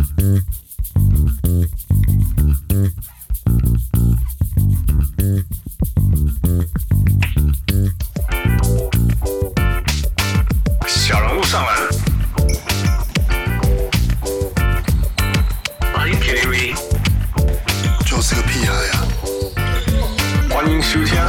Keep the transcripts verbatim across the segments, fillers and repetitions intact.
小人物上篮。Are you kidding me？ 就是个屁孩呀！ 欢迎收聽。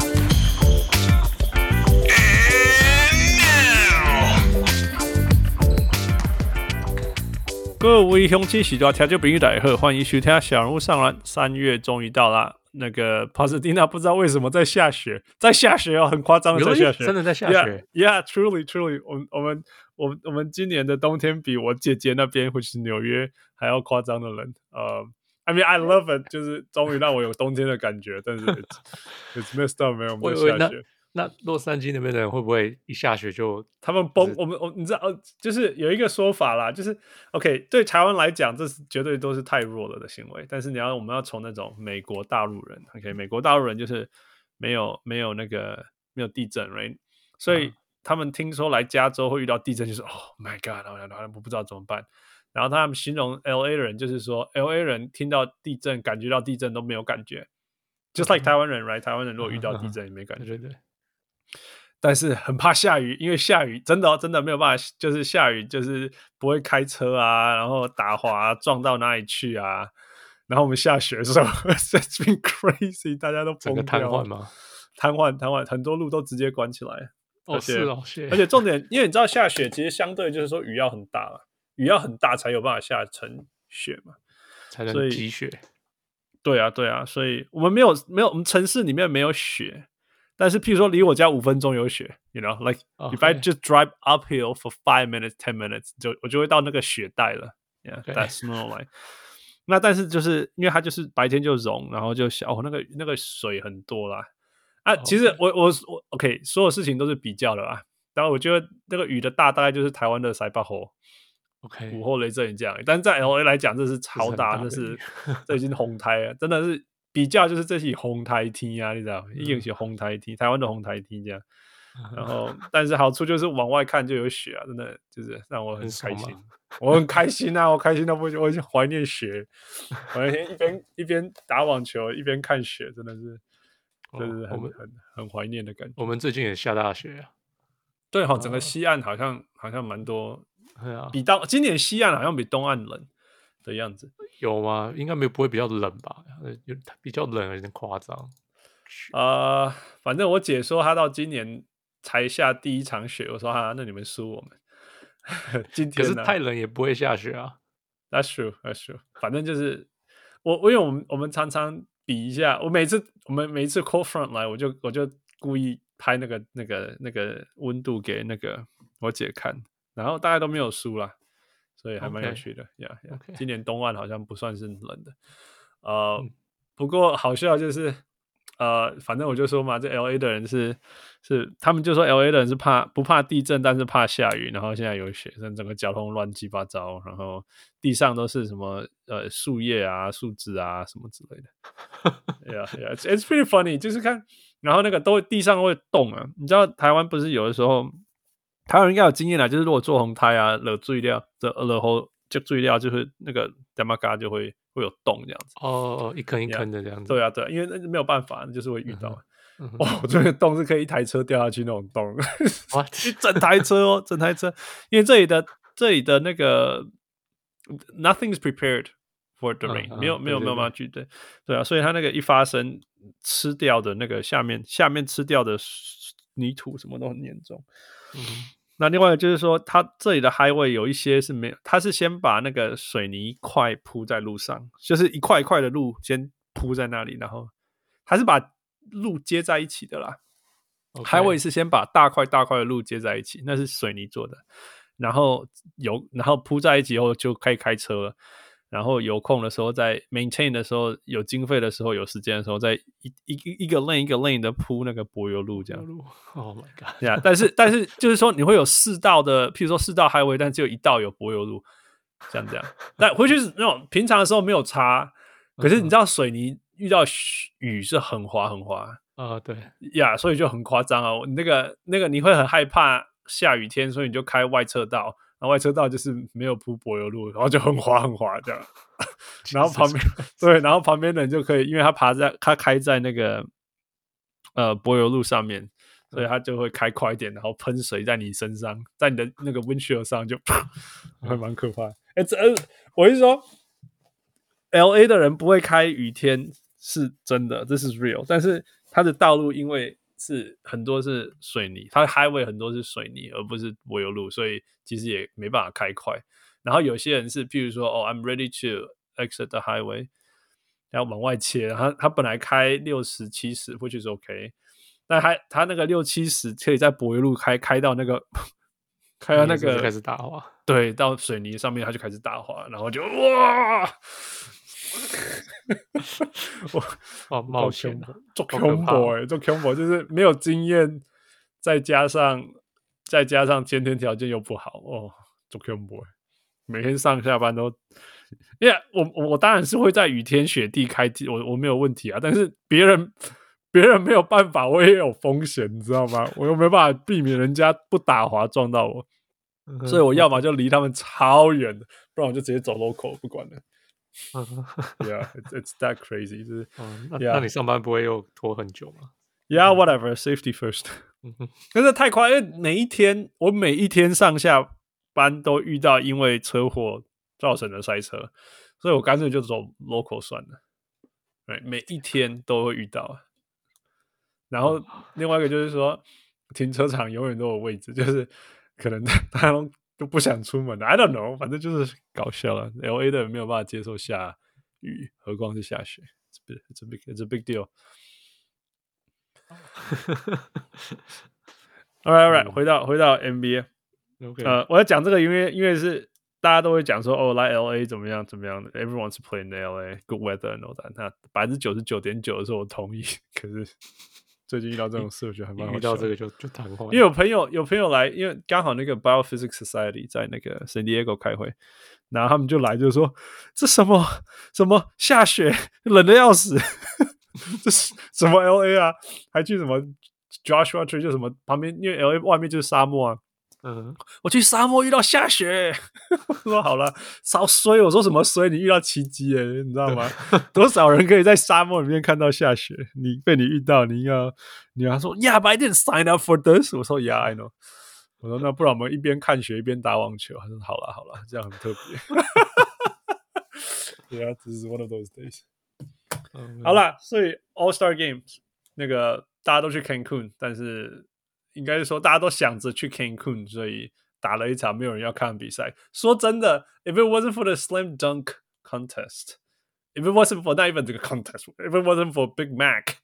各位鄉親喜多聽眾朋友大家好，歡迎收聽小人物上籃。三月終於到了，那個帕斯蒂納不知道為什麼在下雪，在下雪哦，很誇張的在下雪， 真的在下雪。 Yeah, yeah, truly, truly 我。我們我們我們今年的冬天比我姐姐那邊或是紐約還要誇張的人。呃、uh, ，I mean I love it， 就是終於讓我有冬天的感覺，但是 it's, it's messed up， 沒有沒有下雪。 那洛杉磯那邊的人會不會一下雪就他們崩？我們我你知道，就是有一個說法啦，就是 OK 對台灣來講，這是絕對都是太弱了的行為。但是你要我們要從那種美國大陸人 ，OK 美國大陸人就是沒有沒有那個沒有地震 ，right？ 所以他們聽說來加州會遇到地震，就是 Oh my God， 然後我不知道怎麼辦。然後他們形容 L A 人就是說 ，L A 人聽到地震、感覺到地震都沒有感覺，just like 台灣人 ，right？ 台灣人如果遇到地震也沒感覺，對對對。但是很怕下雨，因為下雨真的、哦、真的沒有辦法，就是下雨就是不會開車啊，然後打滑、啊、撞到哪裡去啊。然後我們下雪的時候，It's been crazy， 大家都崩掉， 整個癱瘓嗎？ 癱瘓癱瘓，很多路都直接關起來。 哦， 而且是哦，是。 而且重點，因為你知道下雪其實相對就是說雨要很大嘛，雨要很大才有辦法下成雪嘛， 才能積雪。 對啊，對啊，所以我們沒有沒有，我們城市裡面沒有雪。但是，譬如說，離我家五分鐘有雪 ，you know, like okay. if I just drive uphill for five minutes, ten minutes， 就我就會到那個雪帶了 ，yeah, okay. That's snow line。那但是就是因為它就是白天就融，然後就小哦，那個那個水很多啦。啊， okay. 其實我我我 OK， 所有事情都是比較的啦。當然，我覺得那個雨的大大概就是台灣的塞巴河 ，OK， 午後雷陣雨這樣。但是在 L A 來講，這是超大，這是這已經紅台了，真的是。比較就是這是紅台天啊，你知道，一定是紅台天，台灣的紅台天這樣。然後，但是好處就是往外看就有雪啊，真的就是讓我很開心，我很開心啊，我開心到不行，我已經懷念雪，我那天一邊一邊打網球一邊看雪，真的是，就是很、哦、很很懷念的感覺。 我們最近也下大雪啊， 對哈、哦，整個西岸好像好像蠻多， 啊、 比到今年西岸好像比東岸冷的樣子。 有嗎？應該沒不會比較冷吧？有比較冷有點誇張。 呃，反正我姐說她到今年才下第一場雪，我說哈、啊，那你們輸我們。今天、啊、 可是太冷也不會下雪啊。 That's true, that's true。反正就是我，我因為我們我們常常比一下，我每次我們每一次 cold front 來，我就我就故意拍那個那個那個溫度給那個我姐看，然後大家都沒有輸啦。所以還蠻有趣的，yeah, yeah. Okay. 今年東岸好像不算是冷的，呃，嗯、不過好笑就是，呃，反正我就說嘛，這 L A 的人是是，他們就說 L A 的人是怕不怕地震，但是怕下雨，然後現在有雪，整個交通亂七八糟，然後地上都是什麼呃樹葉啊、樹枝啊什麼之類的，yeah, yeah, it's, it's pretty funny， 就是看，然後那個都地上會動啊，你知道台灣不是有的時候。台灣人應該有經驗啦，就是如果做紅胎啊，惹水料，這惹後就水料，就是那個點嘛嘎就會會有洞這樣子。哦哦，一坑一坑的這樣子。 對啊，對啊，因為那沒有辦法，就是會遇到。嗯、哦，這個洞是可以一台車掉下去那種洞，一整台車哦，整台車。因為這裡的這裡的那個 nothing is prepared for the rain，、嗯、沒有、嗯、沒有沒有辦法去對對啊，所以它那個一發生，吃掉的那個下面下面吃掉的泥土什麼都很嚴重。嗯。那另外就是說，它這裡的 highway 有一些是沒有，它是先把那個水泥塊鋪在路上，就是一塊一塊的路先鋪在那裡，然後它是把路接在一起的啦。Okay. Highway 是先把大塊大塊的路接在一起，那是水泥做的，然後有然後鋪在一起以後就可以開車了。然後有空的時候，在 maintain 的時候，有經費的時候，有時間的時候，在一一一個 lane 一個 lane 的鋪那個柏油路這樣。 Oh my god！ yeah, 但是但是就是說你會有四道的，譬如說四道 highway， 但只有一道有柏油路，像這樣。但回去是那種平常的時候沒有差，可是你知道水泥遇到雨是很滑很滑啊，uh, 對呀， yeah, 所以就很誇張啊。那個那個你會很害怕下雨天，所以你就開外側道。 然後外車道就是沒有鋪柏油路，然後就很滑很滑這樣。然後旁邊對，然後旁邊的人就可以，因為他爬在他開在那個呃柏油路上面，所以他就會開快一點，然後噴水在你身上，在你的那個 windshield 上就，會蠻可怕的。哎，這我是說 ，L A 的人不會開雨天是真的，這是 real。但是它的道路因為是很多是水泥，它的 highway 很多是水泥，而不是柏油路，所以其實也沒辦法開快。然後有些人是，譬如說，哦 ，I'm ready to exit the highway， 然後往外切，他他本來開六十七十，which is OK， 但他他那個六七十可以在柏油路開開到那個開到那個開始打滑， 對，到水泥上面他就開始打滑，然後就哇。我哇，冒險做 combo 哎，做 combo 就是沒有經驗，再加上再加上先天條件又不好哦，做 combo 每天上下班都，因為我我當然是會在雨天雪地開機，我我沒有問題啊，但是別人別人沒有辦法，我也有風險，你知道嗎？我又沒辦法避免人家不打滑撞到我，所以我要麼就離他們超遠的，不然我就直接走 local 不管了。Yeah, it's, it's that crazy. 就是、 嗯那, yeah. 那你上班不會又拖很久嗎 ？Yeah, whatever. Safety first. 但是太快，因為每一天我每一天上下班都遇到因為車禍造成的塞車，所以我乾脆就走 local 算了。對，每一天都會遇到。然後另外一個就是說，停車場永遠都有位置，就是可能大家都。就不想出門了 I don't know， 反正就是搞笑了。L A 的人沒有辦法接受下雨，何況是下雪。It's a big, it's a big deal. All right, all right， 回到回到 N B A。Okay. 呃，我要講這個，因為因為是大家都會講說，哦，來 L A 怎麼樣怎麼樣的 ，Everyone's playing in L A, good weather and all that。那百分之九十九點九的時候我同意，可是。最近遇到這種事，我覺得還蠻好笑的。遇到這個就就談話，因為有朋友有朋友來，因為剛好那個 Biophysics Society 在那個 San Diego 開會，然後他們就來就說：“這什麼什麼下雪，冷得要死，這是什麼 L A 啊？還去什麼 Joshua Tree 就什麼旁邊，因為 L A 外面就是沙漠啊。”嗯，我去沙漠遇到下雪，我說好了，超衰。我說什麼衰？你遇到奇蹟耶，你知道嗎？多少人可以在沙漠裡面看到下雪？你被你遇到，你要你要說 ，Yeah, but I didn't sign up for this。我說 Yeah, I know。我說那不然我們一邊看雪一邊打網球。他說好了好了，這樣很特別。Yeah, this is one of those days。嗯、好了，所以 All Star Games 那個大家都去 Cancun， 但是。應該是說，大家都想着去 Cancun， 所以打了一場沒有人要看的比賽。說真的 ，If it wasn't for the slam dunk contest, if it wasn't for not even the contest, if it wasn't for Big Mac，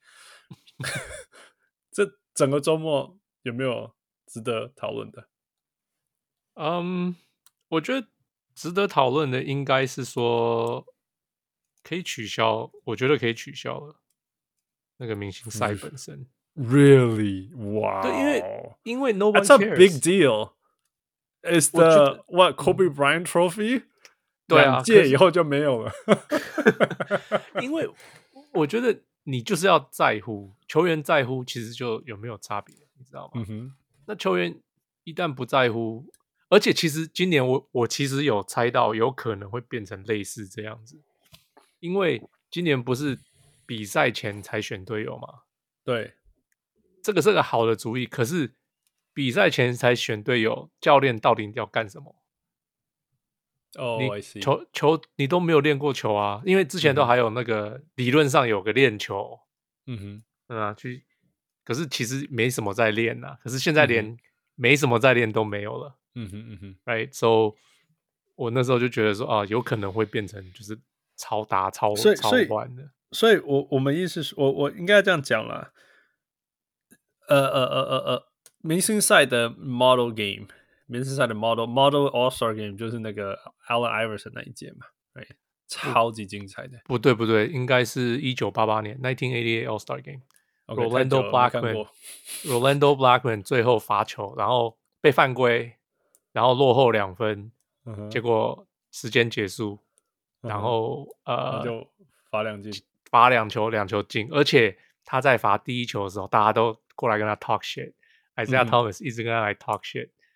這整個周末有沒有值得討論的？ 嗯、um, 我覺得值得討論的應該是說可以取消，我覺得可以取消了那個明星賽本身。 Really? Wow. 對，因為因為 no one cares. That's a big deal. It's the what Kobe Bryant Trophy? 對啊， 兩屆以後就沒有了。 因為我覺得你就是要在乎球員在乎，其實就有沒有差別，你知道嗎？嗯哼。那球員一旦不在乎，而且其實今年我我其實有猜到有可能會變成類似這樣子，因為今年不是比賽前才選隊友嗎？ 對。 這個是個好的主意，可是比賽前才選隊友，教練到底要幹什麼？ 哦、oh, 你球球你都沒有練過球啊，因為之前都還有那個、嗯、理論上有個練球，嗯哼，嗯啊，去，可是其實沒什麼在練啊，可是現在連沒什麼在練都沒有了，嗯哼嗯哼 ，right， so 我那時候就覺得說啊，有可能會變成就是超打超超亂的， 所以我我們意思是我我應該這樣講啦。呃呃呃呃呃，明星賽的 model game， 明星賽的 model model All Star Game 就是那個 Allen Iverson 那一屆嘛，對，超級精彩的。 不對不對，應該是一九八八年 nineteen eighty-eight All Star Game。Rolando Blackman，Rolando Blackman 最後罰球，然後被犯規，然後落後兩分，嗯、結果時間結束，嗯、然後呃就罰兩進， 罰兩球兩球進，而且他在罰第一球的時候，大家都過來跟他 talk shit， Isaiah、嗯、Thomas 一直跟他來 talk shit，、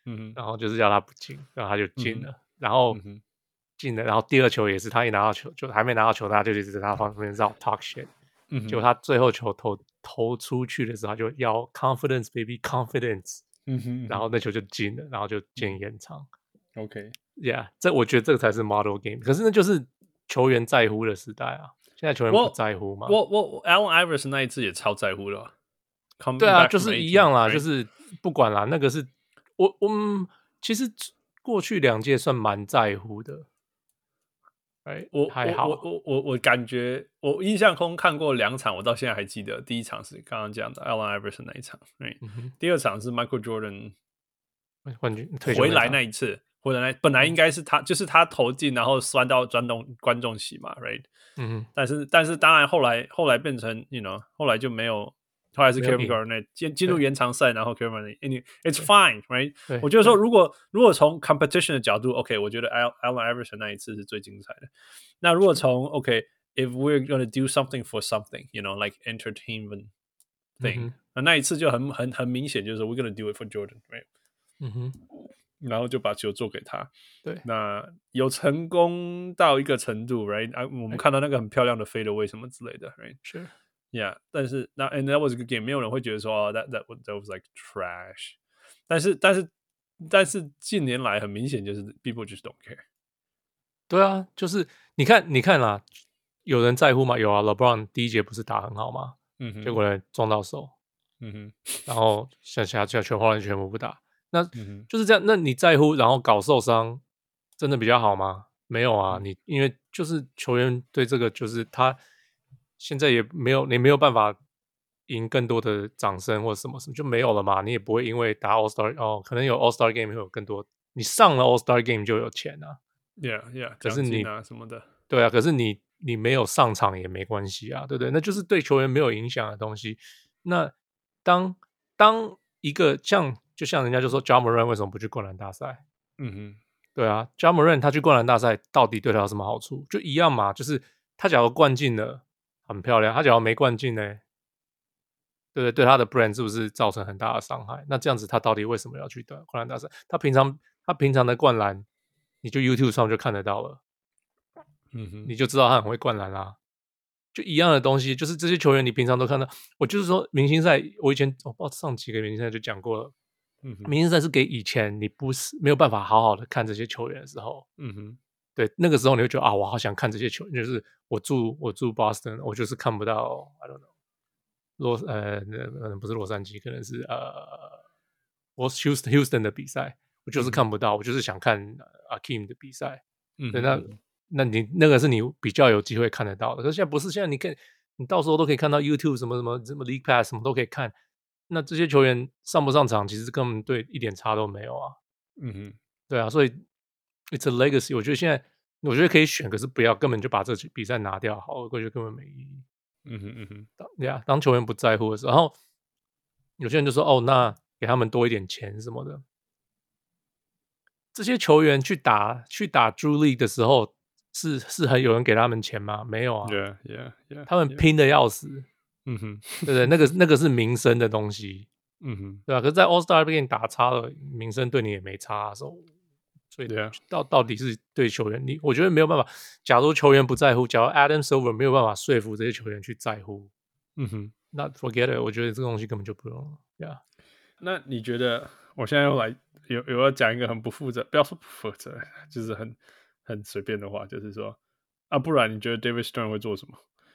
嗯， 然後就是叫他不進，然後他就進了， 嗯、 然後進了，然後第二球也是他一拿到球就還沒拿到球，他就一直在他旁邊繞 talk shit，嗯，結果他最後球投投出去的時候，他就要 confidence baby confidence，嗯哼，然後那球就進了，然後就進延長。OK，Yeah， 這我覺得這個才是 model game， 可是那就是球員在乎的時代啊，現在球員不在乎嘛。 我我我 Allen Iverson 那一次也超在乎了。 對啊，就是一樣啦， right? 就是不管啦，那個是我我們其實過去兩屆算蠻在乎的。Right? 我還好， 我我我我感覺我印象中看過兩場，我到現在還記得。第一場是剛剛講的 Allen Iverson 那一場， right? 嗯、第二場是 Michael Jordan 冠軍回來那一次，回來那本來應該是他，就是他投進，然後鑽到鑽動觀眾席嘛 ，right？ 嗯，但是但是當然後來後來變成 you know 後來就沒有。後來是 Kevin Garnett 進進入延長賽，然後 Kevin Garnett，it's fine，right？ 我覺得說，如果如果從 competition 的角度 ，OK， 我覺得 Allen Iverson 那一次是最精彩的。那如果從 OK，if we're gonna do something for something，you know，like entertainment thing，、嗯、那那一次就很很很明顯，就是 we're gonna do it for Jordan，right？ 嗯哼，然後就把球做給他。 對， 那有成功到一個程度 ，right？ 啊，我們看到那個很漂亮的 fadeaway 什麼之類的 ，right？ 是。 Yeah， 但是那 and that was a good game， 沒有人會覺得說哦、oh, that that that was like trash。但是但是但是近年來很明顯就是 people just don't care。 對啊，就是你看你看啦，有人在乎嗎？有啊 ，LeBron 第一節不是打很好嗎？嗯哼，結果呢撞到手，嗯哼，然後剩下全全華人全部不打，那、嗯、就是這樣。那你在乎，然後搞受傷，真的比較好嗎？沒有啊，嗯、你因為就是球員對這個就是他。現在也沒有，你沒有辦法贏更多的掌聲或者什麼什麼就沒有了嘛。你也不會因為打 All Star 哦，可能有 All Star Game 會有更多，你上了 All Star Game 就有錢啊。 Yeah, yeah， 可是你啊什麼的， 對啊，可是你你沒有上場也沒關係啊，對不對？那就是對球員沒有影響的東西。那當當一個像就像人家就說 Ja Morant 為什麼不去灌籃大賽？嗯哼，對啊 Ja Morant 他去灌籃大賽到底對他有什麼好處？就一樣嘛，就是他假如灌進了。很漂亮，他假如沒灌進呢，對不對？對他的 brand 是不是造成很大的傷害？那這樣子，他到底為什麼要去灌籃大賽？他平常他平常的灌籃，你就 YouTube 上就看得到了，嗯哼，你就知道他很會灌籃啦。就一樣的東西，就是這些球員你平常都看到。我就是說，明星賽，我以前我不知道上幾個明星賽就講過了，嗯哼，明星賽是給以前你不是沒有辦法好好的看這些球員的時候，嗯哼。對，那個時候你會覺得啊，我好想看這些球員。就是我住我住 Boston， 我就是看不到 I don't know 洛呃，可能不是洛杉磯，可能是呃，我 Houston Houston 的比賽，我就是看不到，嗯、我就是想看 Akeem 的比賽。嗯，對，那那你那個是你比較有機會看得到的。可是現在不是，現在你看你到時候都可以看到 YouTube 什麼什麼什麼 League Pass 什麼都可以看。那這些球員上不上場，其實根本對一點差都沒有啊。嗯哼，對啊，所以。It's a legacy， 我覺得現在我覺得可以選，可是不要根本就把這比賽拿掉，好，我覺得根本沒意義。嗯哼嗯哼，對啊，當球員不在乎的時候，然後有些人就說哦，那給他們多一點錢什麼的。這些球員去打去打 Drew League 的時候，是是很有人給他們錢嗎？沒有啊。 Yeah, yeah, yeah, 他們拼得要死。嗯哼，對不對？那個那個是名聲的東西。嗯哼，對吧、啊？可是，在 All Star 給你打差了，名聲對你也沒差、啊，所以。所以到到底是對球員，你我覺得沒有辦法。假如球員不在乎，假如 Adam Silver 沒有辦法說服這些球員去在乎，嗯哼，那 forget it。我覺得這個東西根本就不用了。Yeah. 那你覺得？我現在又來有有要講一個很不負責，不要說不負責，就是很很隨便的話，就是說啊，不然你覺得 David Stern 會做什麼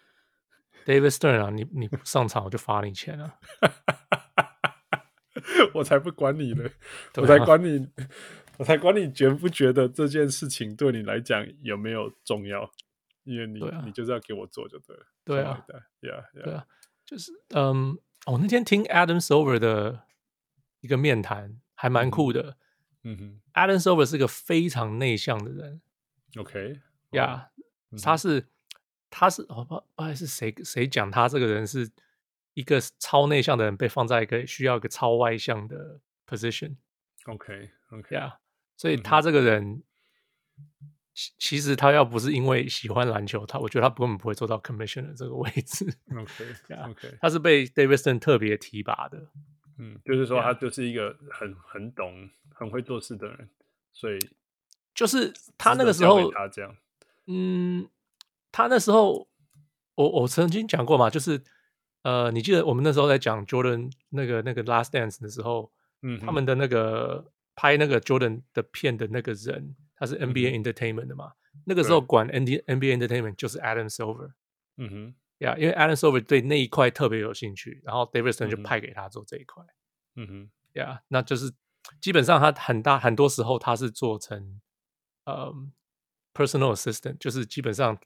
？David Stern 啊，你你不上場我就罰你錢啊！ 我才不管你呢，我才管你。我才管你覺不覺得這件事情對你來講有沒有重要，因為你、啊、你就是要給我做就對了。 對啊 ，Yeah, yeah. 對啊，就是嗯，我、哦、那天聽 Adam Silver 的一個面談還蠻酷的。嗯哼 ，Adam Silver 是個非常內向的人。 OK， 呀、yeah, 嗯，他是他是哦不不知是誰誰講他這個人是一個超內向的人被放在一個需要一個超外向的 position。OK，OK， 呀。所以他這個人，嗯、其實他要不是因為喜歡籃球，他我覺得他根本不會做到 commissioner 這個位置。OK，OK，、okay, okay. 他是被 David Stern 特別提拔的。 嗯，就是說他就是一個很很懂、很會做事的人，所以就是他那個時候， 他這樣， 嗯，他那時候我我曾經講過嘛，就是呃，你記得我們那時候在講 Jordan 那個那個 Last Dance 的時候，嗯，他們的那個拍那個 Jordan 的片的那個人，他是 N B A Entertainment 的嘛，嗯、那個時候管 N B A Entertainment 就是 Adam Silver，嗯哼，呀，yeah, 因為 Adam Silver 對那一塊特別有興趣，然後 David Stern 就派給他做這一塊，嗯哼，呀， yeah, 那就是基本上他很大很多時候他是做成呃、um, personal assistant， 就是基本上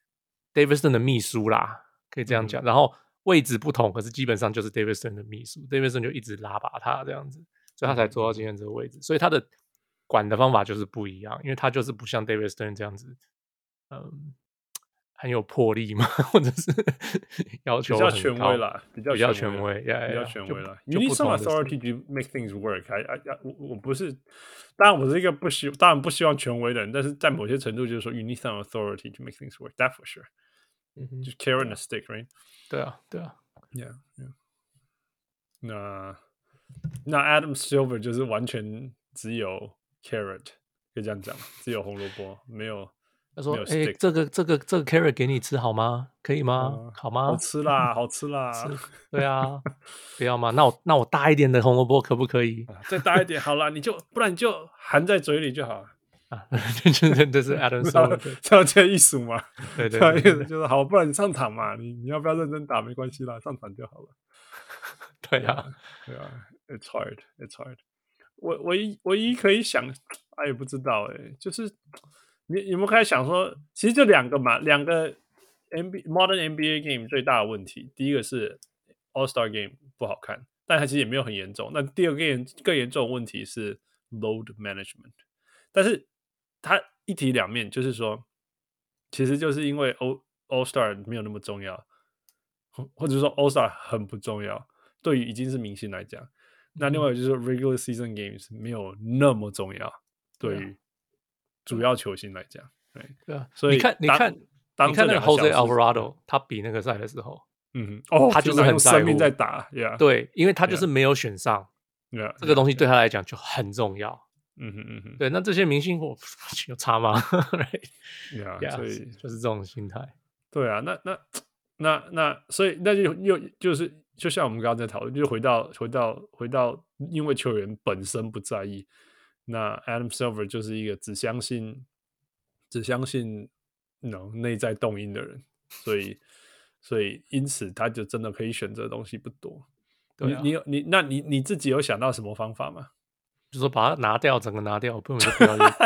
David Stern 的秘書啦，可以這樣講，嗯、然後位置不同，可是基本上就是 David Stern 的秘書 ，David Stern 就一直拉拔他這樣子，所以他才做到今天這個位置，嗯、所以他的管的方法就是不一樣，因為他就是不像 David Stern 這樣子，嗯，很有魄力嘛，或者是要求很高， 比較權威啦，比較比較權威，比較權威啦。You need some authority to make things work. I, I, I, 我我不是，當然我是一個不希，當然不希望權威的人，但是在某些程度就是說 ，you need some authority to make things work. That for sure. 就 carrot and stick, right? 對啊，對啊 ，Yeah, yeah. 那那 Adam Silver 就是完全只有 carrot， 可以這樣講，只有紅蘿蔔，沒有。 他說：“哎、欸，這個這個這個 carrot 給你吃好嗎？可以嗎？嗯、好嗎？ 好吃啦，好吃啦。 吃對啊，不要嗎？那我那我大一點的紅蘿蔔可不可以？ 再大一點好啦，你就不然你就含在嘴裡就好啊。這是這是 Adam Silver 這樣這樣藝術嘛？ 對對對，對， 就是好，不然你上場嘛，你你要不要認真打沒關係啦，上場就好了。 對啊， 對啊 ，It's hard, it's hard。我唯一唯一可以想，哎也不知道哎、欸，就是。”你有沒有開始想說，其實就兩個嘛，兩個 N B modern N B A game 最大的問題，第一個是 All Star Game 不好看，但它其實也沒有很嚴重。那第二個更更嚴重的問題是 load management， 但是它一體兩面，就是說，其實就是因為 All All Star 沒有那麼重要，或者說 All Star 很不重要，對於已經是明星來講，那另外就是說 regular season games 沒有那麼重要，對於主要球星來講，對對啊， 所以你看，你看，你看那個 Jose Alvarado， 他比那個賽的時候， 嗯，哦， 他就是很在乎生命在打， yeah, 對，因為他就是沒有選上， yeah, 這個東西對他來講就很重要， 嗯哼嗯哼， 對，那這些明星我有差嗎？ right? yeah, yeah, 所以就是這種心態， 對啊，那那那那，所以那就又就是就像我們剛剛在討論，就回到回到回到，因為球員本身不在意。那 Adam Silver 就是一個只相信只相信 no 內在動因的人，所以所以因此他就真的可以選擇的東西不多。對、啊，你你你那你你自己有想到什麼方法嗎？ 就說把它拿掉，整個拿掉，不用就不要打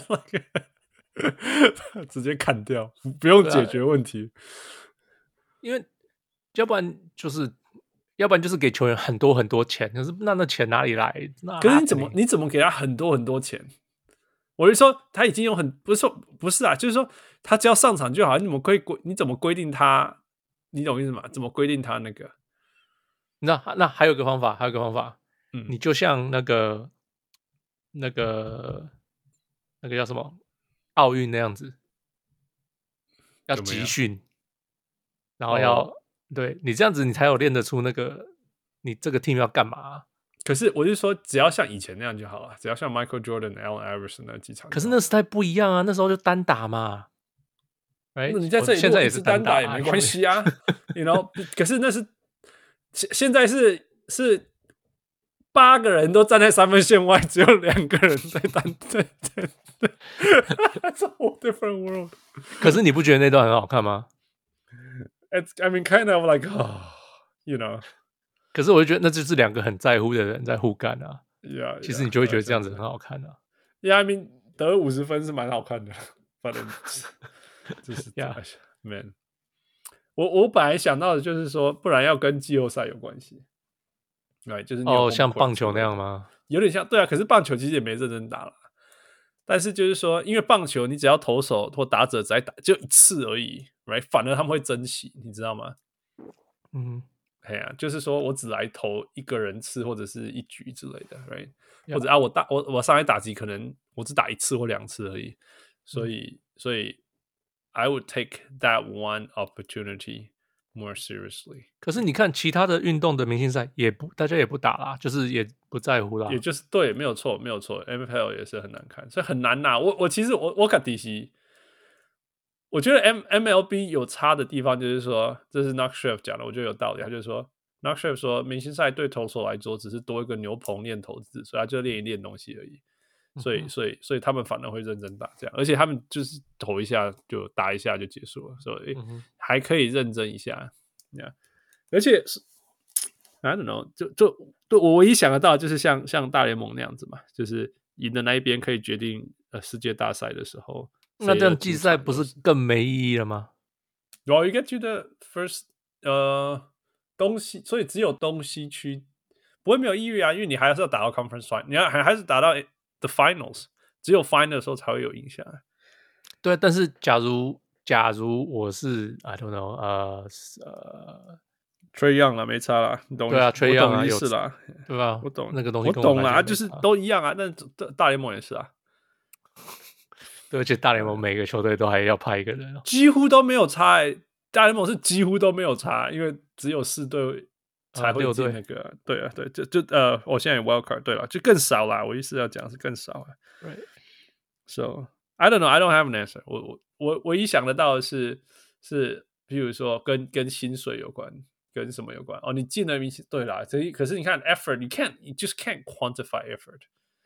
直接砍掉，不用解決問題。啊、 因為要不然就是。要不然就是給球員很多很多錢，可是那那錢哪裡來？ 可是你怎麼你怎麼給他很多很多錢？我是說他已經有很不是說不是啊，就是說他只要上場就好。你怎麼規你怎麼規定他？你懂意思嗎？怎麼規定他那個？ 那那還有個方法，還有個方法，嗯，你就像那個那個那個叫什麼奧運那樣子，要集訓，然後要。哦對你這樣子，你才有練得出那個你這個 team 要幹嘛、啊。 可是我是說，只要像以前那樣就好了，只要像 Michael Jordan、Allen Iverson 那幾場。 可是那時代不一樣啊，那時候就單打嘛。哎， 你在這裡現在也是單打也沒關係啊，you know。可是那是現現在是是八個人都站在三分線外，只有兩個人在單對對對。That's a whole different world。 可是你不覺得那段很好看嗎？ It's, I mean, kind of like, oh, you know. 可是我就覺得那就是兩個很在乎的人在互幹啊。 Yeah, yeah, 其實你就會覺得這樣子很好看啊。 Yeah, I mean, 得五十分是蠻好看的。反正就是 Yeah, man. 我我本來想到的就是說，不然要跟季後賽有關係。對，就是哦，像棒球那樣嗎？ 有點像，對啊。可是棒球其實也沒認真打了。但是就是說，因為棒球你只要投手或打者只打就一次而已 ，right？ 反而他們會珍惜，你知道嗎？嗯，哎呀、啊，就是說我只來投一個人次或者是一局之類的 ，right？ Yeah. 或者啊，我打我我上來打擊可能我只打一次或兩次而已，所以、嗯、所以 I would take that one opportunity more seriously。 可是你看其他的運動的明星賽也不，大家也不打啦，就是也不在乎啦。 也就是對，沒有錯，沒有錯。N F L 也是很難看，所以很難吶。我我其實我我看底西，我覺得 M M L B 有差的地方就是說，這是 Knock Chef 講的，我覺得有道理。他就是說 Knock Chef 說，明星賽對投手來說只是多一個牛棚練投資，所以他就練一練東西而已。所以，所以，所以他們反而會認真打，這樣，而且他們就是投一下就打一下就結束了，所以還可以認真一下。Yeah. 而且是 I don't know， 就就對我唯一想得到就是像像大聯盟那樣子嘛，就是贏的那一邊可以決定呃世界大賽的時候， 那這樣季賽不是更沒意義了嗎？ Well, you get to the first 呃東西，所以只有東西區不會沒有意義啊，因為你還是要打到 conference final， 你要還還是打到 the finals， 只有 final 的時候才會有影響。 對，但是假如假如我是 I don't know， 呃呃 Trae Young 啦，沒差啦，你懂？ 對啊 Trae Young 啊， 意思啦， 對吧？ 我懂那個東西， 我懂啦，就是都一樣啊。但大聯盟也是啊， 對，而且大聯盟每個球隊都還要派一個人， 幾乎都沒有差、欸。大聯盟是幾乎都沒有差，因為只有四隊才會進那個、啊。對啊，對，就就呃，我現在有 wild card， 對了，就更少啦。我意思要講是更少啊。 Right. So I don't know, I don't have an answer 我。我我唯一想得到的是是，比如說跟跟薪水有關，跟什麼有關？哦，你進了明星，對啦。可是你看 effort， 你 can't, you just can't quantify effort。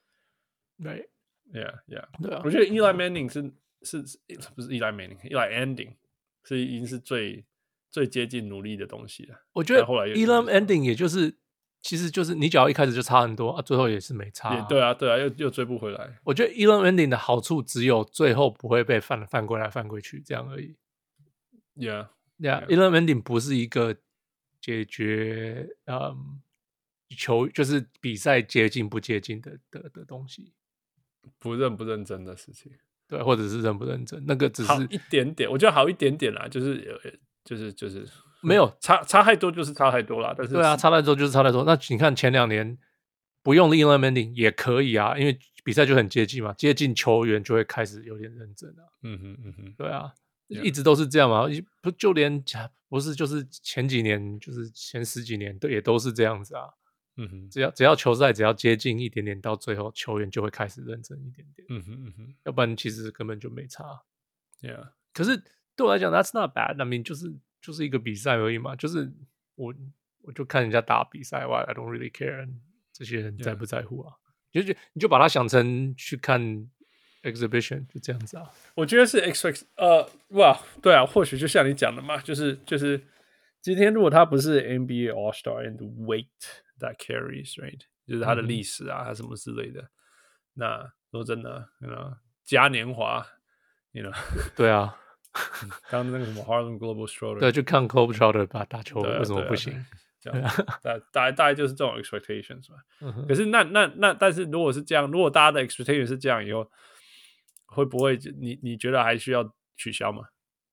Right. Yeah, yeah. 對啊。 我覺得 Eli Manning 是是是不是 Eli Manning，Eli Ending 是已經是最最接近努力的東西了。 我覺得 Eli Ending 也就是其實就是你只要一開始就差很多啊，最後也是沒差、啊。 對啊，對啊，又又追不回來。 我覺得 Eli Manning 的好處只有最後不會被犯犯規來犯規去這樣而已。 Yeah, yeah. Eli Manning 不是一個解決嗯球就是比賽接近不接近的的的東西， 不認不認真的事情。 對，或者是認不認真，那個只是好一點點，我覺得好一點點啦，就是就是就是沒有差差太多，就是差太多啦。但是對啊，差太多就是差太多。那你看前兩年不用 Eli Manning 也可以啊，因為比賽就很接近嘛，接近球員就會開始有點認真啊。 嗯哼嗯哼， 對啊， yeah. 一直都是這樣嘛，不就連不是就是前幾年，就是前十幾年都也都是這樣子啊。 嗯哼， 只要只要球賽只要接近一點點，到最後球員就會開始認真一點點。 嗯哼嗯哼， 要不然其實根本就沒差。 Yeah， 可是對我來講 ，That's not bad。I mean，就是就是一個比賽而已嘛，就是我我就看人家打比賽，I don't really care 這些人在不在乎啊？ Yeah. 就你就把它想成去看 exhibition， 就這樣子啊。 我覺得是 expect 呃，哇，對啊，或許就像你講的嘛，就是就是今天如果他不是 N B A All Star and weight that carries right， 就是他的歷史啊，他、嗯、什麼之類的。那說真的 ，you know， 嘉年華 ，you know， 對啊， 剛剛那個什麼 Harlem Globetrotter， 對，就看 Globetrotter 吧，打球為什麼不行？ 這樣，大大大概就是這種 expectations 嘛。 嗯、 可是那那那，但是如果是這樣，如果大家的 expectation 是這樣以後，會不會你你覺得還需要取消嗎？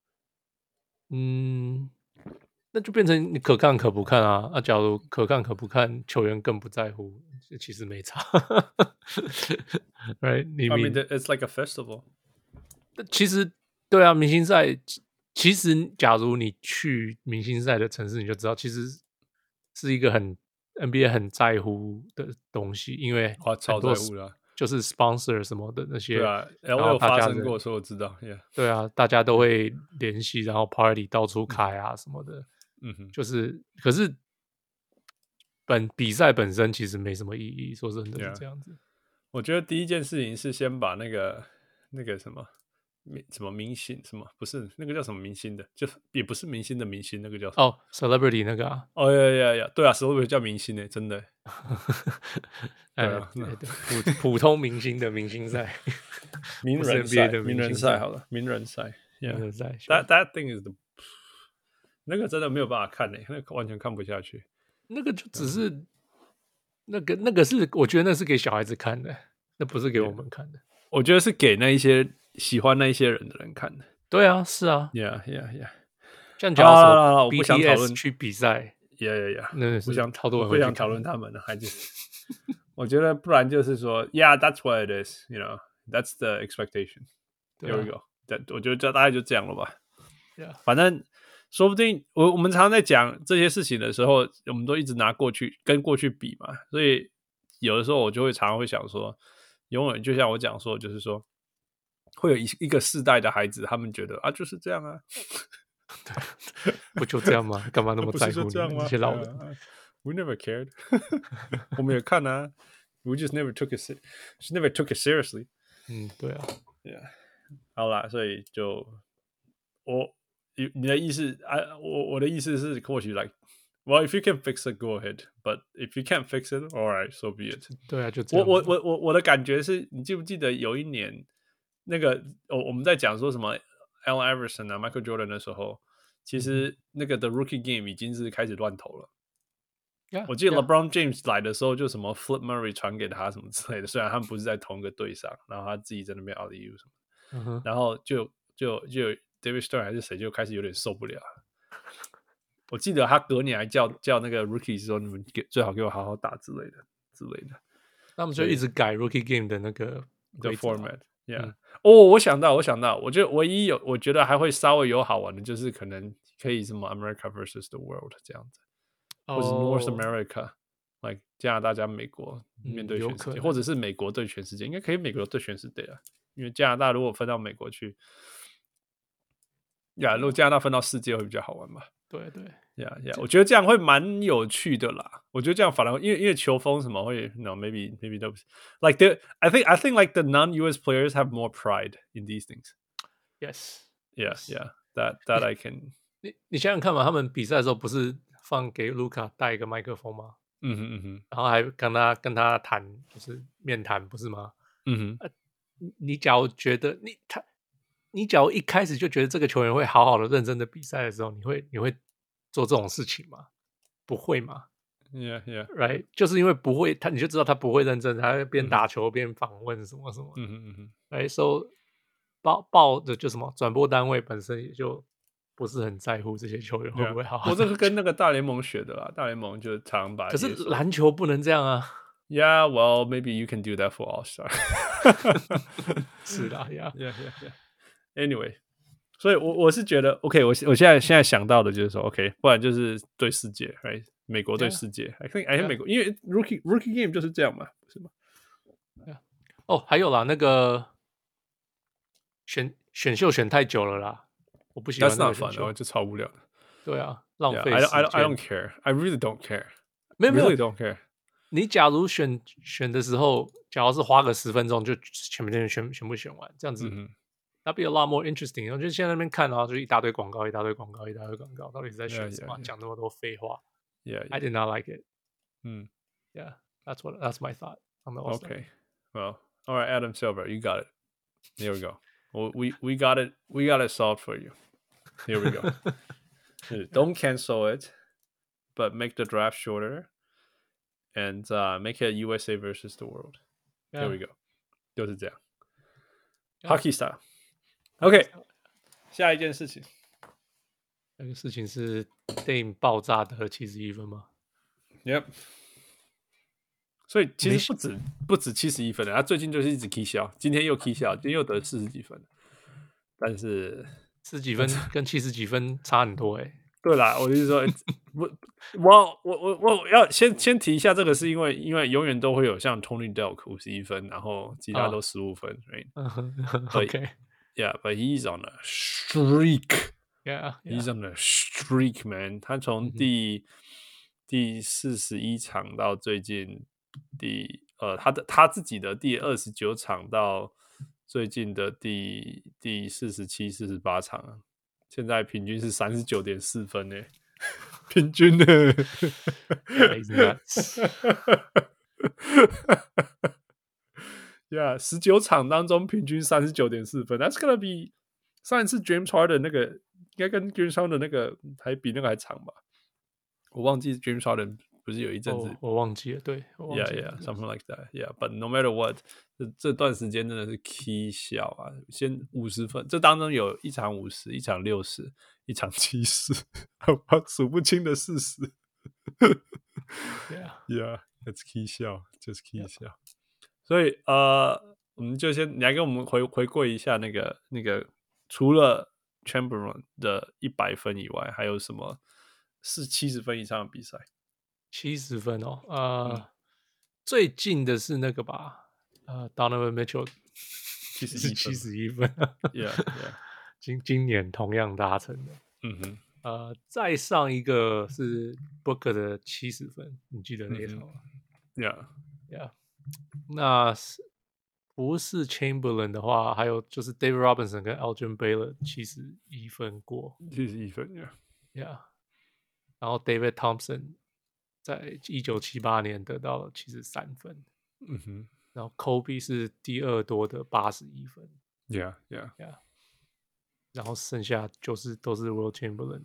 嗯。那就變成你可看可不看啊！啊，假如可看可不看，球員更不在乎，其實沒差。Right？ 你 I mean, it's like a festival。 其實，對啊，明星賽，其實假如你去明星賽的城市，你就知道，其實是一個很 N B A 很在乎的東西，因為哇，超在乎的， 就是 sponsor 什麼的那些。 對啊，我有發生過，所以我知道。Yeah. 對啊，大家都會聯繫，然後 party 到處開啊什麼的。 嗯哼， 就是，可是本比賽本身其實沒什麼意義，說真的是這樣子。Yeah. 我覺得第一件事情是先把那個那個什麼什麼明星什麼不是那個叫什麼明星的，就也不是明星的明星，那個叫什麼哦、oh, ，celebrity 那個啊， 哦呀呀呀，對啊 ，celebrity 叫明星誒，真的。 對啊，對對普普通明星的明星賽， 名人賽的名人賽好了，名人賽，名人賽。That that thing is the 那個真的沒有辦法看誒、欸，那個完全看不下去。 那個就只是、嗯、那個那個是，我覺得那是給小孩子看的，那不是給我們看的。 我覺得是給那一些喜歡那一些人的人看的。 對啊，是啊 ，Yeah Yeah Yeah。 像假如說 B T S 去比賽 ，Yeah Yeah Yeah， 那不想超多人不想討論他們的，還是我覺得不然就是說 ，Yeah，that's what it is，you know，that's the expectation。Here we go。我覺得這大概就這樣了吧。 Yeah. 反正說不定我我們常常在講這些事情的時候，我們都一直拿過去跟過去比嘛，所以有的時候我就會常常會想說，永遠就像我講說，就是說會有一一個世代的孩子，他們覺得啊就是這樣啊， 不就這樣嗎？幹嘛那麼在乎你們這些老人、 uh, ？We never cared 。我們也看啊 ，We just never took it, just never took it seriously。 嗯，对啊 ，Yeah， 好啦，所以就我。你的意思啊，我我的意思是，或許 like， well if you can fix it, go ahead. But if you can't fix it, all right, so be it. 對啊，就這樣。 我我我我我的感覺是，你記不記得有一年那個我我們在講說什麼 Allen Iverson 啊 Michael Jordan 的時候，其實那個 The Rookie Game 已經是開始亂投了。 Yeah, 我記得 LeBron yeah. James 來的時候，就什麼 Flip Murray 傳給他什麼之類的，雖然他們不是在同一個隊上，然後他自己在那邊 alley-oop 什麼，嗯哼，然後就就就。David Stern 還是誰就開始有點受不了。我記得他隔年還叫叫那個 Rookies 說：“你們給最好給我好好打之類的之類的。” 他們就一直改 Rookie Game 的那個的 format。Yeah，、嗯、哦，我想到，我想到，我覺得唯一有，我覺得還會稍微有好玩的，就是可能可以什麼 America versus the World 這樣子，哦、或是 North America，like 加拿大加美國面對全世界，嗯、或者是美國對全世界，應該可以美國對全世界啊，因為加拿大如果分到美國去。呀、yeah, 如果加拿大分到世界會比較好玩吧？ 對對， 呀呀，我覺得這樣會蠻有趣的啦。我覺得這樣反而因為因為球風什麼會 ，no maybe maybe those like the I think I think like the non-U S players have more pride in these things. Yes, yeah, yeah. That that I can. 你你想想看嘛，他們比賽的時候不是放給盧卡帶一個麥克風嗎？ 嗯哼嗯哼， 然後還跟他跟他談，就是面談不是嗎？ 嗯哼， 呃、你假如覺得你他。你假如一開始就覺得這個球員會好好的認真的比賽的時候，你會你會做這種事情嗎？不會嗎 ？Yeah, yeah, right， 就是因為不會，他你就知道他不會認真，他會邊打球邊訪問什麼什麼。 嗯哼嗯哼， 哎，所以報報的就什麼轉播單位本身也就不是很在乎這些球員會不會好好。 我這個跟那個大聯盟學的啦，大聯盟就常把。 可是籃球不能這樣啊。 Yeah, well, maybe you can do that for All Star 。 是啦 ，Yeah, yeah, yeah, yeah.Anyway， 所以我我是覺得 ，OK， 我我現在現在想到的就是說 ，OK， 不然就是對世界 ，right？ 美國對世界 ，I think I think 美國，因為 Rookie Rookie Game 就是這樣嘛，是嗎？ 哦，還有啦，那個選選秀選太久了啦，我不喜歡那個選秀， That's not fun， 就超無聊的。 對啊，浪費時間。 Yeah, I don't I don't care, I really don't care， 沒有沒有 really don't care。 你假如選選的時候，假如是花個十分鐘就全部全全全部選完，這樣子。嗯，That'd be a lot more interesting。然後就現在那邊看，然後就一大堆廣告，一大堆廣告，一大堆廣告，到底是在選什麼？ Yeah, yeah, yeah. 講那麼多廢話。 Yeah, yeah. I did not like it. 嗯 ，Yeah, that's what that's my thought on the All-Star. Okay, well, all right, Adam Silver, you got it. Here we go. We we got it. We got it solved for you. Here we go. Don't cancel it, but make the draft shorter, and uh, make it U S A versus the world. Yeah. Here we go. 就是這樣。Yeah. Hockey style.OK， 下一件事情， 那個事情是 Dame 爆炸得七十一分嗎 ？Yep。所以其實不止不止七十一分的，他最近就是一直 K 笑，今天又 K 笑，今天又得四十幾分，但是四十幾分跟七十幾分差很多哎、欸。 對啦，我就是說，我我我我我要先先提一下這個，是因為因為永遠都會有像 Tony Delk 五十一分，然後其他都十五分、oh. ，right？OK。Yeah, but he's on a streak. Yeah, yeah. He's on a streak, man. 他從第、mm-hmm. 第四十一場到最近第呃他的他自己的第二十九場到最近的第第四十七、四十八場，現在平均是三十九點四分呢，平均呢。 Yeah, he's nuts. Yeah, 十九場當中平均三十九點四分 ，That's gonna be 上一次 James Harden 那個應該跟 James Harden 那個還比那個還長吧？我忘記 James Harden 不是有一陣子， oh, 我忘記了，對我忘記了 ，Yeah, yeah, something like that, yeah. But no matter what， 這, 這段時間真的是 K 笑啊！先五十分，這當中有一場五十，一場六十，一場七十，數不清的四十。 Yeah, yeah, it's K 笑，就是 K 笑。所以呃，我們就先你來跟我們回回顧一下那個那個，除了 Chamberlain 的一百分以外，還有什麼是七十分以上的比賽？ 七十分哦，呃、 嗯， 最近的是那個吧，呃 ，Donovan Mitchell 七十一七十一分 ，Yeah Yeah， 今今年同樣達成的， 嗯哼， 呃，再上一個是 Booker 的七十分，你記得那一場嗎、 嗯、？Yeah Yeah， 那是不是 Chamberlain 的話，還有就是 David Robinson 跟 Elgin Baylor 七十一分過， 七十一分 ，Yeah Yeah， 然後 David Thompson 在一九七八年得到了七十三分， 嗯哼， 然後 Kobe 是第二多的八十一分 ，Yeah Yeah Yeah， 然後剩下就是都是 Will Chamberlain，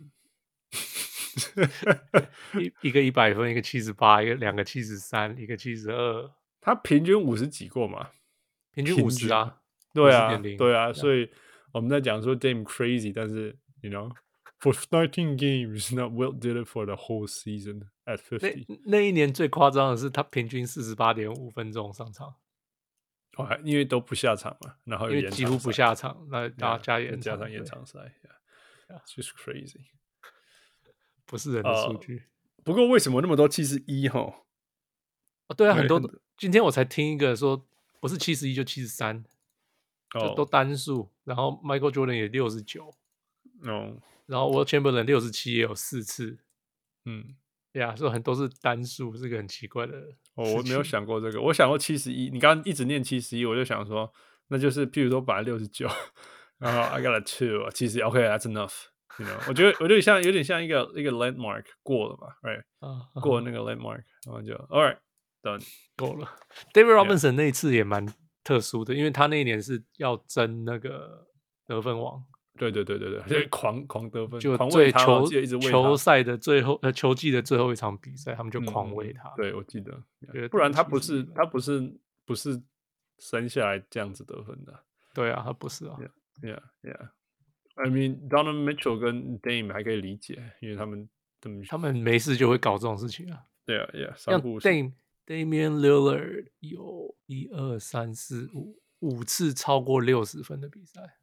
一一個一百分，一個七十八，一個兩個七十三，一個七十二， 他平均五十幾過嘛， 平均五十啊， 對啊， 五十. 對啊，所以我們在講說 Dame crazy， 但是 you know for nineteen games, not Wilt did it for the whole season at fifty。 那那一年最誇張的是他平均四十八點五分鐘上場， 哦，因為都不下場嘛，然後因為幾乎不下場，那加加延加上延長賽 ，yeah, just crazy， 不是人的數據。 Uh, 不過為什麼那麼多七十一齁？ 哦，對啊，很多。今天我才聽一個說，不是七十一就七十三，就都單數。然後 Michael Jordan 也六十九， 哦， 然後 Will Chamberlain 六十七也有四次， 嗯， 對啊，所以很多是單數，是個很奇怪的。 哦，我沒有想過這個，我想過七十一。你剛剛一直念七十一，我就想說，那就是譬如說本來六十九，然後 I got a two， 七十一 ，OK，that's enough。You know， 我覺得我覺得像有點像一個一個 landmark 過了嘛 ，right？、Uh, 過了那個 landmark， 然後就 all right done 夠了。David Robinson 那一次也蠻特殊的，因為他那一年是要爭那個得分王。 對對對對對，就狂狂得分， 就狂為他球一直為他球賽的最後呃球季的最後一場比賽，他們就狂為他。 嗯、對，我記得，不然他不是他不是不是生下來這樣子得分的。 對啊，他不是啊。 Yeah, yeah, yeah. I mean, Donovan Mitchell 跟 Dame 還可以理解，因為他們他們他們沒事就會搞這種事情啊。 對啊 ，Yeah， 像 Dame Damian Lillard 有一二三四五五次超過六十分的比賽。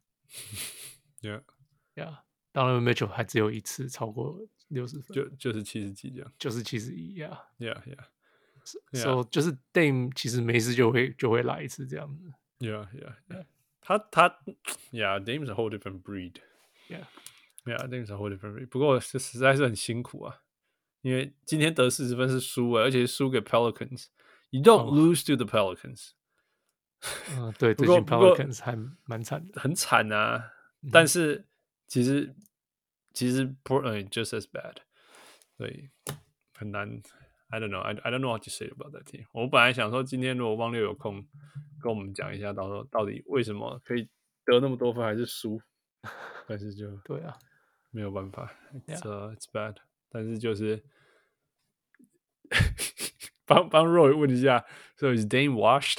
Yeah, yeah. Donovan Mitchell 還只有一次超過六十分， 就就是七十幾這樣， 就是七十一 ，Yeah, Yeah, Yeah. So 就是 Dame 其實沒事就會就會來一次這樣子。 Yeah, Yeah, Yeah. 他他 Yeah, Dame's a whole different breed. Yeah, Yeah, Dame's a whole different breed. 不過這實在是很辛苦啊，因為今天得四十分是輸了，而且是輸給 Pelicans. You don't、oh. lose to the Pelicans. 嗯，對，最近 Pelicans 還蠻慘的， 很慘啊。但是其實其實 Portland just as bad， 所以很難。I don't know, I I don't know what to say about that team。我本來想說，今天如果汪六有空跟我們講一下，到時候到底為什麼可以得那麼多分還是輸，但是就對啊， 沒有辦法 ，it's、uh, it's bad。但是就是幫幫 Roy 問一下 ，So is Dame washed？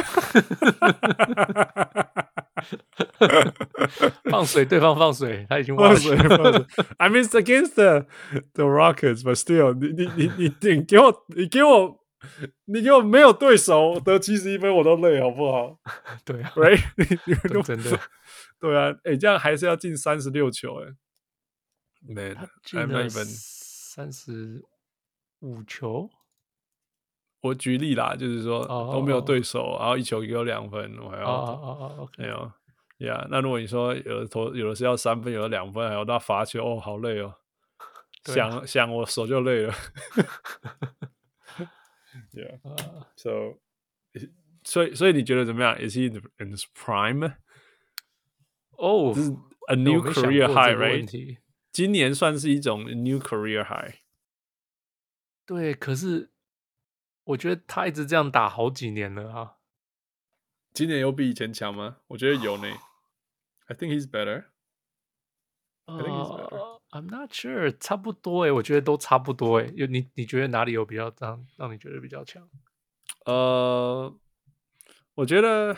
放水，對方放水，他已經放水放水。I mean, it's against the the Rockets, but still， 你你你你你給我你給我你給我沒有對手得七十一分我都累，好不好？ 對啊 ，Right？ 你你真的， 對啊，哎、欸，這樣還是要進三十六球，哎 ，Man， I'm not even 三十五球。 我舉例啦，就是說、oh, 都沒有對手， oh, 然後一球給我兩分，我還要哦哦哦，OK， 沒有。Yeah， 那如果你說有的投有的是要三分，有的兩分，還有那罰球，哦，好累哦，啊、想想我手就累了。Yeah，so，、uh, 所以所以你覺得怎麼樣 ？Is he in his prime？ 哦、oh, 這是 a new career high， right？ 今年算是一種 new career high。 對，可是我覺得他一直這樣打好幾年了啊。 今年有比以前強嗎？我覺得有呢。I think he's better. I think he's better. Uh, I'm not sure. 差不多誒，我覺得都差不多誒。有你你覺得哪裡有比較讓讓你覺得比較強？ 呃，我覺得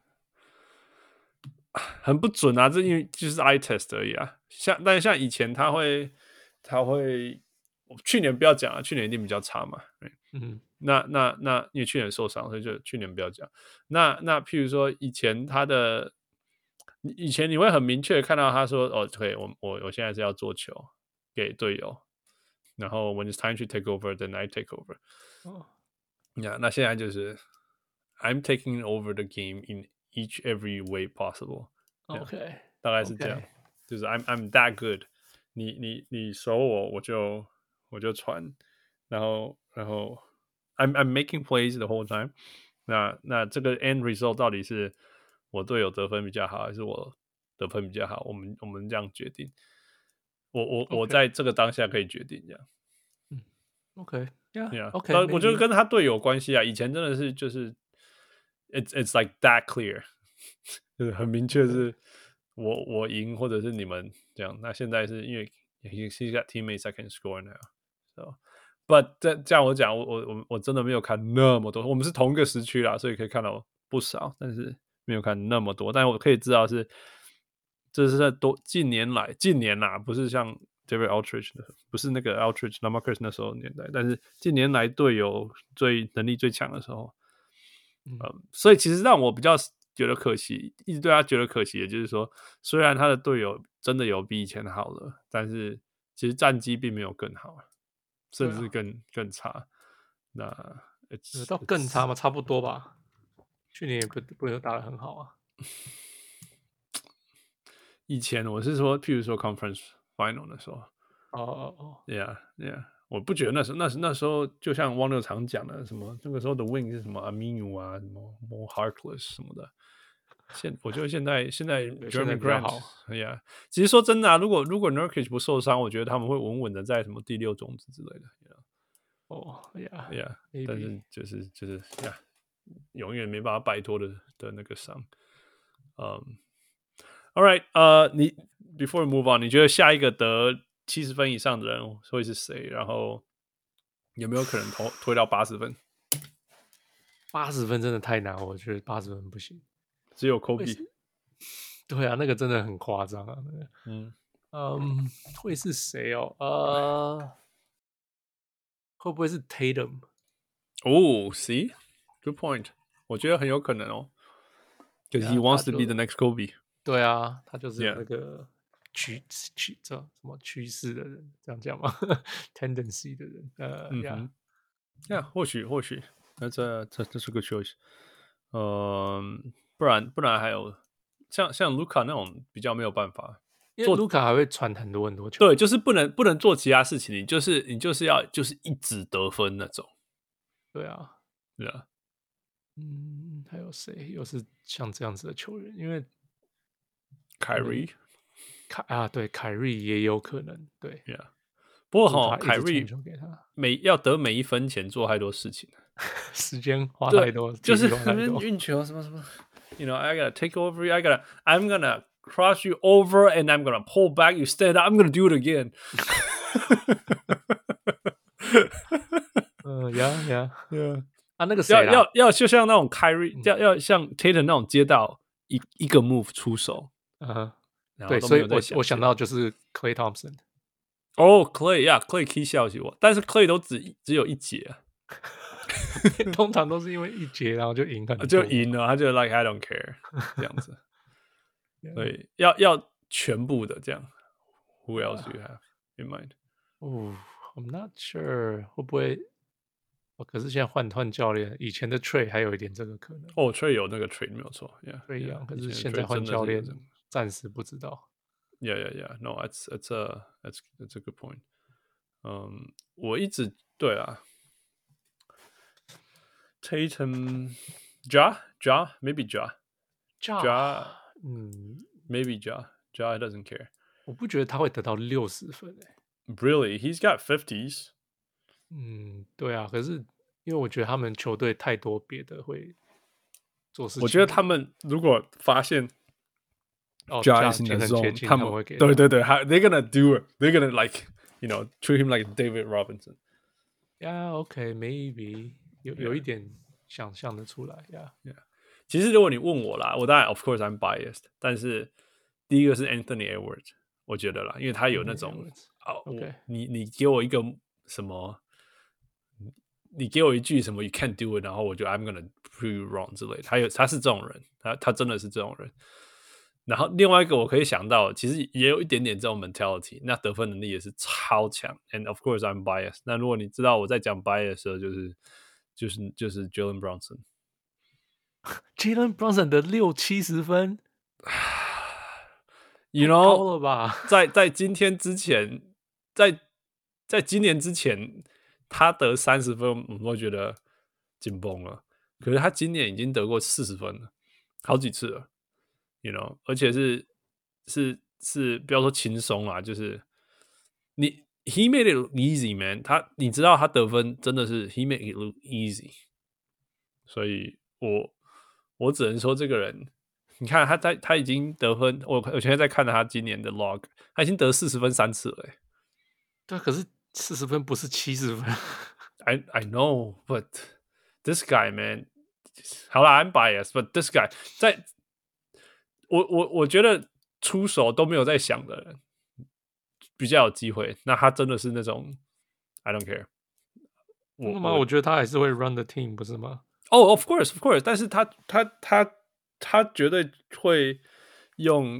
很不準啊，這因為就是 eye test 而已啊。像但是像以前他會他會，去年不要講啊，去年一定比較差嘛。嗯，那那那因為去年受傷，所以就去年不要講。那那譬如說以前他的。 以前你會很明確的看到他說，哦，對，我我我現在是要做球給隊友，然後 when it's time to take over, then I take over。哦，呀，那現在就是 I'm taking over the game in each every way possible。 OK， 大概是這樣， okay. 就是 I'm I'm that good 你。你你你守我，我就我就傳，然後然後 I'm I'm making plays the whole time 那。那那這個 end result 到底是我隊友得分比較好，還是我得分比較好？我們我們這樣決定。我我、okay. 我在這個當下可以決定這樣。 嗯 ，OK，Yeah，OK，、 yeah, yeah. 我覺得跟他隊友有關係啊。以前真的是就是 it's it's like that clear， 就是很明確是我我贏或者是你們這樣。那現在是因為 he's got teammates that can score now，so but 這這樣我講我我我我真的沒有看那麼多。我們是同一個時區啦，所以可以看到不少，但是沒有看那麼多。但我可以知道是這是在多近年來近年啦，不是像 David Aldridge 的，不是那個 Aldridge、LaMarcus 那時候的年代，但是近年來隊友最能力最強的時候。嗯，嗯，所以其實讓我比較覺得可惜，一直對他覺得可惜的就是說，雖然他的隊友真的有比以前好了，但是其實戰績並沒有更好，甚至更、啊、更差。那有到更差嗎？差不多吧。去年也不不能打得很好啊。 以前我是說，譬如說 Conference Final 的時候， 哦哦哦 ，Yeah Yeah， 我不覺得那時候那那時候就像汪六常講的，什麼那個時候的 Wing 是什麼 Aminu 啊，什麼 More Harkless 什麼的。現我覺得現在現在 Jeremy Grant， Yeah， 其實說真的啊，如果如果 Nurkic 不受傷，我覺得他們會穩穩的在什麼第六種子之類的。 哦 Yeah Yeah， 但是就是就是 Yeah， 永遠沒辦法擺脫的的那個傷。嗯。All right， 呃、uh ，你 Before we move on， 你覺得下一個得七十分以上的人會是誰？然後有沒有可能推推到八十分？ 八十分真的太難，我覺得八十分不行。 只有 Kobe。 對啊，那個真的很誇張啊。那個、 嗯嗯，會是誰哦？呃、uh, 會不會是 Tatum？ 哦、oh, ，See，good point。我覺得很有可能哦。Because he wants to be the next Kobe。 對啊，他就是那個趨趨這什麼趨勢的人，這樣講嗎？Tendency 的人，呃， 嗯哼，呀，或許或許，那這這這是個 choice， 嗯，不然不然還有像像盧卡那種比較沒有辦法， 因為盧卡還會傳很多很多球， 對，就是不能不能做其他事情，你就是你就是要就是一直得分那種， 對啊， 對啊， 嗯，還有誰又是像這樣子的球員？因為凱瑞， 凱啊，對，凱瑞也有可能，對， yeah. 不過哈，凱瑞每要得每一分錢做太多事情， 時間花太多， 就是那邊運球什麼什麼 ，you know, I gotta take over you, I gotta, I'm gonna cross you over and I'm gonna pull back, you stand up, I'm gonna do it again 。 嗯呀呀呀，啊，那個誰要要要就像那種凱瑞，要要像 Tatum 那種接到一一個 move 出手。 嗯哼，對，所以我我想到就是 Klay Thompson。 哦、oh, ，Klay 呀、yeah, ，Klay 可以笑起我，但是 Klay 都只只有一節、啊， 通常都是因為一節然後就贏很多， 就贏了，他就 like I don't care 這樣子，所以要要全部的這樣。Who else do you have in mind？ 哦、oh, ，I'm not sure 會不會？哦，可是現在換換教練，以前的 Trey 還有一點這個可能。 哦、oh, ，Trey 有那個 Trey 沒有錯 ，Yeah， 一樣。可是現在換教練，暫時不知道。 Yeah, yeah, yeah. No, that's that's a that's that's a good point. 嗯，我一直對啊 ，Tatum, Ja, Ja, maybe Ja, Ja, 嗯 ，maybe Ja, Ja doesn't care. 我不覺得他會得到六十分誒。 Really, he's got fifties. 嗯，對啊，可是因為我覺得他們球隊太多別的會做事情。 我覺得他們如果發現。 哦 ，Jazz in the zone， 他們會給，對對對，還 they're gonna do it，they're gonna like you know treat him like David Robinson。 Yeah, okay, maybe 有有一點想象的出來 ，Yeah, yeah。其實如果你問我啦，我當然 of course I'm biased， 但是第一個是 Anthony Edwards， 我覺得啦，因為他有那種啊，我你你給我一個什麼，你給我一句什麼 you can't do it， 然後我就 I'm gonna prove you wrong 之類的，他有他是這種人，他他真的是這種人。 然後另外一個我可以想到，其實也有一點點這種 mentality， 那得分能力也是超強。And of course I'm biased。那如果你知道我在講 bias 的時候，就是就是就是 Jalen Brunson。Jalen Brunson 的六七十分 ，you know， 高了吧？ 在在今天之前，在在今年之前，他得三十分，我會覺得緊繃了。可是他今年已經得過四十分了，好幾次了。You know， 而且是是是，不要說輕鬆啦，就是你 he made it look easy man， 他你知道他得分真的是 he made it look easy， 所以我我只能說這個人，你看他在他已經得分，我我現在在看他今年的 log， 他已經得四十分三次了、欸， 對，可是四十分不是七十分。 I I know, but this guy man， 好啦 I'm biased, but this guy 在。我我我覺得出手都沒有在想的人比較有機會。那他真的是那種 I don't care。 我我覺得他還是會 run the team， 不是嗎？ 哦、oh, ，of course, of course。但是他他他他絕對會用，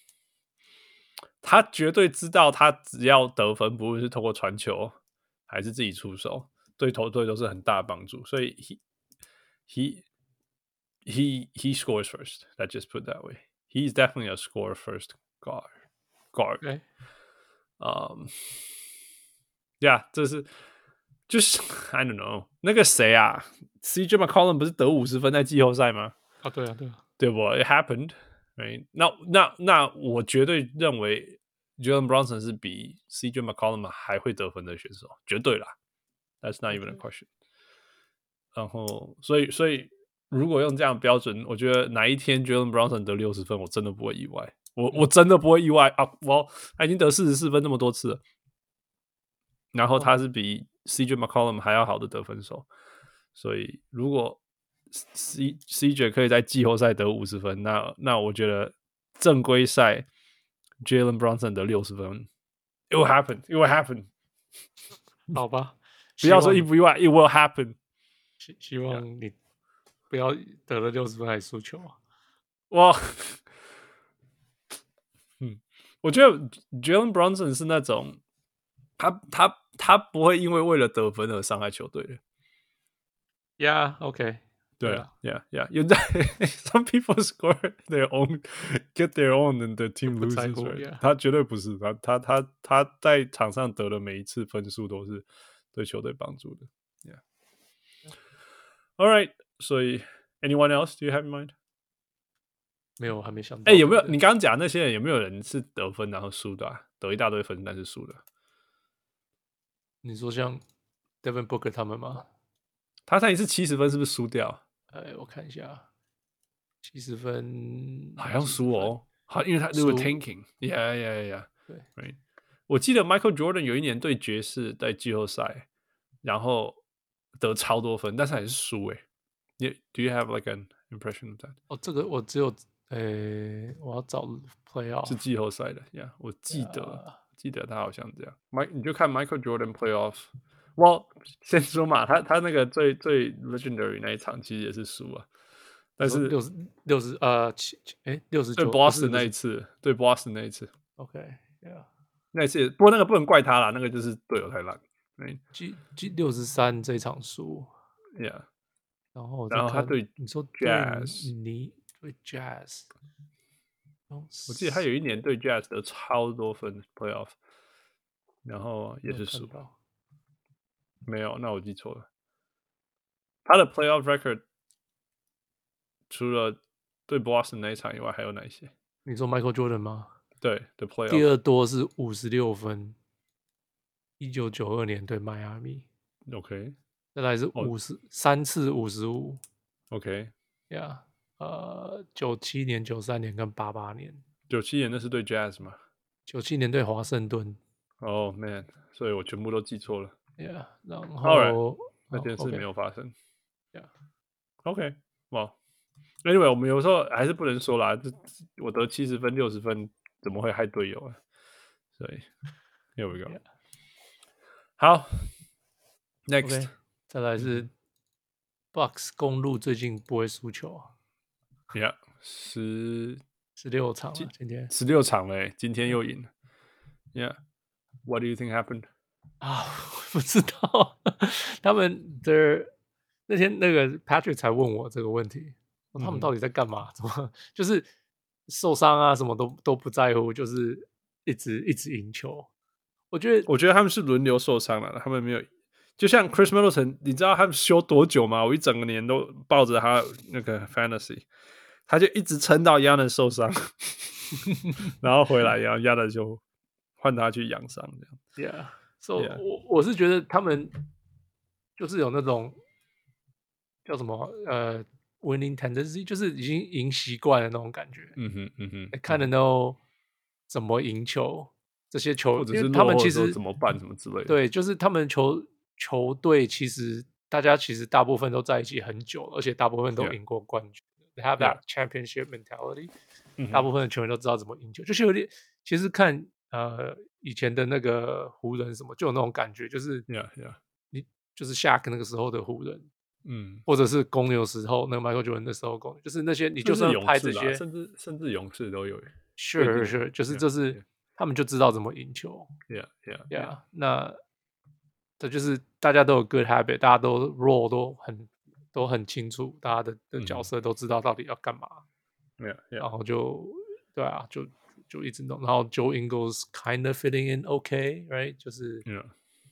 他絕對知道，他只要得分，不論是透過傳球還是自己出手，對球隊都是很大的幫助。所以 he he he he scores first. Let's just put it that way.He's definitely a score first guard. Guard. Okay. Um, yeah, 這是就是 I don't know 那個誰啊 ，C J McCollum 不是得五十分在季後賽嗎？ 啊，對啊，對啊， 對不 ？It happened, right? 那那那我絕對認為 Jalen Brunson 是比 C J McCollum 還會得分的選手，絕對啦。That's not even a question. 然後，所以所以。如果用這樣的標準，我覺得哪一天 Jalen Brunson 得六十分，我真的不會意外。我我真的不會意外啊！我他已經得四十四分那麼多次了，然後他是比 C J McCollum 還要好的得分手，所以如果 C CJ 可以在季後賽得五十分，那那我覺得正規賽 Jalen Brunson 得六十分 ，it will happen, it will happen。 好吧， 不要說意不意外 ，it will happen。 希希望你。不要得了六十分還輸球啊！ 哇，嗯，我覺得 Jalen Brunson 是那種，他他他不會因為為了得分而傷害球隊的。 Yeah, OK， 對啊 ，Yeah, Yeah， 有在 Some people score their own, get their own, and the team loses. Right? 他絕對不是，他他他他在場上得的每一次分數都是對球隊幫助的。Yeah, All right. 所以 ，anyone else do you have in mind？ 沒有，我還沒想到。 哎、欸，有沒有你剛剛講那些人有沒有人是得分然後輸的、啊，得一大堆分但是輸的？ 你說像 Devin Booker 他們嗎？ 他上一次七十分是不是輸掉？ 哎，我看一下，七十分好像輸哦，好，因為他 they were tanking，yeah yeah yeah， 對 ，right。我記得 Michael Jordan 有一年對爵士在季後賽，然後得超多分，但是還是輸哎。Yeah, do you have like an impression of that? 哦，這個我只有，誒，我要找 playoff 是季後賽的 ，Yeah， 我記得，yeah. 記得他好像這樣。Mike，你就看 Michael Jordan playoff。Well， 先說嘛，他他那個最最 legendary 那一場其實也是輸啊，但是六十六十呃七誒六十九對 Boston 那一次，對 Boston 那一次 ，OK，Yeah， 那一次，不過那個不能怪他啦，那個就是隊友太爛。 G G 六十三這一場輸 ，Yeah。 然後， 然後他對你說 Jazz， 你對 Jazz， 我記得他有一年對 Jazz 得超多分 playoff， 然後也是輸。沒有，那我記錯了。他的 playoff record 除了對 Boston 那一場以外，還有哪一些？ 你說 Michael Jordan 嗎？ 對的 playoff， 第二多是五十六分，一九九二年對邁阿密。 OK。 再來是五十、oh. 三次五十五 ，OK， 呀、yeah, 呃，九七年、九三年跟八八年， 九七年那是對 Jazz 嗎？ 九七年對華盛頓。 哦、oh, man， 所以我全部都記錯了。 Yeah， 然後、 right. 那件事沒有發生。Yeah，OK， 哇、wow. ，Anyway， 我們有時候還是不能說啦，這我得七十分、六十分，怎麼會害隊友啊？所以 ，Here we go。Yeah. 好 ，Next。Okay. 再來是 Bucks 公鹿最近不會輸球啊 ，Yeah， 十十六場了，今天十六場了，今天又贏了。Yeah，what do you think happened？ 啊，不知道。他們的那天那個 Patrick 才問我這個問題，嗯、他們到底在幹嘛？怎麼就是受傷啊？什麼都都不在乎，就是一直一直贏球。我覺得， 我覺得他們是輪流受傷了，他們沒有。就像 Chris Middleton，你知道他們休多久嗎？我一整個年都抱着他那個 fantasy， 他就一直撐到 Giannis 受傷，然後回來，然後 Giannis 就換他去養傷這樣。 Yeah，so yeah. 我我是覺得他們就是有那種叫什麼呃 winning tendency， 就是已經贏習慣了那種感覺。 嗯哼嗯哼， 看得到怎麼贏球，這些球， 或者是他們其實怎麼辦什麼之類的。 對，就是他們球。球隊其實大家其實大部分都在一起很久，而且大部分都贏過冠軍。Yeah. They have that championship mentality、嗯。大部分的球員都知道怎麼贏球，就是有點。其實看呃以前的那個湖人什麼，就有那種感覺，就是 yeah, yeah. 你就是 Shaq 那個時候的湖人， 嗯， 或者是公牛時候那個 Michael Jordan 的時候公牛，就是那些你就算拍這些， 甚至甚至勇士都有。 Sure sure， 就是這是 yeah, yeah. 他們就知道怎麼贏球。 Yeah yeah yeah， yeah. 那。這就是大家都有 good habit， 大家都 role 都很都很清楚，大家的的角色都知道到底要幹嘛。 Yeah, yeah. 然後就對啊，就就一直弄。然後 Joe Ingles kind of fitting in okay, right？ 就是 ，Yeah.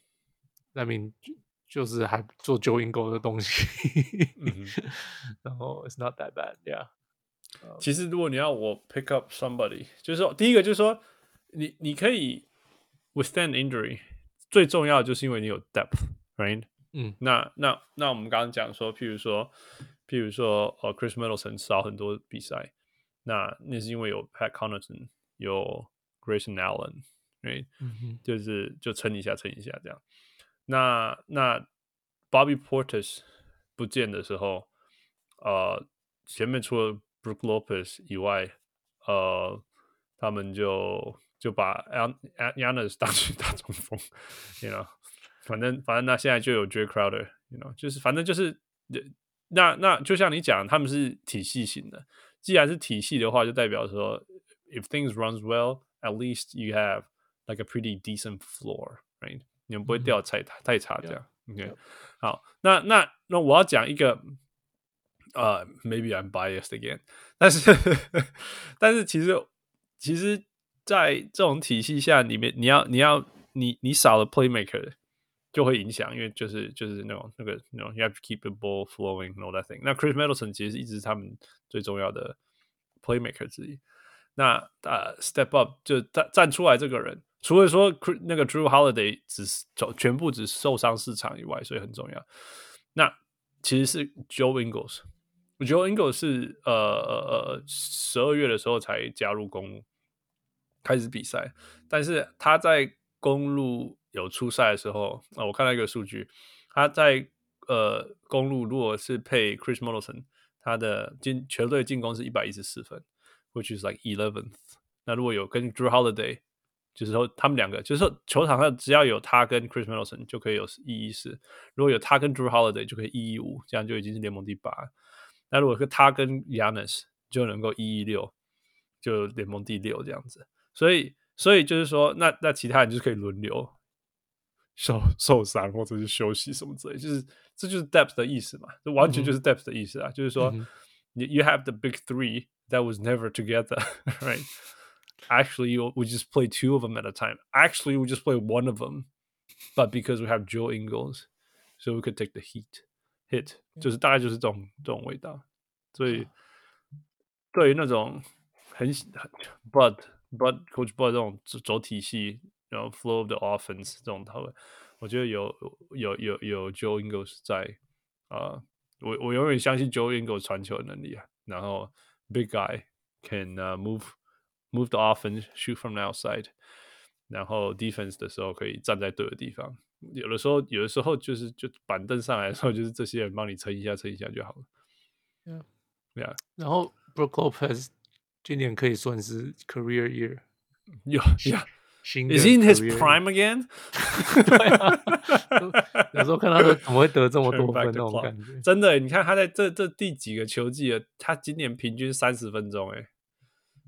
I mean 就, 就是還做 Joe Ingles 的東西。 嗯、 然後 it's not that bad, yeah. 其實如果你要我 pick up somebody， 就是說第一個就是說你你可以 withstand injury。最重要的就是因為你有 depth，right？ 嗯， 那那那我們剛剛講說，譬如說，譬如說，呃 ，Chris Middleton 少很多比賽，那那是因為有 Pat Connaughton， 有 Grayson Allen，right？、嗯、就是就撐一下，撐一下這樣。那那 Bobby Portis 不見的時候，呃，前面除了 Brook Lopez 以外，呃，他們就。就把 Giannis 當去打中鋒 ，you know， 反正反正那現在就有 Jay Crowder，you know， 就是反正就是那那就像你講，他們是體系型的。既然是體系的話，就代表說 ，if things runs well, at least you have like a pretty decent floor, right？ 你們不會掉太、嗯、太差這樣。Yeah. OK， yeah. 好，那那那我要講一個，呃、uh, ，maybe I'm biased again， 但是但是其實其實。在這種體系下裡面，你要你要你你少了 playmaker 就會影響，因為就是就是那種那個那種 you have to keep the ball flowing and all that thing。那 Chris Middleton 其實一直是他們最重要的 playmaker 之一。那呃、uh, step up 就站站出來這個人，除了說那個 Drew Holiday 只全部只受傷四場以外，所以很重要。那其實是 Joe Ingles，Joe Ingles 是呃呃十二月的時候才加入公鹿。開始比賽，但是他在公鹿有出賽的時候，啊、我看到一個數據，他在呃公鹿如果是配 Chris Middleton， 他的進球隊進攻是一百一十四分 ，which is like eleventh。那如果有跟 Drew Holiday， 就是說他們兩個，就是說球場上只要有他跟 Chris Middleton 就可以有一一四，如果有他跟 Drew Holiday 就可以一一五，這樣就已經是聯盟第八。那如果跟他跟 Giannis 就能夠一一六，就聯盟第六這樣子。所以，所以就是說，那那其他人就是可以輪流受受傷或者是休息什麼之類，就是這就是 depth 的意思嘛，這完全就是 depth 的意思啊，嗯、就是說、嗯、，you have the big three that was never together, right? Actually, we just play two of them at a time. Actually, we just play one of them, but because we have Joe Ingles, so we could take the heat hit， 就是大概就是這種這種味道。所以，對於那種很很 Bud。But Coach Bud 這種走體系，然後 flow of the offense 這種討論，我覺得有有有有 Joe Ingles 在啊、uh, ，我我永遠相信 Joe Ingles 傳球的能力啊。然後 big guy can、uh, move move the offense, shoot from the outside， 然後 defense 的時候可以站在對的地方。有的時候有的時候就是就板凳上來的時候，就是這些人幫你撐一下撐一下就好了。 Yeah, yeah. 然後 Brook Lopez。今年可以算是 career year， 有呀 ，Is he in his prime again？ 對啊，有時候看他怎麼會得這麼多分那種感覺。 真的，你看他在這這第幾個球季了，他今年平均三十分鐘，哎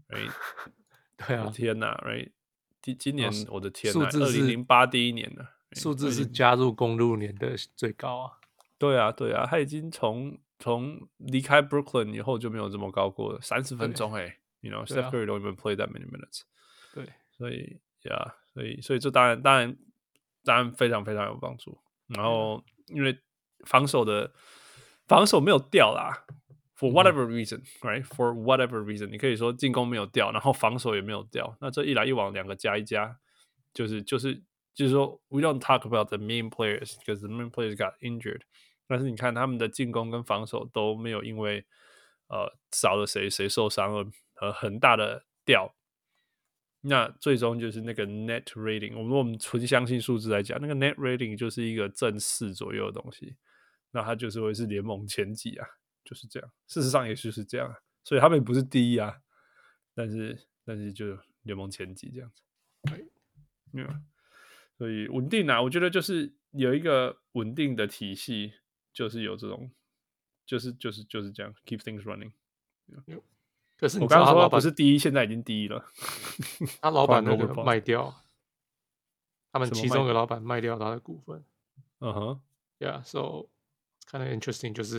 ，right？ 對啊， 天哪 ，right？ 今今年我的天哪， 數字是二零零八第一年了， 數字是加入公路年的最高啊。 對啊，對啊，他已經從從離開 Brooklyn 以後就沒有這麼高過了，三十分鐘哎、欸、，you know，Steph Curry don't even play that many minutes。 對， 所以呀，所以所以這當然當然當然非常非常有幫助。然後因為防守的防守沒有掉啦 ，for whatever reason，right？For whatever reason，你可以說進攻沒有掉，然後防守也沒有掉。那這一來一往，兩個加一加，就是就是就是說 ，we don't talk about the main players because the main players got injured。但是你看他們的進攻跟防守都沒有因為呃少了誰誰受傷而呃很大的掉。那最終就是那個 net rating， 我們我們純相信數字來講，那個 net rating 就是一個正四左右的東西，那它就是會是聯盟前幾啊，就是這樣。事實上也就是這樣啊，所以他們不是第一啊，但是但是就聯盟前幾這樣子。Yeah. 所以穩定啊，我覺得就是有一個穩定的體系，就是有這種，就是就是就是這樣 ，keep things running。Yeah. 可是你我剛剛說不是第一，現在已經第一了。 他老闆那個賣掉，他們其中一個老闆賣掉他的股份。 嗯哼 ，Yeah，so kind of interesting， 就是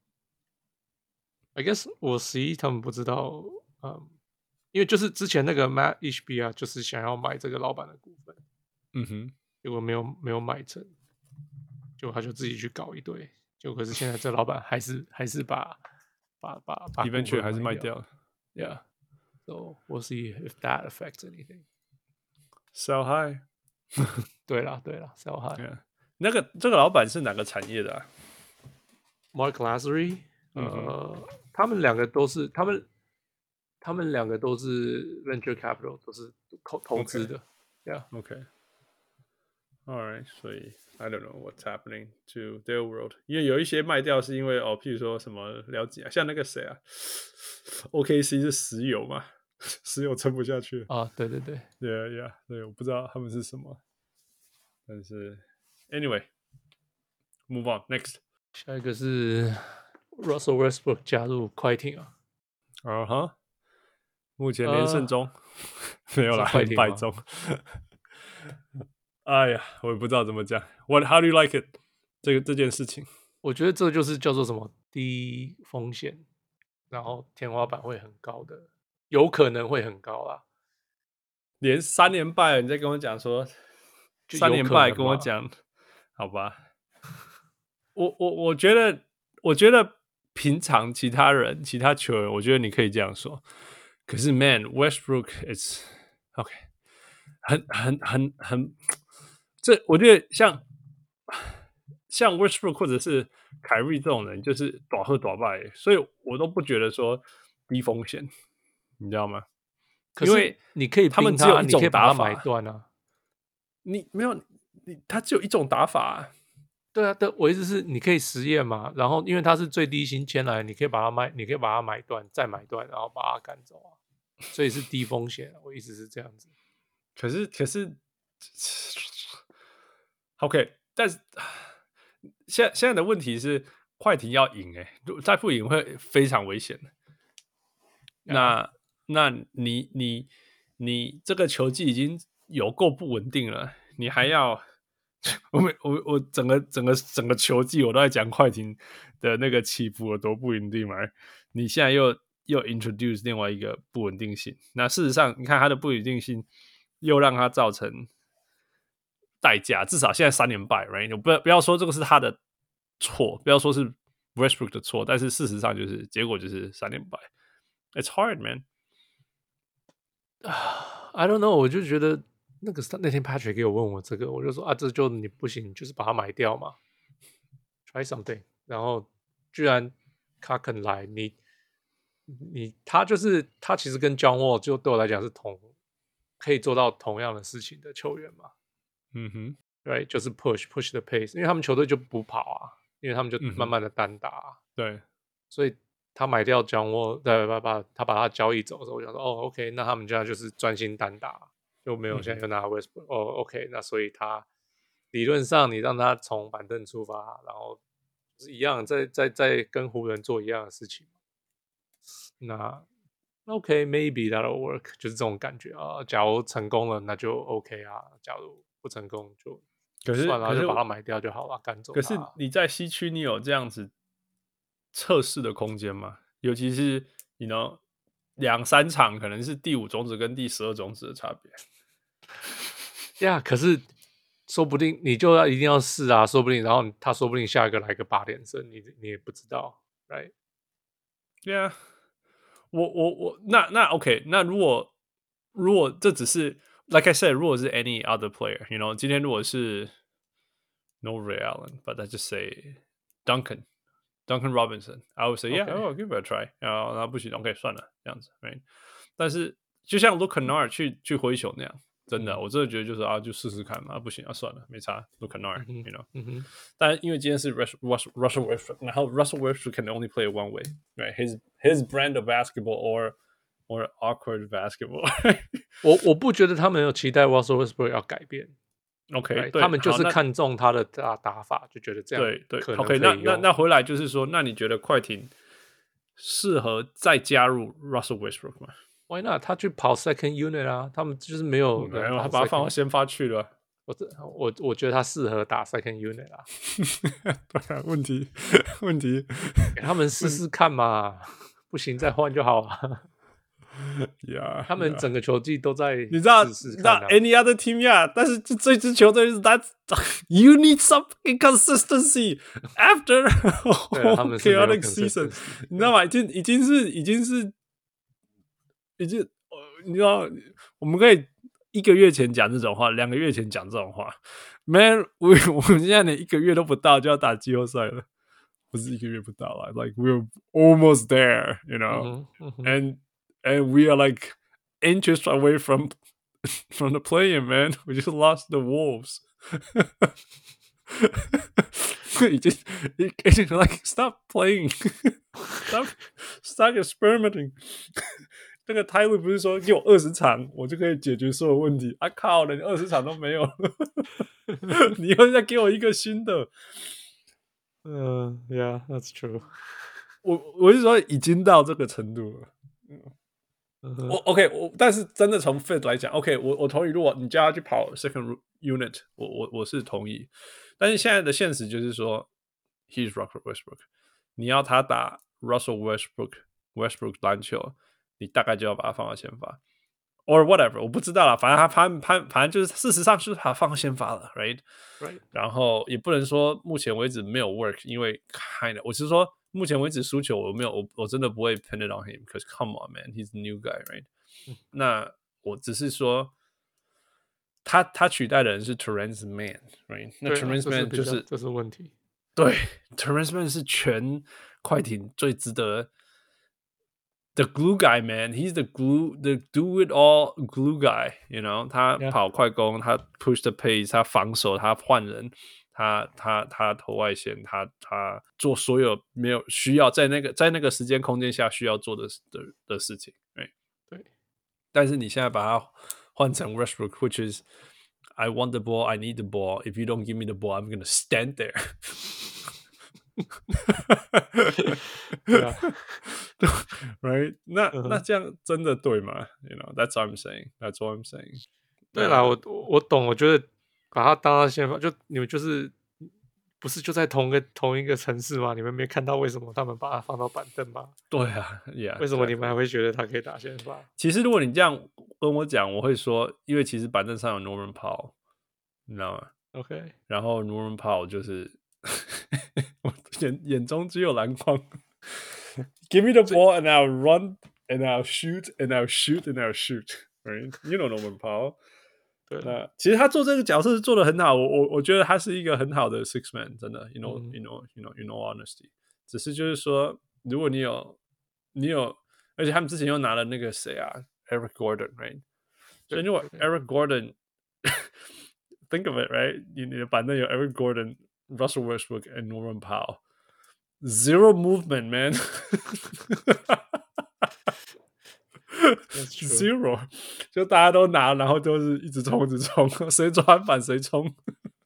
I guess 我十一他們不知道，嗯，因為就是之前那個 Matt Ishbia 就是想要買這個老闆的股份， 嗯哼， 結果沒有沒有買成，結果他就自己去搞一堆，結果可是現在這老闆還是還是把把把把 eventually 還是賣掉了。 Yeah, so we'll see if that affects anything. Sell high. 對啦，對啦 ，sell high. Yeah. 那個這個老闆是哪個產業的啊 ？Mark Lassery， 嗯、 呃，他們兩個都是，他們他們兩個都是 venture capital， 都是投投資的。 Okay. Yeah. Okay. All right. 所以 I don't know what's happening to their world. 因為有一些賣掉是因為哦，譬如說什麼了解啊，像那個誰啊。O K C 是石油嘛，石油撐不下去啊，對對對 ，Yeah Yeah， 對，我不知道他們是什麼，但是 Anyway，move on next， 下一個是 Russell Westbrook 加入快艇啊， 啊哈、uh-huh ，目前連勝中，uh, 沒有啦，連敗中，哎呀，我也不知道怎麼講 ，What How do you like it？ 這個這件事情， 我覺得這就是叫做什麼低風險。然後天花板會很高的，有可能會很高啦。 連三連敗，你在跟我講說三連敗，跟我講，好吧？我我我覺得，我覺得平常其他人、其他球員，我覺得你可以這樣說。可是 ，Man Westbrook is OK， 很很很很，這我覺得像像 Westbrook 或者是凱瑞這種人，就是大喝大敗，所以我都不覺得說低風險，你知道嗎？ 可是因為你可以他們只有一種打法， 買斷啊。 你沒有你，他只有一種打法、啊。 對啊，對，我意思是你可以實驗嘛，然後因為他是最低薪簽來，你可以把它賣，你可以把它買斷，再買斷，然後把它趕走啊，所以是低風險。我意思是這樣子。 可是可是 ，OK， 但是。現在現在的問題是，快艇要贏哎、欸，再不贏會非常危險的。那那你你你這個球季已經有夠不穩定了，你還要我我我整個整個整個球季我都在講快艇的那個起伏有多不穩定嘛？你現在又又 introduce 另外一個不穩定性，那事實上你看它的不穩定性又讓它造成。代價至少現在三連敗 ，right？ 不要不要說這個是他的錯，不要說是 Westbrook 的錯，但是事實上就是結果就是三連敗。It's hard, man. I don't know， 我就覺得那個那天 Patrick 給我問我這個，我就說啊，這就你不行，就是把它買掉嘛 ，try something。然後居然他肯來，你你他就是他其實跟 John Wall 就對我來講是同可以做到同樣的事情的球員嘛。 嗯哼， 對，就是 push push the pace， 因為他們球隊就不跑啊，因為他們就慢慢的單打、啊嗯，對， 所以他買掉 John Wall， 對，把把他把他交易走的時候，我想說，哦 ，OK， 那他們現在就是專心單打，就沒有現在又拿 Westbrook，、嗯、哦 ，OK， 那所以他理論上你讓他從板凳出發，然後是一樣，在在在跟湖人做一樣的事情，那 OK maybe that'll work， 就是這種感覺啊。假如成功了，那就 OK 啊；假如不成功就可是算了， 可是就把它買掉就好了，趕走它。 可是你在西區，你有這樣子測試的空間嗎？尤其是你 you know 兩三場，可能是第五種子跟第十二種子的差別。 呀， yeah, 可是說不定你就要一定要試啊，說不定，然後他說不定下一個來個八連勝，你你也不知道 ，right？ 對啊，我我我那那 OK， 那如果如果這只是 like I said， 如果是 any other player，you know， 今天如果是 no Ray Allen，but I just say Duncan Duncan Robinson，I would say yeah， okay. oh give it a try， 然後那不行 ，OK 算了這樣子 ，right？ 但是就像 Luke Kennard 去去灰熊那樣。真的，我真的覺得就是啊，就試試看嘛，啊、不行啊，算了，沒差。Luke Kennard，you know、嗯。但因為今天是 Russell Westbrook， 然後 Russell Westbrook can only play one way， right? His his brand of basketball or or awkward basketball 我我不覺得他們有期待 Russell Westbrook 要改變。 OK， right? 他們就是看中他的打打法，就覺得這樣對對。 可能 OK， 那那那回來就是說，那你覺得快艇適合再加入 Russell Westbrook 嗎 ？Why not？ 他去跑 second unit 啊，他們就是沒有， 沒有，他把他放到先發去了。 我我我覺得他適合打 second unit 啊。 對啊，問題問題， 給他們試試看嘛，不行再換就好了。 Yeah, 他們整個球季都在試試看、啊， 你知道，你知道 any other team 呀、yeah, 但是這這支球隊是 That's you need some inconsistency after chaotic season， 你知道嗎？已經已經是已經是。已經，你知道，我們可以一個月前講這種話，兩個月前講這種話。Man， 我我們現在連一個月都不到就要打季後賽了，不是一個月不到了 ，like we're almost there, you know, mm-hmm, mm-hmm. and and we are like inches away from from the play-in, man. We just lost the Wolves. 已經已經 like stop playing, stop stop experimenting. 那個 Tyler 不是說給我二十場，我就可以解決所有問題啊！靠了，你二十場都沒有，你又再給我一個新的。 嗯、uh, ，Yeah, that's true 我。我我是說已經到這個程度了。 Uh-huh. 我 OK， 我但是真的從 fit 來講 ，OK， 我我同意，如果你叫他去跑 second unit， 我我我是同意。但是現在的現實就是說 ，He's Russell Westbrook， 你要他打 Russell Westbrook Westbrook 籃球。你大概就要把它放到先發 ，or whatever， 我不知道啦，反正他他他反正就是事實上就是把它放到先發了 ，right？ Right。 然後也不能說目前為止沒有 work， 因為 kind of， 我是說目前為止輸球我沒有，我我真的不會 pin it on him，because come on man，he's a new guy，right？、嗯、那我只是說他他取代的人是 Terrence Mann，right？ 那 Terrence Mann 就是、 啊、這是問題， 對 ，Terrence Mann 是全快艇最值得。The glue guy, man, he's the glue, the do it all glue guy. You know, 他跑快攻， yeah. 他 push the pace， 他防守，他換人，他他他投外線，他他做所有沒有需要在那個在那個時間空間下需要做的的的事情，對對。但是你現在把它換成 Westbrook, which is I want the ball, I need the ball. If you don't give me the ball, I'm gonna stand there. yeah. Right? 那、uh-huh. 那這樣真的對嗎 ？You know, that's what I'm saying. That's what I'm saying. 對啦，我我懂。我覺得把它當到先發，就你們就是不是就在同個同一個城市嗎？你們沒看到為什麼他們把它放到板凳嗎？ 對啊 ，Yeah。 為什麼你們還會覺得他可以打先發？ 其實如果你這樣跟我講，我會說，因為其實板凳上有 Norman Powell， 你知道嗎 ？OK。然後 Norman Powell 就是我眼眼中只有籃筐。Give me the ball and I'll run and I'll shoot and I'll shoot and I'll shoot. Right? You know Norman Powell. 對， 那其實他做這個角色是做得很好，我我我覺得他是一個很好的 six man， 真的。You know,、嗯、you know, you know, you know, honesty. 只是就是說，如果你有你有，而且他們之前又拿了那個誰啊 ，Eric Gordon, right? 所以如果 Eric Gordon, think of it, right? 你你的板凳有 Eric Gordon, Russell Westbrook and Norman Powell.Zero movement, man. Zero. 就大家都拿，然後就是一直衝，一直衝，誰抓板誰衝。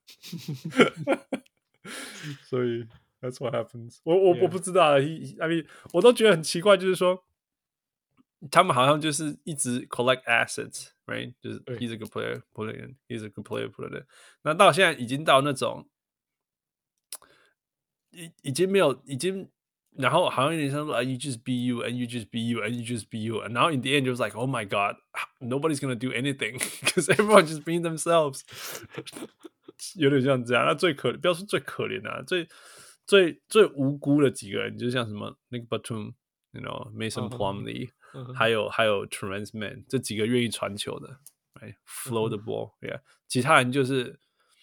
所以 that's what happens. 我我、yeah. 我不知道 ，he, I mean, 我都覺得很奇怪，就是說他們好像就是一直 collect assets， right？ 就是 he's a good player, put it in. He's a good player, put it in. 那到現在已經到那種，已已經沒有，已經，然後好像有點像說 you just be you, and you just be you, and you just be you. And now in the end, it was like, oh my god, nobody's gonna do anything because everyone's just being themselves. 有點像這樣。那最可，不要說最可憐的、啊，最最最無辜的幾個人，就像什麼 Nick Batum。You know, Mason Plumlee，、uh-huh. 還有還有 Terrence Mann 這幾個願意傳球的 ，right? Flow the ball， yeah. 其他人就是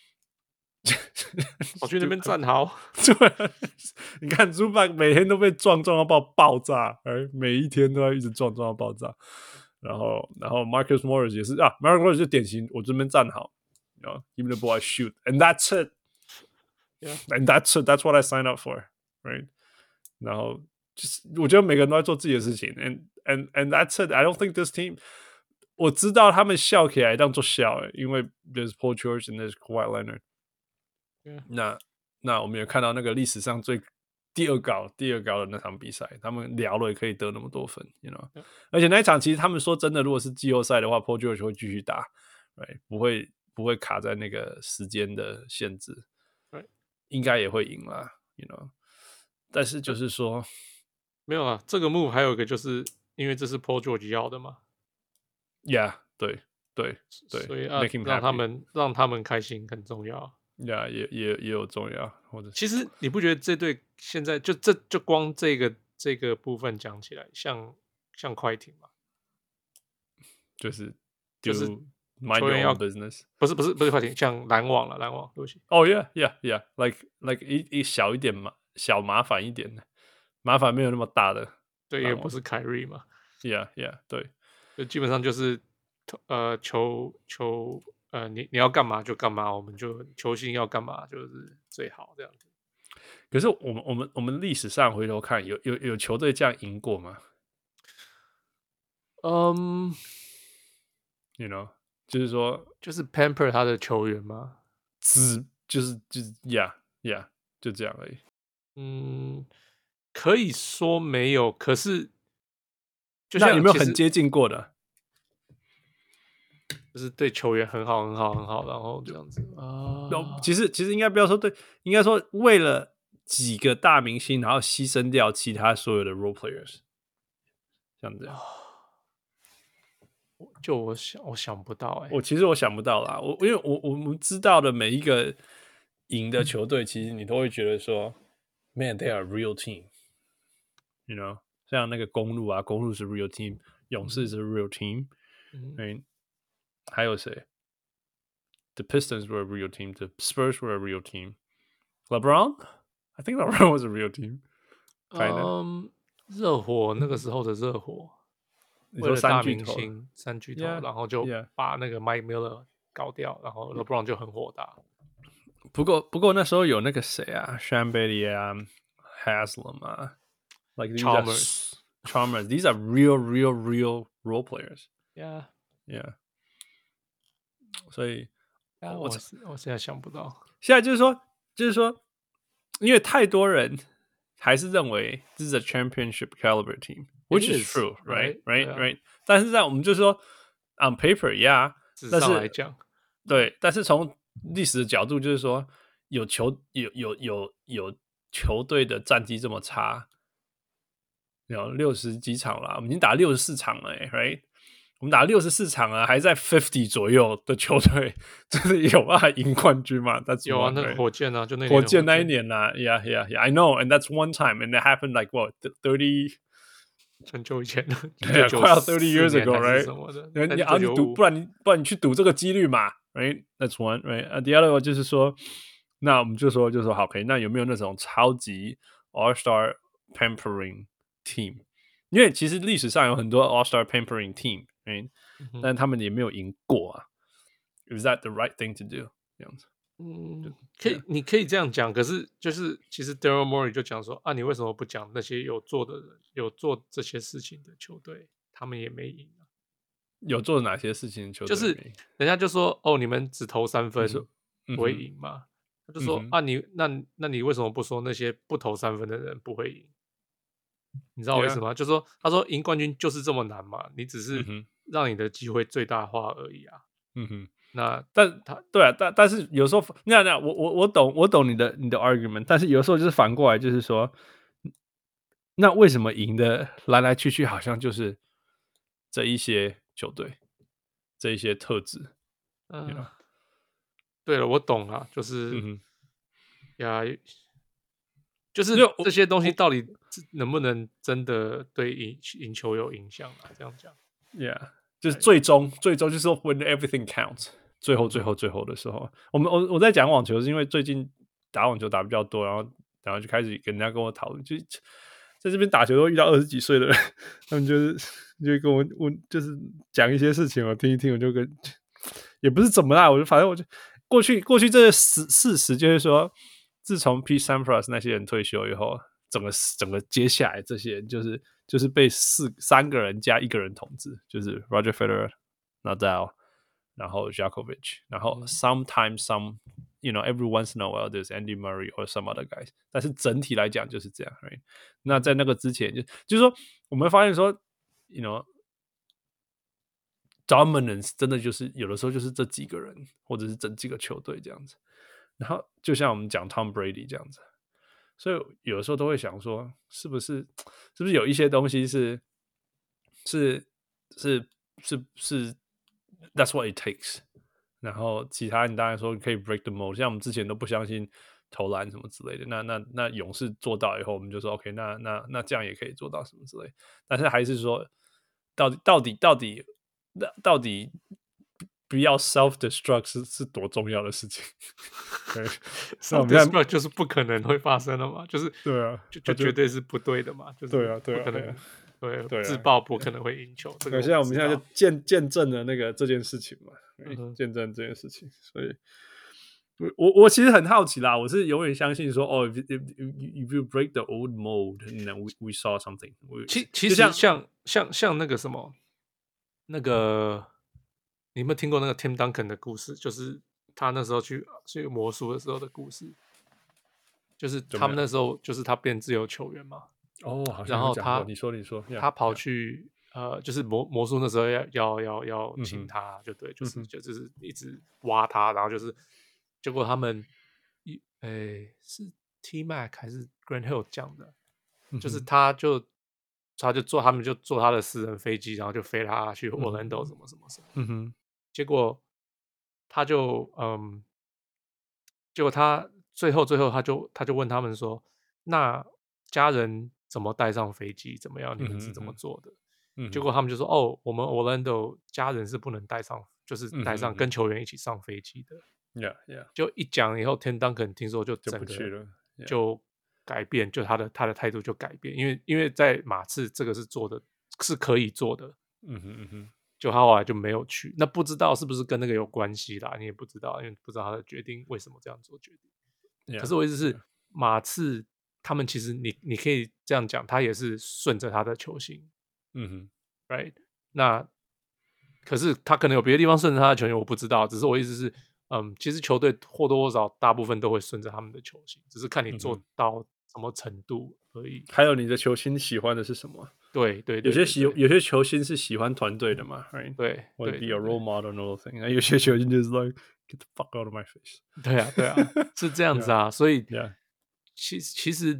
跑去那邊站好。 對，你看 Zubac 每天都被撞撞到爆爆炸，哎，每一天都要一直撞撞到爆炸。然後然後 Marcus Morris 也是啊 ，Marcus Morris 就典型，我這邊站好 ，you know, give me the ball, I shoot, and that's it. Yeah, and that's it. That's what I signed up for, right? 然後。就是我覺得每個人都在做自己的事情 ，and and and that's it. I don't think this team. 我知道他們笑起來當做笑，因為 there's Paul George and there's Kawhi Leonard. Yeah. 那那我們也看到那個歷史上最第二高第二高的那場比賽，他們聊了也可以得那麼多分 ，you know. Yeah. 而且那一場其實他們說真的，如果是季後賽的話 ，Paul George 會繼續打 ，right? 不會不會卡在那個時間的限制 ，right? 應該也會贏啦 ，you know. 但是就是說。 沒有啊，這個 move 還有一個就是因為這是 Paul George 要的嘛 ，Yeah， 對對對， 所以啊，讓他們讓他們開心很重要 ，Yeah， 也也也有重要，或者其實你不覺得這隊現在就這就光這個這個部分講起來，像像快艇嘛， 就是就是 mind your own business， 不是不是不是快艇，像籃網了籃網，對不起， 哦、oh, yeah yeah yeah，like like 一一小一點嘛，小麻煩一點的。麻煩沒有那麼大的， 對，也不是凱瑞嘛 ，Yeah Yeah， 對， 就基本上就是呃球球呃你你要幹嘛就幹嘛，我們就球星要幹嘛就是最好這樣子。 可是我們我們我們歷史上回頭看，有有有球隊這樣贏過嗎？ 嗯、um, ，You know， 就是說就是 pamper 他的球員嗎？ 只就是就是 Yeah Yeah， 就這樣而已。 嗯。可以說沒有，可是就像那有沒有很接近過的？ 就是對球員很好、很好、很好，然後這樣子啊。 其實其實應該不要說對，應該說為了幾個大明星，然後犧牲掉其他所有的 role players， 像這樣。 就我想，我想不到哎、欸。 我其實我想不到啦，我因為我我們知道的每一個贏的球隊，其實你都會覺得說 ，Man, they are a real team。You know， 像那個公鹿啊，公鹿是 real team， 勇士是 real team，嗯，right? 還有誰 ？The Pistons were a real team. The Spurs were a real team. LeBron? I think LeBron was a real team. 嗯，熱火那個時候的熱火，為了大明星三巨頭， yeah, 然後就把那個 Mike Miller 搞掉，然後 LeBron 就很火大。 不過不過那時候有那個誰啊 ，Sean Bailey 啊 ，Haslam 啊。Like these Chalmers. Are, Chalmers, these are real, real, real role players. Yeah, yeah. 所以， 我我現在想不到。 現在就是說，就是說，因為太多人還是認為這是 a championship caliber team, which is, is true, right, right, right. right? 但是在我們就是說 on paper, yeah. 紙上來講， 對。但是從歷史的角度，就是說，有球有有有有球隊的戰績這麼差。有六十幾場了，我們已經打六十四場了，欸，right？ 我們打六十四場了，還在五十左右的球隊，真的有辦法贏冠軍嗎？ 有啊，那個火箭啊，就那火箭那一年啦 ，Yeah, Yeah, Yeah. I know, and that's one time, and it happened like what thirty 很久以前了， 對啊，快要 thirty years ago, right？ 你啊，你賭，不然你不然你去賭這個幾率嘛 ，right? That's one, right? And the other one 就是說，那我們就說就說好，可以，那有沒有那種超級 All Star pampering team， 因為其實歷史上有很多 All-Star pampering team， right? 嗯，但他們也沒有贏過啊。Is that the right thing to do？ 這樣子， 嗯，可以，你可以這樣講。可是就是其實 Daryl Morey 就講說啊，你為什麼不講那些有做的人，有做這些事情的球隊，他們也沒贏啊？ 有做哪些事情的球隊？ 就是人家就說哦，你們只投三分不會贏嘛？他就說啊，你那那你為什麼不說那些不投三分的人不會贏？ 你知道為什麼嗎？ Yeah. 就是說，他說贏冠軍就是這麼難嘛，你只是讓你的機會最大化而已啊。嗯哼，那但他對啊，但但是有時候那那我我我懂我懂你的你的 argument， 但是有時候就是反過來，就是說，那為什麼贏的來來去去好像就是這一些球隊，這一些特質？嗯、you know? 對了，我懂了，就是、嗯、呀。就是這些東西到底能不能真的對贏贏球有影響啊？這樣講 ，Yeah， 就是最終最終就是說 when everything counts， 最後最後最後的時候，我們我我在講網球是因為最近打網球打比較多，然後然後就開始跟人家跟我討論，就在這邊打球都遇到二十幾歲的人，他們就是就跟我問，就是講一些事情，我聽一聽，我就跟也不是怎麼啦，我就反正我就過去過去這個事事實就是說。自從 Pete Sampras 那些人退休以後，整個整個接下來這些人就是就是被四三個人加一個人統治，就是 Roger Federer、Nadal， 然後 Djokovic， 然後 sometimes some you know every once in a while there's Andy Murray or some other guys， 但是整體來講就是這樣。Right? 那在那個之前就就是說，我們發現說 you know dominance 真的就是有的時候就是這幾個人或者是整幾個球隊這樣子。然後就像我們講 Tom Brady 這樣子，所以有的時候都會想說，是不是是不是有一些東西是是是是是 That's what it takes。然後其他你當然說可以 break the mold， 像我們之前都不相信投籃什麼之類的，那那那勇士做到以後，我們就說 OK， 那那那這樣也可以做到什麼之類的。但是還是說，到底到底到底到底。不要 self destruct 是是多重要的事情。 self destruct 就是不可能會發生的嘛，就是對啊， 就就絕對是不對的嘛，就是對啊，對啊， 不可能，對對， 自爆不可能會贏球。這個現在我們現在就見見證了那個這件事情嘛，見證這件事情，所以，我我其實很好奇啦，我是永遠相信說，哦 if, if, if you break the old mold, then we we saw something。 其其實像像像那個什麼，那個。你有沒有聽過那個 Tim Duncan 的故事？就是他那時候去去魔術的時候的故事，就是他們那時候就是他變自由球員嘛。 哦，好像然後他你說你說， 他跑去 yeah, 呃，就是魔魔術那時候要要要要請他，就對，就是、嗯、就就是一直挖他，然後就是結果他們一誒是 T Mac 還是 Grant Hill 講的、嗯，就是他就。他就坐，他們就坐他的私人飛機，然後就飛他去 Orlando 什麼什麼什麼。嗯哼，結果他就嗯，結果他最後最後他就他就問他們說：“那家人怎麼帶上飛機？怎麼樣？你們是怎麼做的？”嗯、結果他們就說：“哦，我們 Orlando 家人是不能帶上，就是帶上跟球員一起上飛機的。” Yeah, yeah。 就一講以後 ，Tim Duncan 聽說就整個就不去了， yeah. 就。改變，就他的他的態度就改變，因為因為在馬刺這個是做的是可以做的，嗯哼嗯哼，就他後來就沒有去，那不知道是不是跟那個有關係啦，你也不知道，因為不知道他的決定為什麼這樣做決定。Yeah, 可是我意思是，yeah. 馬刺他們其實你你可以這樣講，他也是順着他的球星，嗯哼 ，right？ 那可是他可能有別的地方順着他的球星，我不知道，只是我意思是，嗯，其實球隊或多或少大部分都會順着他們的球星，只是看你做到。嗯什麼程度而已？還有你的球星喜歡的是什麼？ 對對，對，對，對， 有些喜有些球星是喜歡團隊的嘛 ，right？ 對， 或者 be a role model and all thing。有些球星就是 like get the fuck out of my face。 對啊，對啊，是這樣子啊。 yeah, 所以， yeah. 其其實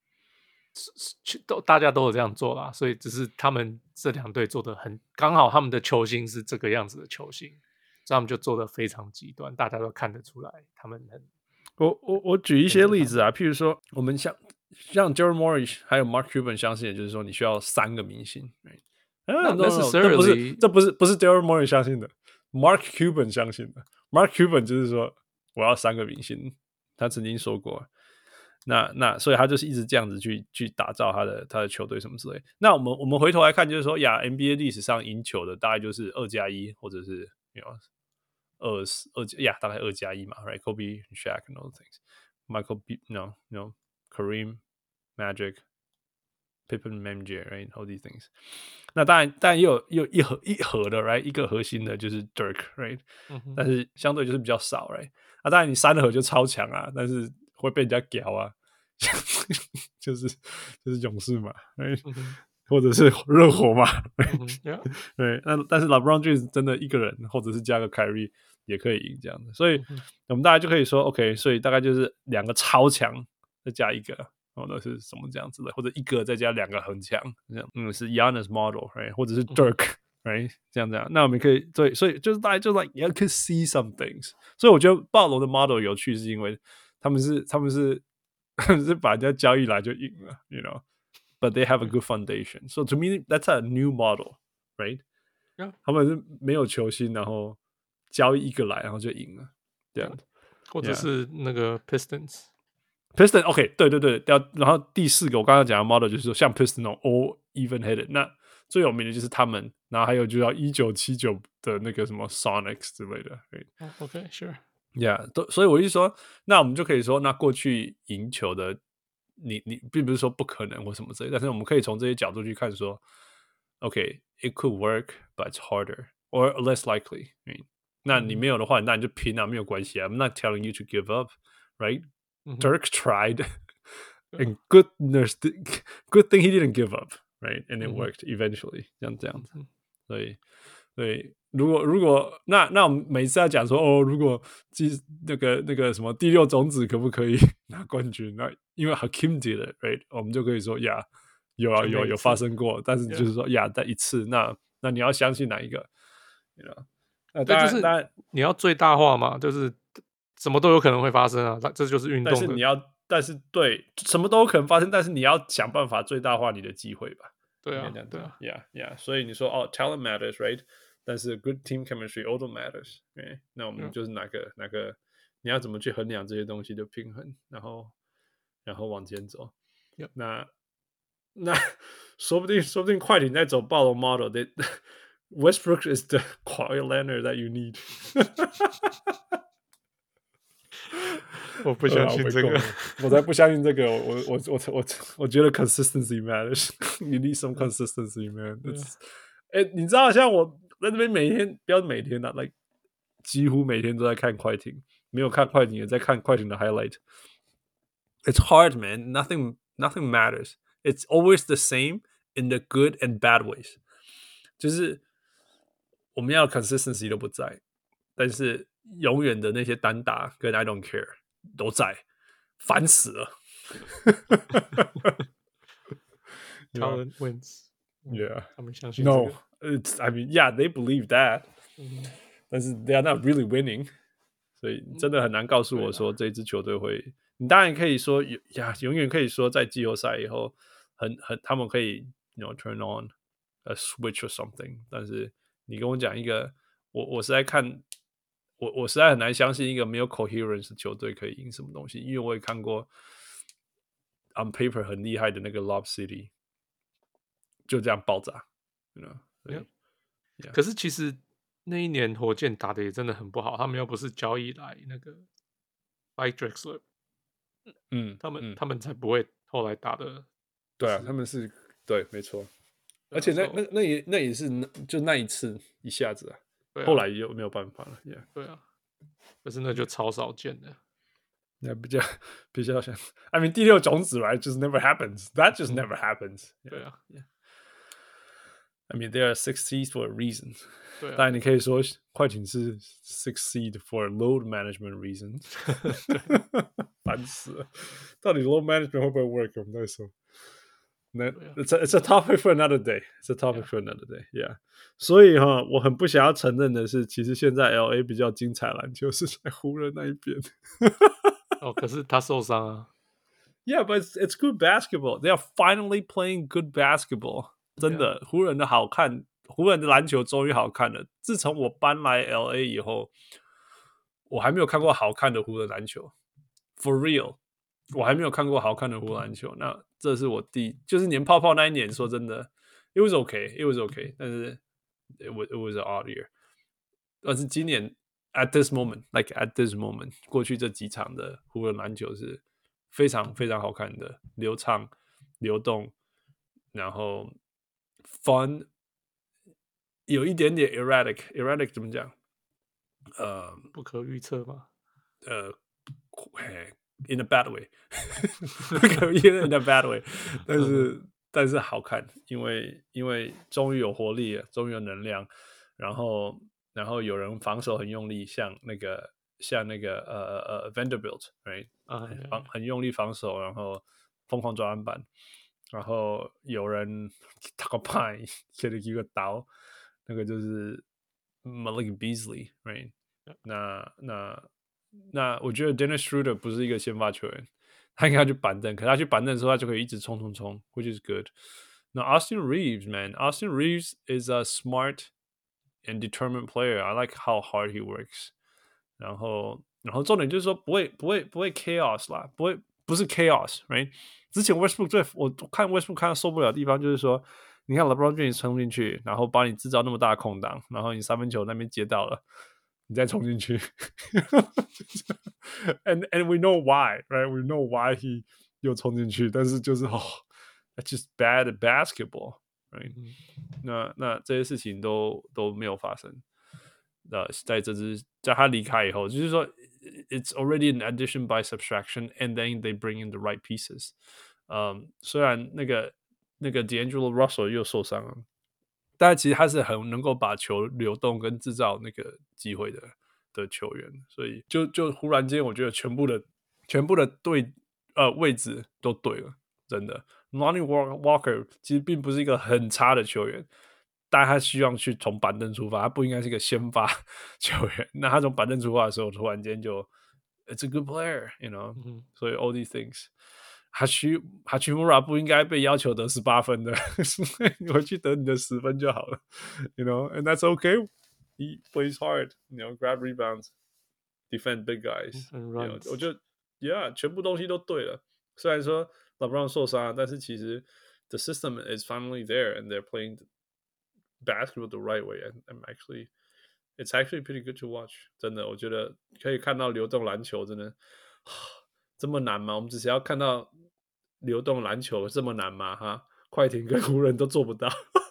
都大家都有這樣做啦。所以只是他們這兩隊做的很剛好，他們的球星是這個樣子的球星，所以他們就做的非常極端，大家都看得出來，他們很。 我我我舉一些例子啊，譬如說，我們像像 Daryl Morey 還有 Mark Cuban 相信的就是說，你需要三個明星。Right? 那那是這不是這不是不是 Daryl Morey 相信的 ，Mark Cuban 相信的。Mark Cuban 就是說，我要三個明星，他曾經說過。那那所以他就是一直這樣子去去打造他的他的球隊什麼之類。那我們我們回頭來看，就是說呀 ，N B A 歷史上贏球的大概就是二加一，或者是 you know, 二二呀，大概二加一嘛 ，right? Kobe, Shaq, and all those things. Michael, no, no, Kareem, Magic, Pippen, M J, right? All these things. 那當然，當然也有也有一盒一盒的 ，right? 一個核心的就是 Dirk, right? 嗯、但是相對就是比較少 ，right? 那當然你三盒就超強啊，但是會被人家屌啊。 就是就是勇士嘛，嗯、或者是熱火嘛， 嗯、 對，那但是 LeBron James 真的一個人，或者是加個 Kyrie 也可以贏這樣的，所以我們大概就可以說 OK， 所以大概就是兩個超強再加一個，或者是什麼這樣子的，或者一個再加兩個很強，這樣，嗯，是 Giannis model，right? 或者是 Dirk。Right? 這樣這樣，那我們可以對，所以就是大家就 like you can see some things。所以我覺得暴龍的 model 有趣，是因為他們是他們是是把人家交易來就贏了 ，you know. But they have a good foundation. So to me, that's a new model, right? Yeah. 他們是沒有球星，然後交易一個來，然後就贏了，這樣。 或者是那個 Pistons。Pistons OK， 對對對，然後第四個我剛剛講的 model 就是說像 Pistons 那種 all even-headed，那最有名的就是他們，然後還有就叫一九七九的那個什麼 Sonics 之類的。 Right? Oh, OK, sure. Yeah， 所以我就說，那我們就可以說，那過去贏球的，你你並不是說不可能或什麼之類的，但是我們可以從這些角度去看說 ，OK, it could work, but it's harder or less likely. Right? 那你沒有的話，那你就拼啊，沒有關係啊。I'm not telling you to give up, right? Dirk tried, and goodness, good thing he didn't give up. Right, and it worked eventually. 這樣這樣子，所以，對，如果如果那那我們每次要講說哦，如果那個那個什麼第六種子可不可以拿冠軍？那因為 Hakeem did it, right? 我們就可以說呀，有啊有有發生過，但是就是說呀，在一次，那那你要相信哪一個？You know? 那當然，當然你要最大化嘛，就是什麼都有可能會發生啊，這就是運動的。 但是你要。但是對，什麼都有可能發生，但是你要想辦法最大化你的機會吧。 對啊，對啊 ，Yeah, yeah。所以你說哦 ，talent matters, right？ 但是 good team chemistry also matters, right? 那我們就是哪個、嗯、哪個，你要怎麼去衡量這些東西的平衡，然後然後往前走。 嗯、 那那說不定說不定快艇在走暴龍 model，that Westbrook is the Kawhi Leonard that you need 。 我不相信這個， 我才不相信這個。我我我我我覺得 consistency matters. You need some consistency, man. 哎、欸，你知道，像我在這邊每天，不要每天啊 like 幾乎每天都在看快艇，沒有看快艇也在看快艇的 highlight. It's hard, man. Nothing, nothing matters. It's always the same in the good and bad ways. 就是我們要 consistency 都不在，但是永遠的那些單打跟 I don't care 都在，煩死了。 Talent wins. Yeah. 他們相信這個。 No, it's, I mean, yeah, they believe that. 但是 they are not really winning. 所以真的很難告訴我說這支球隊會。你當然可以說呀，永遠可以說在季後賽以後，很很他們可以 you know turn on a switch or something。但是你跟我講一個，我我實在看。我我實在很難相信一個沒有 coherence 的球隊可以贏什麼東西，因為我也看過 on paper 很厲害的那個 Lob City 就這樣爆炸 you know? Yeah. Yeah. 可是其實那一年火箭打的也真的很不好，他們又不是交易來那個 Mike Drexler， 嗯，他們、嗯、他們才不會後來打的。 對啊，他們是對，沒錯，而且那那那也那也是就那一次一下子啊。啊、後來又沒有辦法了 ，Yeah， 對啊，可是那就超少見的， 那比較比較像 ，I mean 第六種子來 just never happens，that just never happens，、嗯、 對啊 ，Yeah，I mean they are six seeds for a reason， 對、啊， 當然你可以說快艇是 six seed for load management reasons， 煩死了，到底 load management 會不會 work？ 我們再說。那 it's a, it's a topic for another day. It's a topic for another day. Yeah. 所以哈，我很不想要承認的是，其實現在 L A 比較精彩籃球是在湖人那一邊。 哦，可是他受傷啊。 Yeah, but it's, it's good basketball. They are finally playing good basketball. 真的， yeah. 湖人的好看，湖人的籃球終於好看了。自從我搬來 L A 以後，我還沒有看過好看的湖人籃球。For real， 我還沒有看過好看的湖人籃球。那這是我第，就是年泡泡那一年，說真的 ，it was okay, it was okay， 但是 it was it was an odd year。但是今年 at this moment, like at this moment， 過去這幾場的湖人籃球是非常非常好看的，流暢、流動，然後 fun， 有一點點 erratic，erratic 怎麼講？呃， 不可預測嗎？ 呃，嘿。 in a bad way， in a bad way， 但是但是好看，因為因為終於有活力了，終於有能量，然後然後有人防守很用力，像那個像那個呃呃 Vanderbilt，right， 很很用力防守，然後瘋狂抓籃板，然後有人打個派，給了一個刀，那個就是 Malik Beasley，right， 那那。那我覺得 Dennis Schroeder 不是一個先發球員，他應該去板凳，可是他去板凳的時候，他就可以一直衝衝衝 ，which is good。那 Austin Reeves, man, Austin Reeves is a smart and determined player. I like how hard he works. 然後，然後重點就是說不會不會不會 chaos 啦，不會不是 chaos，right？ 之前 Westbrook 最我看 Westbrook 看到受不了的地方就是說，你看 LeBron James 衝進去，然後幫你製造那麼大的空檔，然後你三分球那邊接到了。你再衝進去，and and we know why, right? We know why he 又衝進去，但是就是哦 ，that's just bad basketball, right? 嗯、那那這些事情都都沒有發生。呃，在這支在他離開以後，就是說 ，it's already an addition by subtraction, and then they bring in the right pieces。嗯，雖然那個那個 D'Angelo Russell 又受傷了。但其實他是很能夠把球流動跟製造那個機會的的球員，所以就就忽然間，我覺得全部的全部的對呃位置都對了，真的。Lonnie Walker 其實並不是一個很差的球員，但他希望去從板凳出發，他不應該是一個先發球員。那他從板凳出發的時候，突然間就 It's a good player, you know、嗯、所以 all these things。哈奇哈奇穆拉不應該被要求得十八分的，你回去得你的十分就好了 ，you know, and that's okay. He plays hard, you know, grab rebounds, defend big guys. You know, 我覺得 ，yeah， 全部東西都對了。雖然說 LeBron 受傷，但是其實 the system is finally there, and they're playing basketball the right way. And I'm actually, it's actually pretty good to watch. 真的，我覺得可以看到流動籃球，真的。這麼難嗎？我們只是要看到流動籃球這麼難嗎？哈，快艇跟湖人都做不到。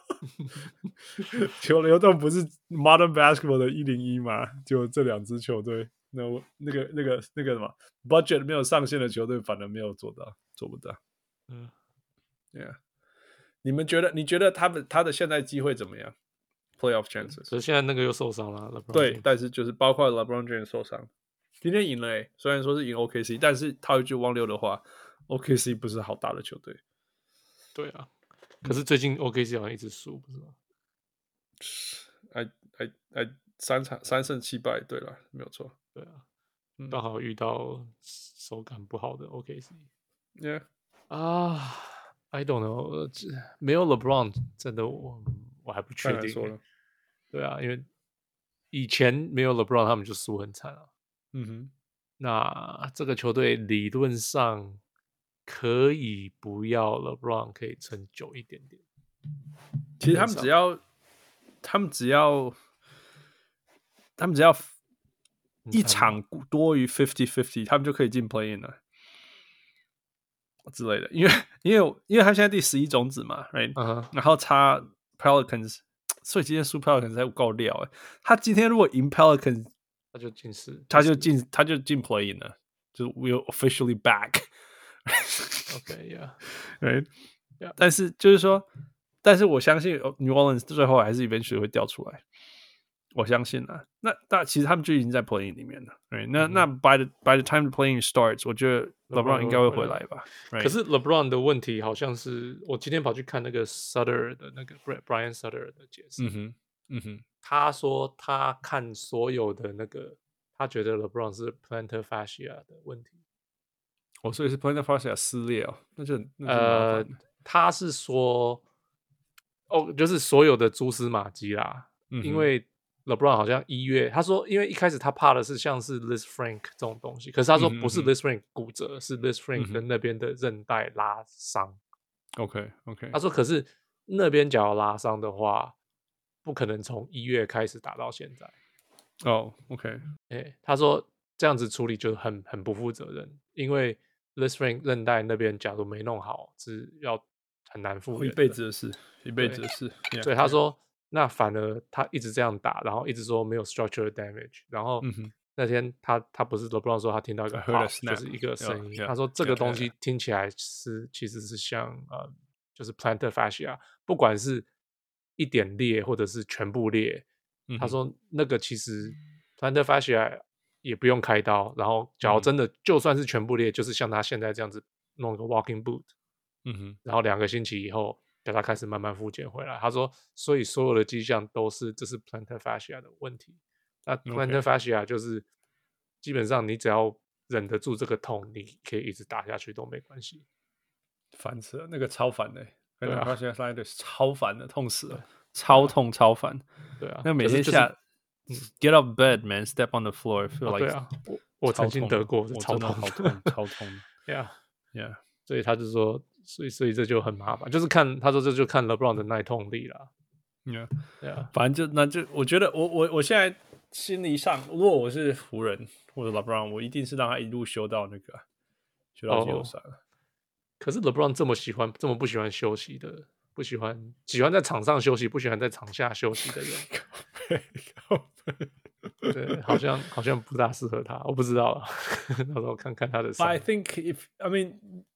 球流動不是 Modern Basketball 的一零一嗎？就這兩支球隊，那那個那個那個什麼 budget 沒有上限的球隊，反而沒有做到，做不到。嗯 ，Yeah， 你們覺得？你覺得他們他的現在機會怎麼樣 ？Playoff chances？ 所以現在那個又受傷了。 對，但是就是包括 LeBron James 受傷。今天贏了、欸，雖然說是贏 O K C， 但是套一句汪六的話 ，O K C 不是好打的球隊。 對啊，可是最近 O K C 好像一直輸，不是嗎？ 哎哎哎，三場三勝七敗，對了，沒有錯。 對啊，剛好遇到手感不好的 O K C。Yeah 啊、uh, ，I don't know， 沒有 LeBron 真的我我還不確定、欸。對啊，因為以前沒有 LeBron 他們就輸很慘啊。嗯哼，那這個球隊理論上可以不要 LeBron 可以撐久一點點。 其實他們只要，他們只要，他們只要一場多於 fifty fifty， 他們就可以進 play-in 了之類的。因為，因為，因為他現在第十一種子嘛 ，right？、Uh-huh. 然後差 Pelicans， 所以今天輸 Pelicans 才夠料哎。他今天如果贏 Pelicans。 他就進四， 他就進，他就進 play-in 了，就是 we're officially back。OK，yeah，right， yeah. 但是就是說，但是我相信 New Orleans 最後還是 eventually 會掉出來，我相信啊。那那其實他們就已經在 play-in 裡面了。Right？ 那、嗯、那 by the by the time the play-in starts， 我覺得 LeBron 應該會回來吧。 Right? 可是 LeBron 的問題好像是，我今天跑去看那個 Sutter 的那個 Brian Sutter 的解釋。嗯哼，嗯哼。他說他看所有的那個，他覺得 LeBron 是 plantar fascia 的問題。 哦，所以是 plantar fascia 撕裂哦，那就呃，他是說，哦，就是所有的蛛絲馬跡啦。嗯、因為 LeBron 好像一月，他說，因為一開始他怕的是像是 Lisfranc 這種東西，可是他說不是 Lisfranc 骨折，嗯、是 Lisfranc 跟那邊的韌帶拉傷。 OK OK， 他說可是那邊假如拉傷的話。不可能從一月開始打到現在哦、oh, ，OK， 欸、他說這樣子處理就很很不負責任，因為 Lisfranc 韌帶那邊假如沒弄好是要很難復原的， 一輩子的事，一輩子的事。Yeah, 所以他說，那反而他一直這樣打，然後一直說沒有 structural damage， 然後那天他他不是 LeBron 說他聽到一個 pop， 就是一個聲音， yeah, 他說這個東西聽起來是 yeah, 其實是像呃就是 plantar fascia， 不管是一點裂或者是全部裂，嗯、他說那個其實 plantar fascia 也不用開刀，然後假如真的、嗯、就算是全部裂，就是像他現在這樣子弄一個 walking boot，嗯哼，然後兩個星期以後叫他開始慢慢復健回來。他說，所以所有的跡象都是這是 plantar fascia 的問題。那 plantar fascia 就是基本上你只要忍得住這個痛，你可以一直打下去都沒關係。 煩死了，那個超煩的、欸， 對啊 plantar fascia 超煩的，痛死了，超痛超煩。 對啊， 那每天下、就是、get up bed man step on the floor feel like、哦、對啊，我我曾經得過，超痛，好痛，超痛。 Yeah yeah， 所以他就說，所以所以這就很麻煩，就是看他說這就看 LeBron 的耐痛力啦。 Yeah yeah， 反正就那就我覺得我我我現在心理上，如果我是湖人或者 LeBron， 我一定是讓他一路修到那個修到季後賽了。Oh, 可是 LeBron 這麼喜歡這麼不喜歡休息的，不喜歡喜歡在場上休息，不喜歡在場下休息的人。对，好像好像不大適合他，我不知道了。到時候看看他的。 But I think if I mean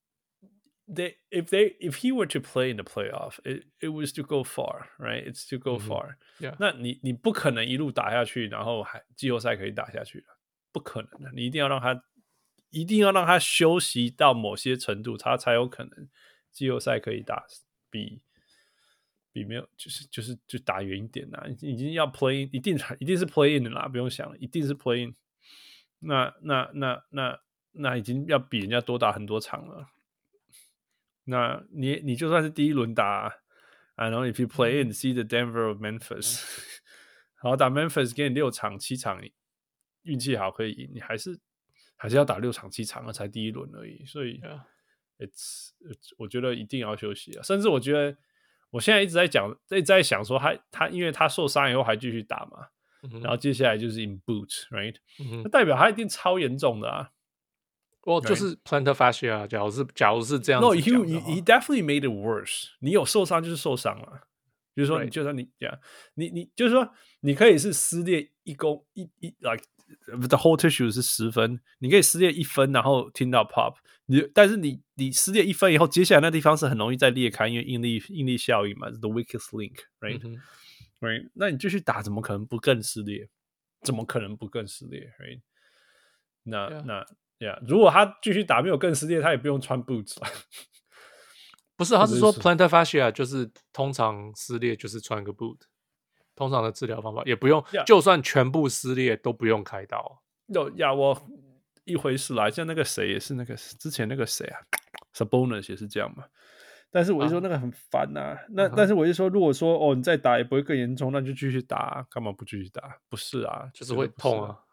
they if they if he were to play in the playoff, it it was to go far, right? It's to go far. Yeah. 那你你不可能一路打下去，然後還季後賽可以打下去的，不可能的。你一定要讓他一定要讓他休息到某些程度，他才有可能季後賽可以打比。比沒有就是就是就打遠一點啦，已經要 play in， 一定一定是 play in 的啦，不用想了，一定是 play in。那那那那那已經要比人家多打很多場了。那你你就算是第一輪打 ，I know if you play in see the Denver or Memphis， 好打 Memphis 給你六場七場，運氣好可以贏，你還是還是要打六場七場了才第一輪而已，所以 it's, it's 我覺得一定要休息啊，甚至我覺得。我現在一直在講，一直在想說他他，因為他受傷以後還繼續打嘛，嗯、然後接下來就是 in boot，right？、嗯、那代表他一定超嚴重的啊！ 哦，就是 plantar fascia， 假如是假如是這樣子 ，no，he he definitely made it worse。你有受傷就是受傷了，就是說，你就算你這樣，你你就是說，你可以是撕裂一公一一 like the whole tissue 是十分，你可以撕裂一分，然後聽到 pop。你但是你你撕裂一分以後，接下來那地方是很容易再裂開，因為應力應力效應嘛 ，the weakest link，right？right？、嗯、right? 那你繼續打，怎麼可能不更撕裂？怎麼可能不更撕裂 ？right？ 那、yeah. 那呀， yeah, 如果他繼續打沒有更撕裂，他也不用穿 boots 了。 不是，他是說 plantar fascia 就是通常撕裂就是穿個 boot， 通常的治療方法也不用，yeah. 就算全部撕裂都不用開刀。 有呀，我。一回事啦，像那個誰也是那個之前那個誰啊 ，Sabonis 也是這樣嘛。但是我就說那個很煩吶、啊啊，那、uh-huh. 但是我就說，如果說哦你再打也不會更嚴重，那就繼續打、啊，幹嘛不繼續打？不是啊， 就是會痛啊。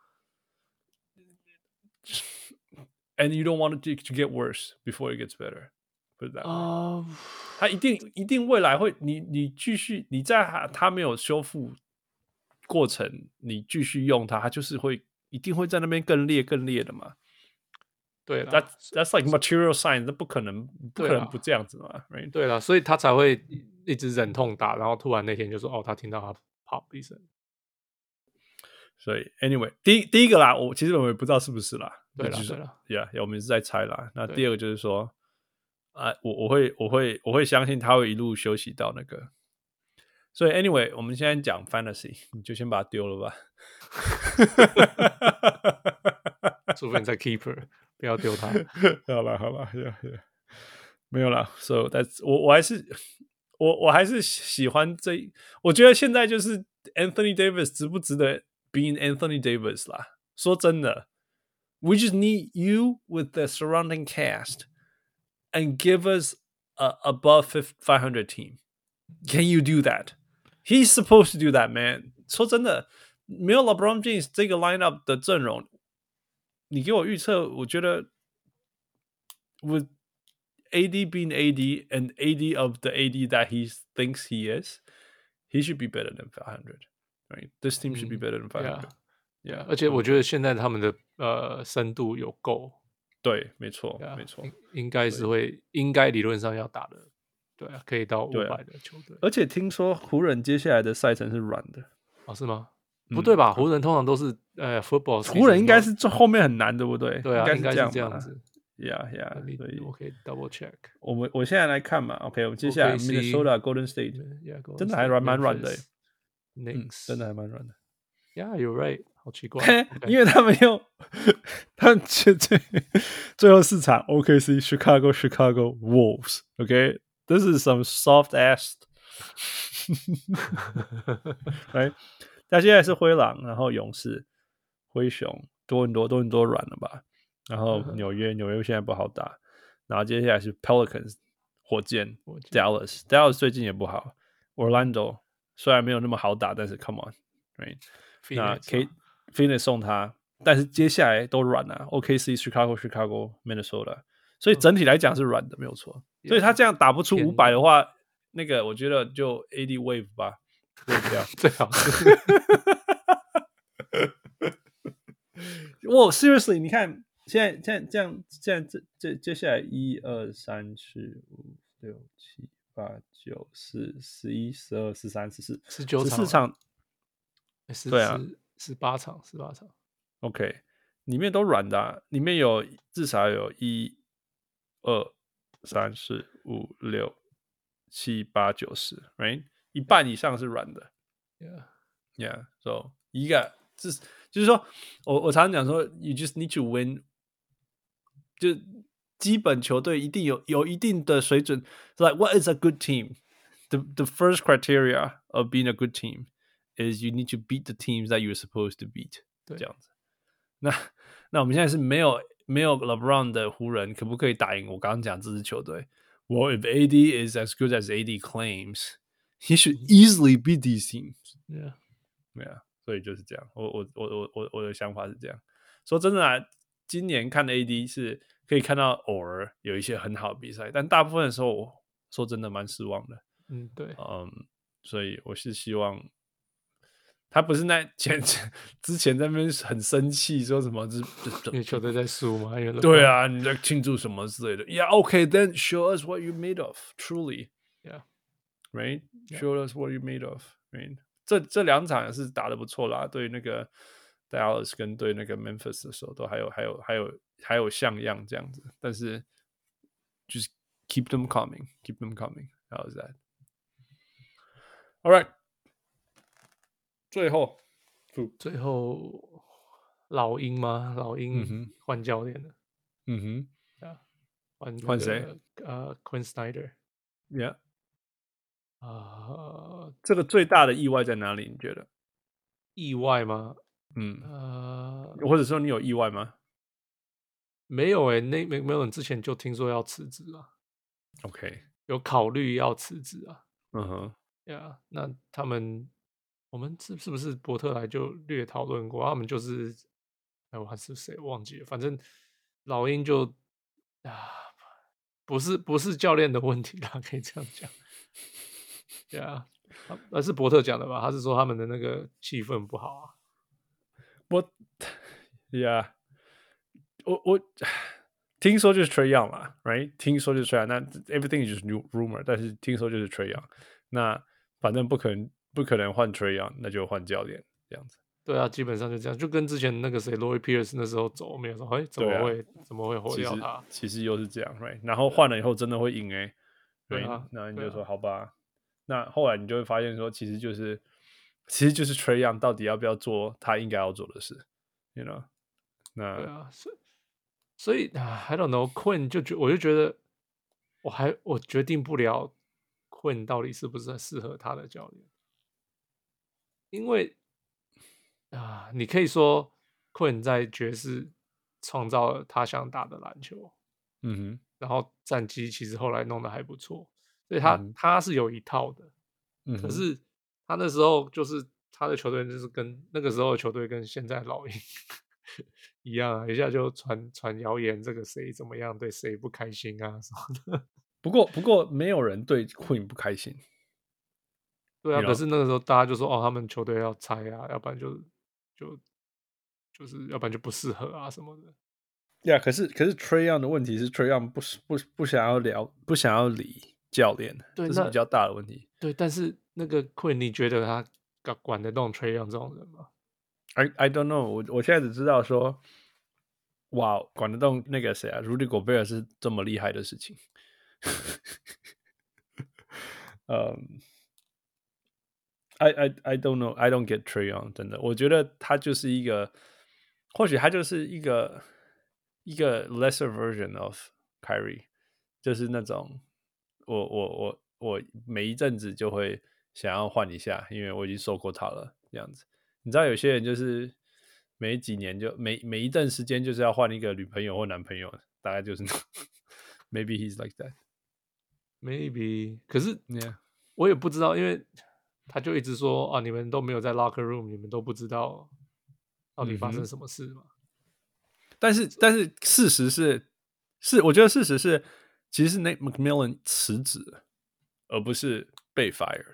And you don't want it to, to get worse before it gets better. Put it that way. 哦、uh... 他一定一定未來會，你你繼續你在他沒有修復過程，你繼續用它，它就是會。一定會在那邊更裂更裂的嘛？ 對啦 ，That's that's like material science， 那不可能不可能不這樣子嘛 ，right？ 對啦，所以他才會一直忍痛打，然後突然那天就說哦，他聽到他 pop 一聲。 所以 anyway， 第一第一個啦，我其實我也不知道是不是啦， 對啦對啦 ，Yeah， 我們是在猜啦。那第二個就是說，啊，我我會我會我會相信他會一路休息到那個。所以 anyway， 我們現在講 fantasy， 你就先把它丟了吧。 除非你在 keeper， 不要丟他。 好了好了 yeah, yeah. 沒有了。So that's 我我還是我我還是喜歡這。我覺得現在就是 Anthony Davis 值不值得 being Anthony Davis 啦？說真的 ，we just need you with the surrounding cast and give us a above five hundred team. Can you do that? He's supposed to do that, man. 說真的，沒有 LeBron James 這個 lineup 的陣容，你給我預測，我覺得 with A D being A D and A D of the A D that he thinks he is, he should be better than five hundred. Right? This team should be better than five hundred. Yeah. Yeah. 而且我覺得現在他們的呃深度有夠。 對，沒錯， yeah, 沒錯， 應該是會，應該理論上要打的。對啊，可以到五百的球隊、啊， 而且聽說湖人接下來的賽程是軟的， 哦，是嗎？ 不對吧？湖人通常都是呃 football， 湖人應該是後面很難，對不對？ 對啊， 應該是這樣子。 Yeah, yeah， 所以我可以 double check。 我們我現在來看嘛 ，OK， 我們接下來 Minnesota、Golden State， 真的還蠻軟的，嗯，真的還蠻軟的。 Yeah, you're right。好奇怪， 因為他們又他們最最最後四場 O K C、Chicago、Chicago Wolves，OK，this is some soft ass。right， 但現在是灰狼，然後勇士、灰熊、多倫多、多倫多軟了吧？然後紐約，紐約現在不好打。然後接下來是 Pelicans、火箭、Dallas，Dallas Dallas 最近也不好。Orlando 雖然沒有那麼好打，但是 Come on，right？ 那 K Phoenix 送他，但是接下來都軟了。O K C、Chicago、Chicago、Minnesota， 所以整體來講是軟的，沒有錯。所以他這樣打不出五百的話，那個我覺得就 A D wave 吧，wave 掉最好是。 我 seriously， 你看。現在，現在這樣，現在這這接下來一二三四五六七八九十十一十二十三十四十九十四場， 對啊，十八場十八場 ，OK， 裡面都軟的、啊，裡面有至少有一二三四五六七八九十 ，right， 一半以上是軟的 ，Yeah， yeah，so 一個就是就是說我我常常講說 ，you just need to win。就基本球隊一定有有一定的水準。Like what is a good team? The the first criteria of being a good team is you need to beat the teams that you're supposed to beat。这樣子。那那我們現在是沒有沒有 LeBron 的湖人，可不可以打贏我剛剛講這支球隊 ？Well, if A D is as good as A D claims, he should easily beat these teams. Yeah, yeah. 所以就是這樣。我我我我我我的想法是這樣。說真的啊。今年看的 A D 是可以看到偶爾有一些很好的比賽，但大部分的時候，我說真的蠻失望的。 嗯，對， 嗯，所以我是希望他不是那前之前在那邊很生氣，說什麼因為球隊在輸嘛， 對啊，你在慶祝什麼之類的。Yeah, okay, then show us what you're made of, truly. Yeah, right. Yeah. Show us what you're made of. Right. 這這兩場也是打得不錯啦，對那個。Dallas 跟對那個 Memphis 的時候都還有還有還有還有像樣這樣子，但是就是 keep them coming, keep them coming. How is that? All right. 最後， 最後老鷹嗎？老鷹換教練了。 嗯哼， 啊，換換誰？ 呃 ，Quinn Snyder。Yeah。 啊，這個最大的意外在哪裡？你覺得？ 意外嗎？ 嗯， 呃， 或者說你有意外嗎？ 沒有誒、欸，那沒沒有人之前就聽說要辭職啊。 OK， 有考慮要辭職啊。 嗯哼， 呀，那他們我們是是不是伯特來就略討論過？他們就是，哎，我還是誰忘記了？反正老鷹就啊，不是不是教練的問題啦，可以這樣講。呀，那是伯特講的吧？他是說他們的那個氣氛不好啊。 我，Yeah， 我我聽說就是 Trae Young 啦 ，Right？ 聽說就是 Trae Young， 那 Everything is just new rumor， 但是聽說就是 Trae Young， 那反正不可能不可能換 Trae Young， 那就換教練這樣子。 對啊，基本上就這樣，就跟之前那個誰 Lloyd Pierce 那時候走，沒有說，哎，怎麼會、啊、怎麼會毀掉他其？其實又是這樣 ，Right？ 然後換了以後真的會贏哎、欸， 對啊， 那你就說、啊、好吧，那後來你就會發現說，其實就是其實就是 Trae Young 到底要不要做他應該要做的事 ，You know？ 那對啊，所以所以 I don't know Quinn 就覺我就覺得我還我決定不了 Quinn 到底是不是適合他的教練，因為。啊，你可以說 Quinn 在爵士創造了他想打的籃球， 嗯哼，然後戰績其實後來弄得還不錯，所以他、嗯、他是有一套的，嗯，可是他那時候就是他的球隊就是跟那個時候的球隊跟現在老鷹一樣啊，一下就傳傳謠言，這個誰怎麼樣，對誰不開心啊什麼的。 不過不過沒有人對 Quinn 不開心， 對啊， you know? 可是那個時候大家就說哦，他們球隊要拆啊，要不然就。就就是要不然就不適合啊什麼的。 呀、yeah, 可是可是 Trae Young 的問題是 Trae Young 不不不想要聊，不想要理教練，對，這是比較大的問題。 對，但是那個 Quinn 你覺得他管得動 Trae Young 這種人嗎？ I I don't know，我我現在只知道說，哇，管得動那個誰啊，Rudy Gobert是這麼厲害的事情。嗯、um,，I I I don't know, I don't get Trae Young， 真的，我覺得他就是一個，或許他就是一個一個 lesser version of Kyrie， 就是那種我我我我每一陣子就會想要換一下，因為我已經受過他了，這樣子。你知道有些人就是每幾年就每每一段時間就是要換一個女朋友或男朋友，大概就是maybe he's like that maybe 可是 yeah 我也不知道，因為他就一直說啊，你們都沒有在 locker room， 你們都不知道到底發生什麼事嘛。嗯、 但是但是事實是是我覺得事實是其實是 Nate McMillan 辭職而不是被 fired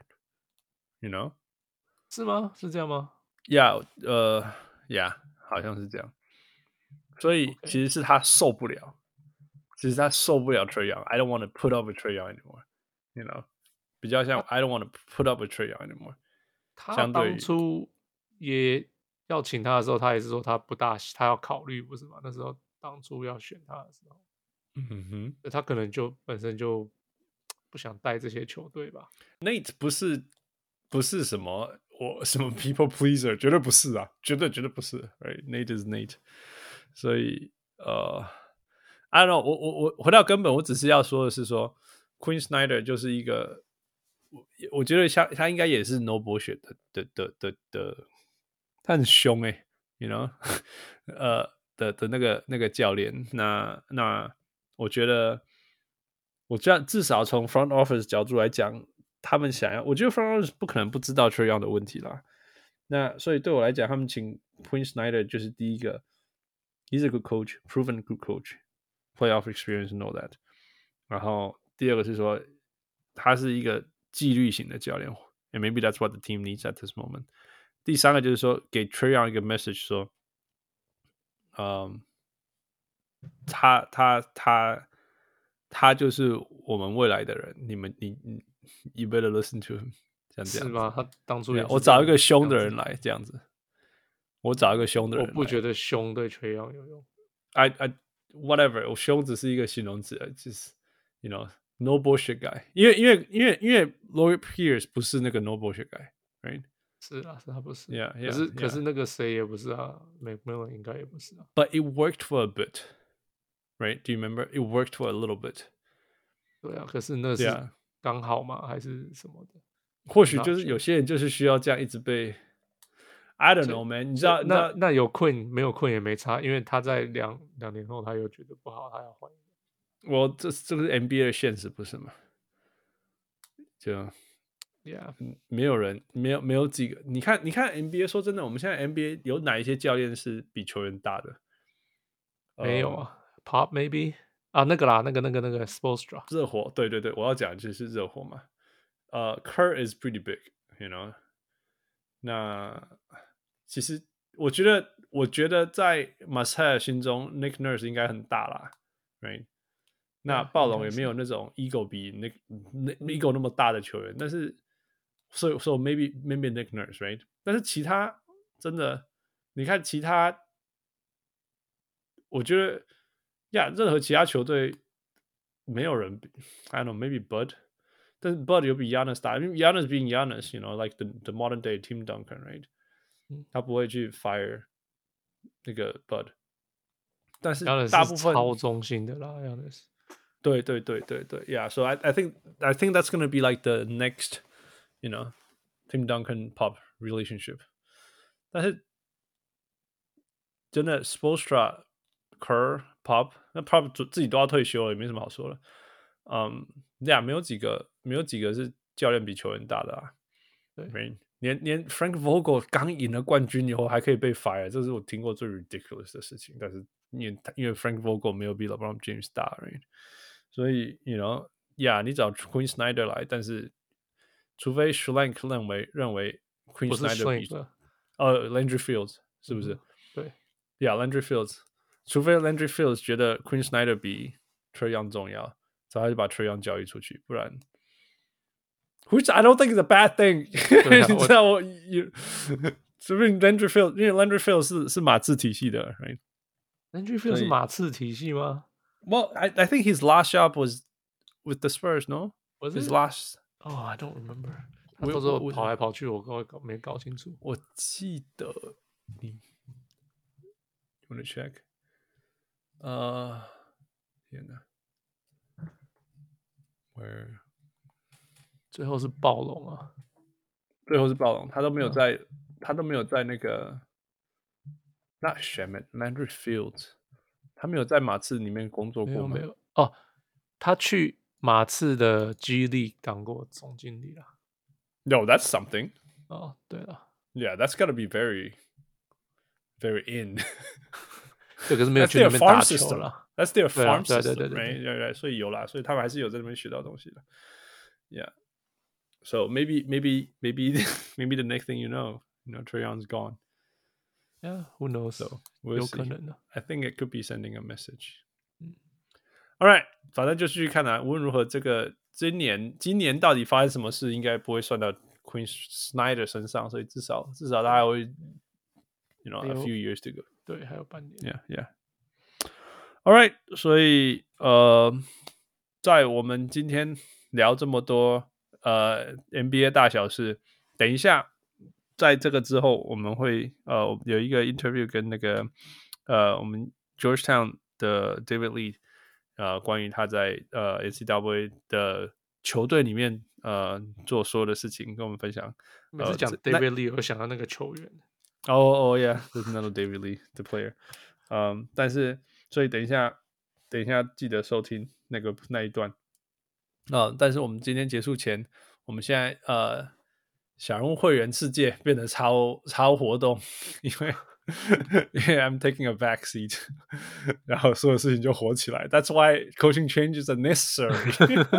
you know 是嗎？是這樣嗎 ？Yeah， 呃 ，Yeah， 好像是這樣。所以其實是他受不了， okay. 其實他受不了 Trae Young。I don't want to put up with Trae Young anymore，you know， 比較像 I don't want to put up with Trae Young anymore。 他當初也要請他的時候，他也是說他不大，他要考慮，不是嗎？那時候當初要選他的時候， 嗯哼， 他可能就本身就不想帶這些球隊吧。 Nate 不是不是什麼。我什麼 people pleaser 絕對不是啊，絕對絕對不是 ，right? Nate is Nate， 所以呃、uh, ，I don't know， 我我我回到根本，我只是要說的是說 ，Quinn Snyder 就是一個，我我覺得像他應該也是 no bullshit 的的的的的，他很兇哎、欸、，you know， 呃的的那個那個教練，那那我覺得，我這樣至少從 front office 角度來講。他們想要，我覺得 front office 不可能不知道 Trae Young 的問題啦。那所以對我來講，他們請 Quinn Snyder 就是第一個 ，he's a good coach, proven good coach, playoff experience and all that。然後第二個是說，他是一個紀律型的教練 ，and maybe that's what the team needs at this moment。第三個就是說，給 Trae Young 一個 message 說，嗯，他他他他就是我們未來的人，你們你你。You better listen to him， 像這樣是嗎？ 他當初也我找一個兇的人來這樣子，我找一個兇的人來。 我不覺得兇對Trae Young有用。 I I whatever， 我兇只是一個形容詞，就是 you know no bullshit guy。因為因為因為因為 Lloyd Pierce 不是那個 no bullshit guy，right？ 是啊，是他不是。 Yeah, yeah, 可是 yeah. 可是那個誰也不是啊 ，McMillan 應該也不是啊。 But it worked for a bit, right? Do you remember? It worked for a little bit. 對啊，可是那是。Yeah.剛好嗎？還是什麼的？ 或許就是有些人就是需要這樣一直被 I don't know, man。你知道那那有 Quinn 沒有 Quinn 也沒差，因為他在兩兩年後他又覺得不好，他要換。 我這這個是 N B A 的現實，不是嗎？就 Yeah， 沒有人沒有沒有幾個。你看你看 N B A， 說真的，我們現在 N B A 有哪一些教練是比球員大的？ 沒有啊、呃、，Pop maybe。啊，那個啦，那個、那個、那個 Spoelstra 熱火，對對對，我要講的就是熱火嘛。呃、uh, ，Kerr is pretty big，you know。那其實我覺得，我覺得在 Masai 心中 ，Nick Nurse 應該很大啦 ，right？、嗯、那暴龍也沒有那種 ego 比 Nick ego 那麼大的球員，但是，所以說 maybe maybe Nick Nurse，right？ 但是其他真的，你看其他，我覺得。呀、yeah, 任何其他球隊沒有人 I don't know maybe Bud， 但是 Bud 有比 Giannis 大，因為 Giannis being Giannis you know like the the modern day Tim Duncan right，、嗯、他不會去 fire 那個 Bud， 但是大部分超中性的啦 Giannis， 對對對對對 yeah so I I think I think that's gonna be like the next you know Tim Duncan Pop relationship， 但是真的 Spoelstra、Kerr、Pop， 那 Pop 自己都要退休了，也沒什麼好說的。嗯，呀，沒有幾個，沒有幾個是教練比球員大的啊。對，連連 Frank Vogel 剛贏了冠軍以後還可以被 fire， 這是我聽過最 ridiculous 的事情。但是因為因為 Frank Vogel 沒有比 LeBron James 大 ，right？ 所以 you know，呀，你找 Quinn Snyder 來，但是除非 Schlenk 認為認為 Quinn Snyder 比呃 Landry Fields 是不是？嗯、 對， 呀、yeah, Landry Fields。除非 Landry Fields 覺得 Quinn Snyder 比 Trae Young 重要，所以他就把 Trae Young 交易出去，不然 ，which I don't think is a bad thing 。你知道我， 是不是 Landry Field？ 因為 Landry Field 是是馬刺體系的 ，right？Landry Field 是馬刺體系嗎 ？Well, I I think his last job was with the Spurs, no? Was his it? last? Oh, I don't remember. 他到時候跑來跑去，我搞搞沒搞清楚。 我記得你 ，You wanna check？ 呃，天哪 ，Where？ 最後是暴龍啊， 最後是暴龍，他都沒有在，嗯、他都沒有在那個 ，Not Shamet Landry Fields， 他沒有在馬刺裡面工作過嗎？ 沒有沒有哦，他去馬刺的 G League 當過總經理啦。 No, that's something. 哦，對了 ，Yeah, that's gotta be very, very in. 对，可是沒有去那邊打球了。 That's their farm system, 對對對對對對，所以有啦，所以他們還是有在那邊學到東西的。Yeah. So maybe, maybe, maybe, maybe the next thing you know, you know, Trae Young's gone. Yeah, who knows? So we'll 有可能的。 I think it could be sending a message. 嗯 All right， 反正就繼續看啊。無論如何，這個今年今年到底發生什麼事，應該不會算到 Quinn Snyder 身上，所以至少至少他還會 ，you know, a few years to go。 對，還有半年。 Yeah, yeah. All right， 所以呃，在我們今天聊這麼多。呃 ，N B A 大小事，等一下，在這個之後，我們會呃有一個 interview 跟那個呃我們 Georgetown 的 David Lee， 呃，關於他在呃 N C double A 的球隊裡面呃做所有的事情，跟我們分享。 每次講 David Lee，我想到那個球員。 哦哦，Yeah，there's another David Lee the player。嗯，但是所以等一下，等一下記得收聽那個那一段。呃，但是我們今天結束前，我們現在呃小人物會員世界變得超超活動，因為因為 I'm taking a back seat， 然後所有事情就火起來。That's why coaching changes are necessary 。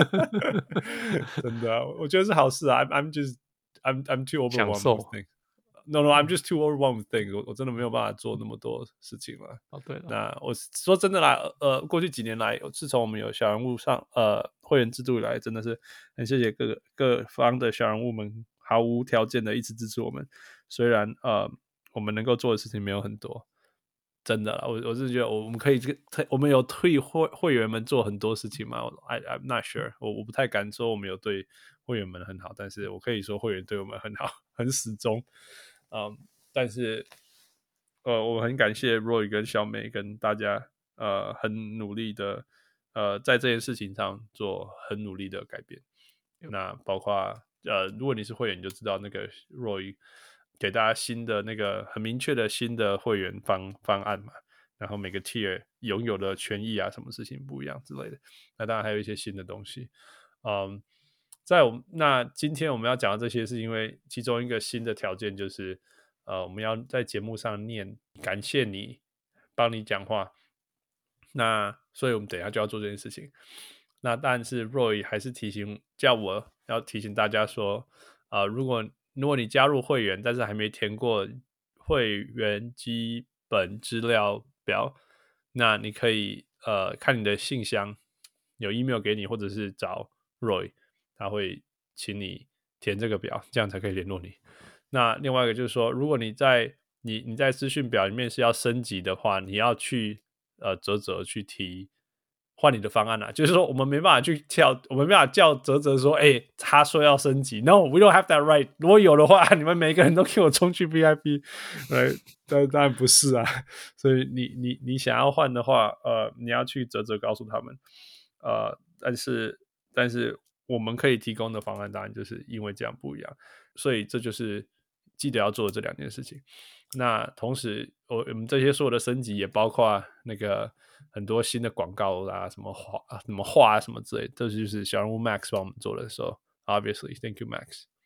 真的，我覺得是好事啊。I'm I'm just I'm I'm too overwhelmed. No, no, I'm just too overwhelmed with things. 我, 我真的沒有辦法做那麼多事情了。 哦，對了， 那我說真的啦，呃，過去幾年來，自從我們有小人物上呃會員制度以來，真的是很謝謝各個各方的小人物們毫無條件的一直支持我們。雖然呃我們能夠做的事情沒有很多，真的啦，我我是覺得我們可以我們有替會會員們做很多事情嗎？ I, I'm not sure， 我我不太敢說我們有對會員們很好，但是我可以說會員對我們很好，很始終。嗯，但是，呃，我很感謝 Roy 跟小美跟大家，呃，很努力的，呃，在這件事情上做很努力的改變。那包括，呃，如果你是會員，你就知道那個 Roy 給大家新的那個很明確的新的會員方方案嘛，然後每個 tier 擁有的權益啊，什麼事情不一樣之類的。那當然還有一些新的東西，嗯。在我們那今天我們要講的這些，是因為其中一個新的條件就是，呃，我們要在節目上念感謝你，幫你講話。那所以我們等一下就要做這件事情。那但是 Roy 還是提醒叫我要提醒大家說，呃，如果如果你加入會員，但是還沒填過會員基本資料表，那你可以呃看你的信箱有 email 給你，或者是找 Roy。他會請你填這個表，這樣才可以聯絡你。那另外一個就是說，如果你在你你在資訊表裡面是要升級的話，你要去呃嘖嘖去提換你的方案啊。就是說，我們沒辦法去跳，我們沒辦法叫嘖嘖說，哎、欸，他說要升級 ，No, we don't have that right。如果有的話，你們每個人都給我衝去 V I P， 對，但當然不是啊。所以你你你想要換的話，呃，你要去嘖嘖告訴他們，呃，但是但是。我們可以提供的方案當然就是因為這樣不一樣，所以這就是記得要做的這兩件事情。那同時，我我們這些所有的升級也包括那個很多新的廣告啦、什麼畫、什麼畫、什麼之類的，這就是小人物 Max 幫我們做的時候。So, obviously, thank you,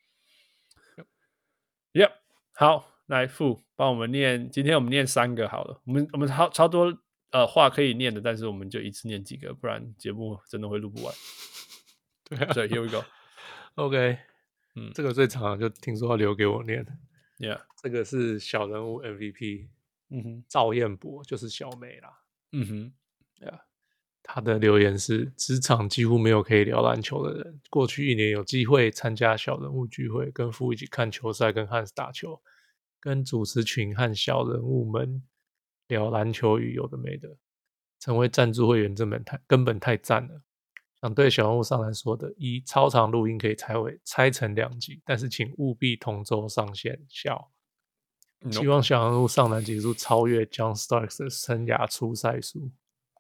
Max. Yep， 好，來傅幫我們念，今天我們念三個好了。我們我們超超多呃話可以念的，但是我們就一次念幾個，不然節目真的會錄不完。所以 here we go。OK， 嗯，這個最長就聽說要留給我念。 Yeah， 這個是小人物 M V P， 嗯哼，趙彥博就是小美啦。嗯哼，Yeah， 他的留言是：職場幾乎沒有可以聊籃球的人。過去一年有機會參加小人物聚會，跟父一起看球賽，跟漢斯打球。 跟主持群和小人物們聊籃球與有的沒的。成為贊助會員這本太根本太讚了。想對小人物上籃說的：一、超長錄音可以拆為拆成兩集，但是請務必同週上線。笑。希望小人物上籃結束超越 John Starks 的生涯出賽數。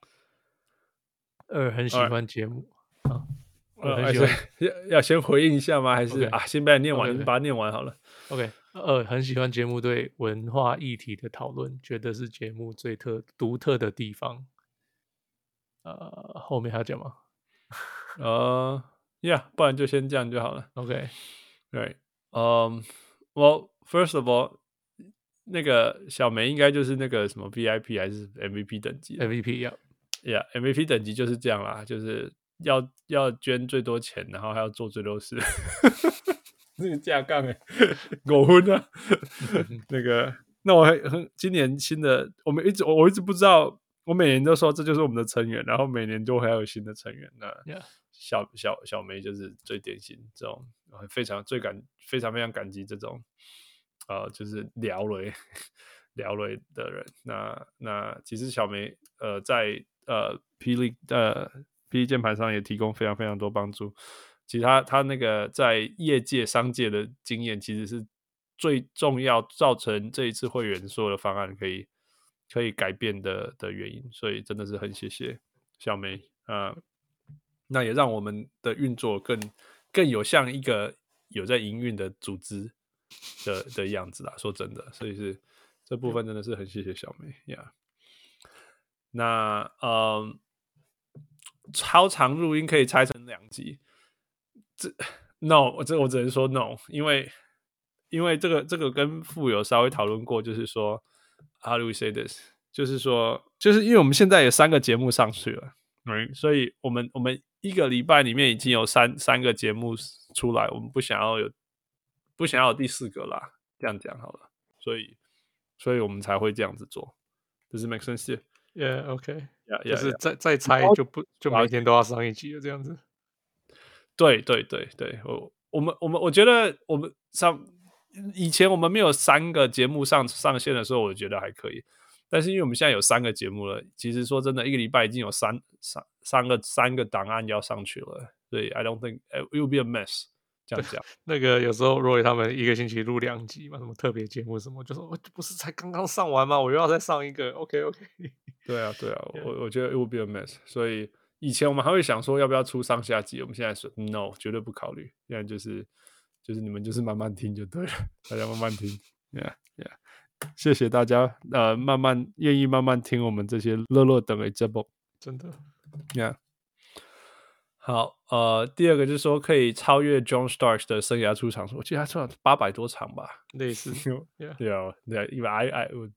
二、很喜歡節目。Right. 啊呃，還是要要先回應一下嗎？還是 Okay. 啊，先把它念完， okay, okay. 先把它念完好了。 OK， 二、很喜歡節目對文化議題的討論，覺得是節目最特獨特的地方。呃，後面還要講嗎？ 呃、uh, ，Yeah， 不然就先這樣就好了。 OK， 對，嗯，Well, first of all， 那個小梅應該就是那個什麼 V I P 還是 M V P 等級 ？M V P 呀 ，Yeah，M V P 等級就是這樣啦，就是要要捐最多錢，然後還要做最多事。那個架槓哎，狗昏啊！那個，那我很今年新的，我們一直我我一直不知道。我每年都說這就是我們的成員，然後每年都還有新的成員。那小小小梅就是最典型這種，非常最感非常非常感激這種，呃，就是聊雷聊雷的人。那那其實小梅呃在呃霹靂呃霹靂鍵盤上也提供非常非常多幫助。其實他他那個在業界商界的經驗，其實是最重要造成這一次會員所有的方案可以。可以改變的的原因，所以真的是很謝謝小梅啊、呃，那也讓我們的運作更更有像一個有在營運的組織的的樣子啦。說真的，所以是這部分真的是很謝謝小梅呀。Yeah. 那呃，超長錄音可以拆成兩集，這 no， 這我只能說 no， 因為因為這個這個跟富有稍微討論過，就是說。How do we say this？ 就是說，就是因為我們現在有三個節目上去了，嗯，所以我們我們一個禮拜裡面已經有三三個節目出來，我們不想要有不想要有第四個啦，這樣講好了，所以所以我們才會這樣子做。Does it make sense? Yeah, OK. Yeah, yeah, 就是再再猜就不就每天都要上一集了，這樣子。 對對對對，我我們我們我覺得我們上。以前我們沒有三個節目上上線的時候，我覺得還可以。但是因為我們現在有三個節目了，其實說真的，一個禮拜已經有三三三個三個檔案要上去了，所以 I don't think it will be a mess。這樣講， 那個有時候 Roy 他們一個星期錄兩集嘛，什麼特別節目什麼，就說我不是才剛剛上完嗎？我又要再上一個。OK OK。對啊對啊， yeah. 我我覺得 it will be a mess。所以以前我們還會想說要不要出上下集，我們現在說 no， 絕對不考慮。現在就是。就是你們就是慢慢聽就對了，大家慢慢聽 ，Yeah Yeah， 謝謝大家，呃，慢慢願意慢慢聽我們這些樂樂等的節目， 真的 ，Yeah。好，呃，第二個就是說可以超越 John Starks 的生涯出場數，我記得他出場八百多場吧， 類似 ，Yeah Yeah Yeah，因為 I I would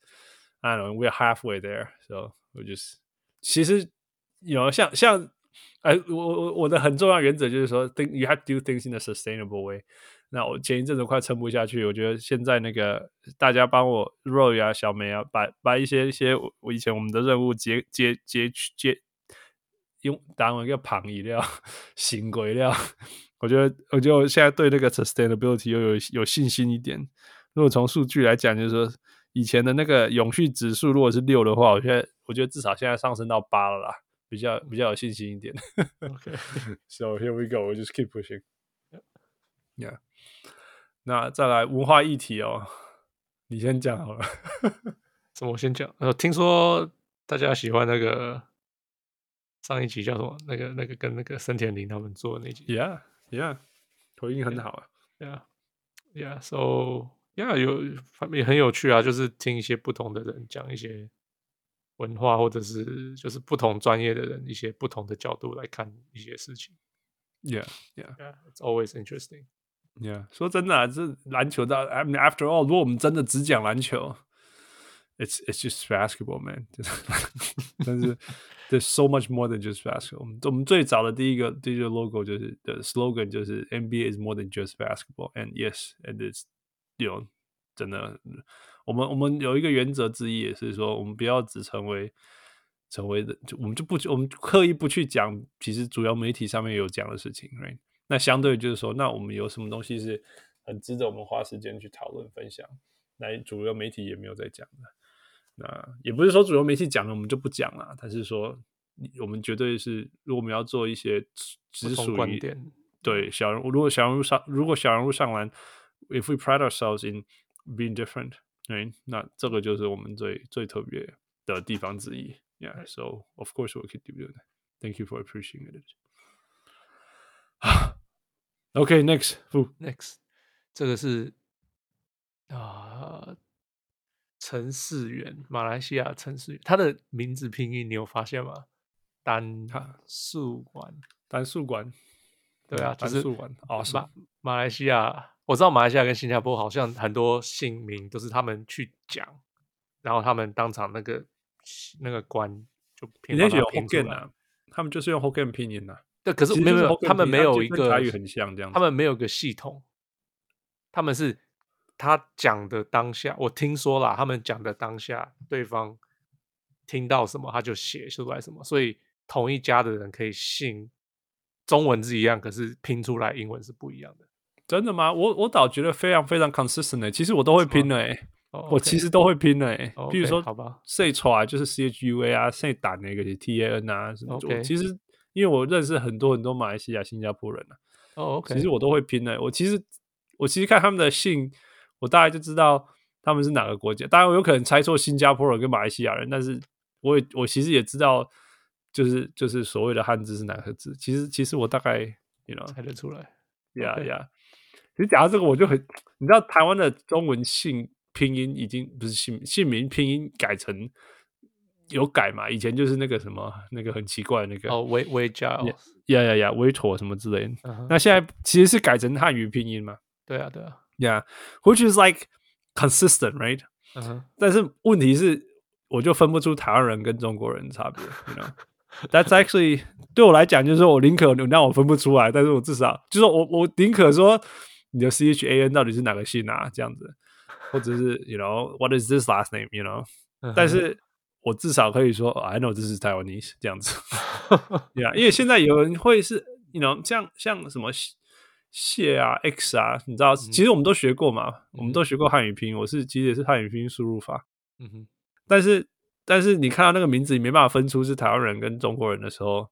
I don't know we're halfway there，so 我就是其實有像像。哎，我我我的很重要原則就是說 ，think you have to do things in a sustainable way。那我前一陣子快撐不下去，我覺得現在那個大家幫我 Roy 啊、小梅啊，把把一些一些我以前我們的任務接接接接用當一個旁語料行規料，我覺得我覺得我現在對那個 sustainability 又有有信心一點。如果從數據來講，就是說以前的那個永續指數如果是六的話，我覺得我覺得至少現在上升到八了啦。比較比較有信心一點。 Okay. So here we go. We just keep pushing. Yeah. 那再來文化議題哦，你先講好了。 什麼？我先講。呃，聽說大家喜歡那個上一集叫什麼？那個那個跟那個森田绫他們做的那集。 Yeah, yeah. 回應很好啊。 Yeah, yeah. So yeah， 有也很有趣啊，就是聽一些不同的人講一些。文化或者是就是不同專業的人一些不同的角度來看一些事情。 Yeah, yeah, yeah. It's always interesting. Yeah. 說真的啊，這籃球的 I mean, after all， 如果我們真的只講籃球 ，it's it's just basketball, man 。但是 there's so much more than just basketball。我們我們最早的第一個第一個 logo 就是的 slogan 就是 N B A is more than just basketball. And yes, and it's you know 真的。我們我們有一個原則之一，也是說，我們不要只成為成為的，我們就不我們刻意不去講，其實主要媒體上面有講的事情 ，right？ 那相對就是說，那我們有什麼東西是很值得我們花時間去討論分享？ 來主流媒體也沒有在講的。那也不是說主流媒體講了我們就不講了，但是說我們絕對是，如果我們要做一些只屬於觀點，對小人物，如果小人物上，如果小人物上籃 ，if we pride ourselves in being different， 對，那這個就是我們最最特別的地方之一。Yeah, so of course we could do that. Thank you for appreciating it. Okay, next, next， 這個是啊。陳世元，馬來西亞陳世元，他的名字拼音你有發現嗎？單數管， 單數管， 對啊， 單數管。哦，是馬馬來西亞，我知道馬來西亞跟新加坡好像很多姓名都是他們去講，然後他們當場那個那個官就拼出來。 Hokkien 啊，他們就是用 Hokkien 拼音啊。 對，可是沒有沒有，他們沒有一個台語很像這樣子， 他們沒有一個系統，他們是。他講的當下，我聽說啦，他們講的當下，對方聽到什麼他就寫出來什麼，所以同一家的人可以信中文字一樣，可是拼出來英文是不一樣的。 真的嗎？我我倒覺得非常非常 consistent 的、欸，其實我都會拼的哎、欸，oh, okay. 我其實都會拼的哎、欸，譬、oh, okay. 如說，好吧 ，say 出來就是 C H U A 啊 ，say 打那個是 T A N 啊什麼。Okay. 其實因為我認識很多很多馬來西亞、新加坡人啊，哦、oh, OK， 其實我都會拼的、欸。我其實我其實看他們的姓。我大概就知道他們是哪個國家，當然我有可能猜錯新加坡人跟馬來西亞人，但是我也我其實也知道，就是就是所謂的漢字是哪個字。其實其實我大概 you know 猜得出來。 呀呀，其實講到這個，我就很，你知道台灣的中文姓拼音已經不是姓姓名拼音改成有改嘛？以前就是那個什麼那個很奇怪的那個哦，微微加呀呀呀，微妥什麼之類的。Uh-huh. 那現在其實是改成漢語拼音嘛？ 對啊，對啊。 Yeah, which is like consistent, right? Uh-huh. 但是問題是，我就分不出台灣人跟中國人的差別。You know, that's actually 對我來講，就是說我寧可你讓我分不出來，但是我至少就是我我寧可說你的 C H A N 到底是哪個姓啊？這樣子，或者是 you know what is this last name? You know，、uh-huh. 但是我至少可以說、oh, I know this is Taiwanese 這樣子。Yeah, 因為現在有人會是 you know 像像什麼。謝啊 X 啊，你知道、嗯，其實我們都學過嘛，嗯、我們都學過漢語拼音。我是其實也是漢語拼音輸入法，嗯哼。但是但是你看到那個名字，你沒辦法分出是台灣人跟中國人的時候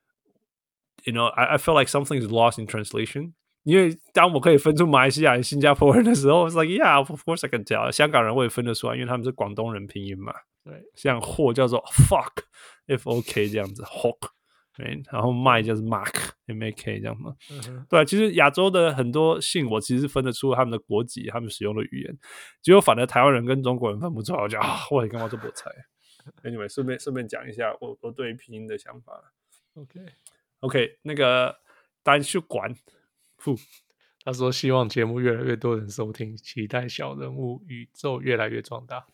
，you know, I I feel like something is lost in translation。因為當我可以分出馬來西亞人、新加坡人的時候，我 like yeah, of course I can tell。香港人我也分得出來，因為他們是廣東人拼音嘛。對，像貨叫做 fuck F O K 這樣子 ，hawk。Right? 然後麥就是 Mark M A K 這樣嘛、嗯，對，其實亞洲的很多姓我其實分得出他們的國籍，他們使用的語言，結果反而台灣人跟中國人分不出來，我就啊，我也幹嘛這麼猜 ？Anyway， 順便順便講一下我我對於拼音的想法。OK OK， 那個單數管， 他說希望節目越來越多人收聽，期待小人物宇宙越來越壯大。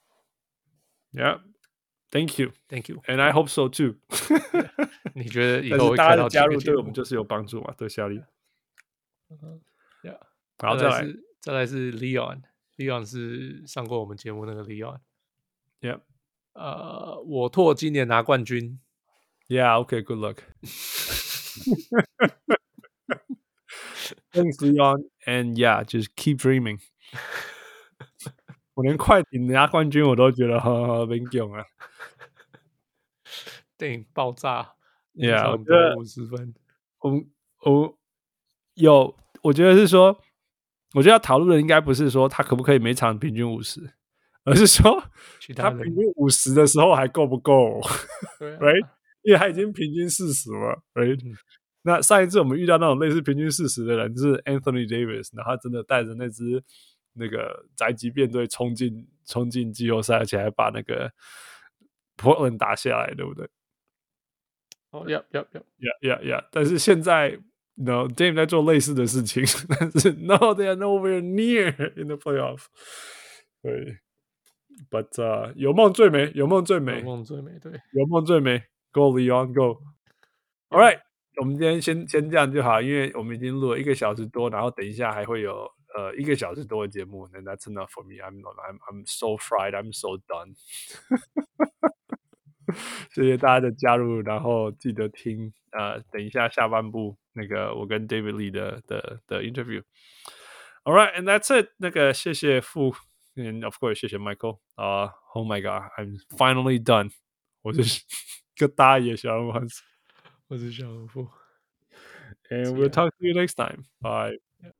Yeah。Thank you, thank you, and I hope so too. 你覺得以後會大家的加入對我們就是有幫助嘛？對效力。 Uh-huh. Yeah. 好，再來， 再來，再來是 Leon，Leon Leon 是上過我們節目那個 Leon。 Yeah. 呃，我拓今年拿冠軍。 Yeah. Okay. Good luck. Thanks, Leon. And yeah, just keep dreaming. 我連快艇拿冠軍我都覺得呵呵很囧啊！ 電影爆炸 ，Yeah， 我覺得五十分。 我我有，我覺得是說，我覺得要討論的應該不是說他可不可以每場平均五十，而是說他平均五十的時候還夠不夠？Right？因為他已經平均四十了，Right？、嗯、那上一次我們遇到那種類似平均四十的人，就是 Anthony Davis， 然後他真的帶着那支。那個宅急便隊衝進衝進季後賽，而且還把那個 Portland 打下來，對不對？ 哦、oh, ，Yeah, Yeah, Yeah, Yeah, Yeah。但是現在 ，No, Dame 在做類似的事情，但是 No, they are nowhere near in the playoff。對 ，But、uh, 有夢最美，有夢最美， 有夢最美，對， 有夢最美。Go Leon, go! All right， 我們今天先先這樣就好，因為我們已經錄了一個小時多，然後等一下還會有。呃，一個小時多的節目 ，and that's enough for me. I'm I'm I'm so fried. I'm so done. 謝謝大家的加入，然後記得聽呃，等一下下半部那個我跟 David Lee 的的的 interview. All right, and that's it. 那個謝謝傅 And of course 謝謝 Michael 啊、uh,，Oh my God I'm finally done 我是個大爺小人物， 我是小人物 And we'll talk to you next time. Bye.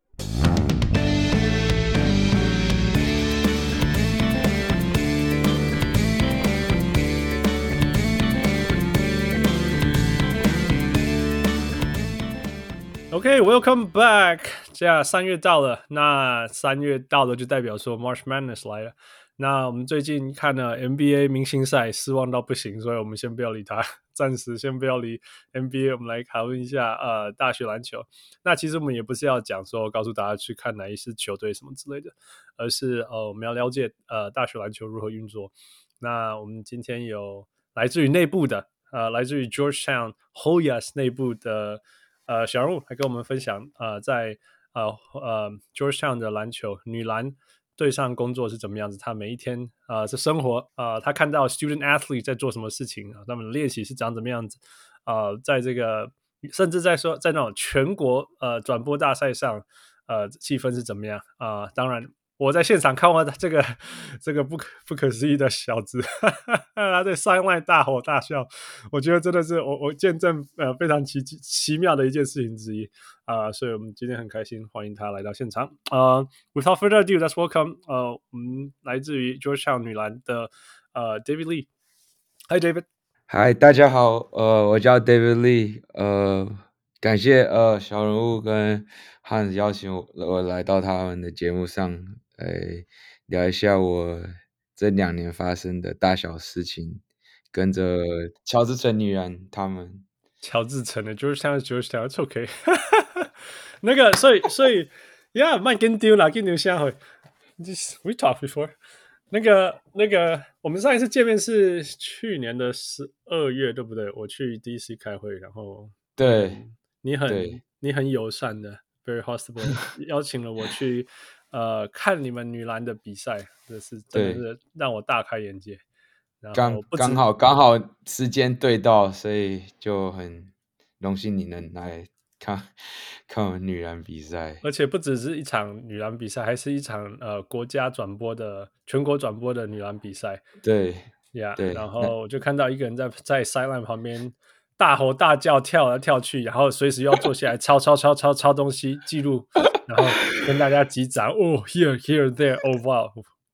Okay, welcome back. 這樣三月到了，那三月到了就代表說 March Madness 來了。那我們最近看了 N B A 明星賽，失望到不行，所以我們先不要理他，暫時先不要理 N B A。我們來討論一下呃大學籃球。那其實我們也不是要講說告訴大家去看哪一支球隊什麼之類的，而是呃我們要了解呃大學籃球如何運作。那我們今天有來自於內部的呃來自於 Georgetown Hoyas 內部的。呃，小人物來跟我們分享，呃，在呃呃 Georgetown 的籃球女籃隊上工作是怎麼樣子？他每一天呃是生活，呃，他看到 student athlete 在做什麼事情啊？他們的練習是長怎麼樣子？呃，在這個甚至在說在那種全國呃轉播大賽上，呃，氣氛是怎麼樣啊、呃？當然。我在現場看完這個這個不可不可思議的小子，哈哈哈，他在 sideline 大吼大笑，我覺得真的是我我見證呃非常奇奇妙的一件事情之一啊、呃，所以我們今天很開心歡迎他來到現場。呃、uh, ，Without further ado, let's welcome 呃我們來自於 Georgetown 女籃的呃 David Lee。Hi David。 Hi 大家好，呃我叫 David Lee， 呃感謝呃小人物跟 Hans 邀請我我來到他們的節目上。來聊一下我這兩年發生的大小事情，跟着喬治城女籃他們。 喬治城的 Georgetown Georgetown it's OK 那個所以所以 yeah 慢跟丟啦跟丟下回 we talked before 那個那個我們上一次見面是去年的十二月對不對？我去 D C 開會，然後對、 嗯、你很你很友善的 very hospitable 邀請了我去呃，看你們女籃的比賽，這是真的是讓我大開眼界。 剛剛好剛好時間對到，所以就很榮幸你能來看看我們女籃比賽。 而且不只是一場女籃比賽，還是一場呃國家轉播的全國轉播的女籃比賽。 對呀、yeah, 對。 然後我就看到一個人在在 sideline 旁邊大吼大叫，跳來跳去，然後隨時要坐下來抄抄抄抄抄東西記錄。然後跟大家擊掌哦 here here there oh wow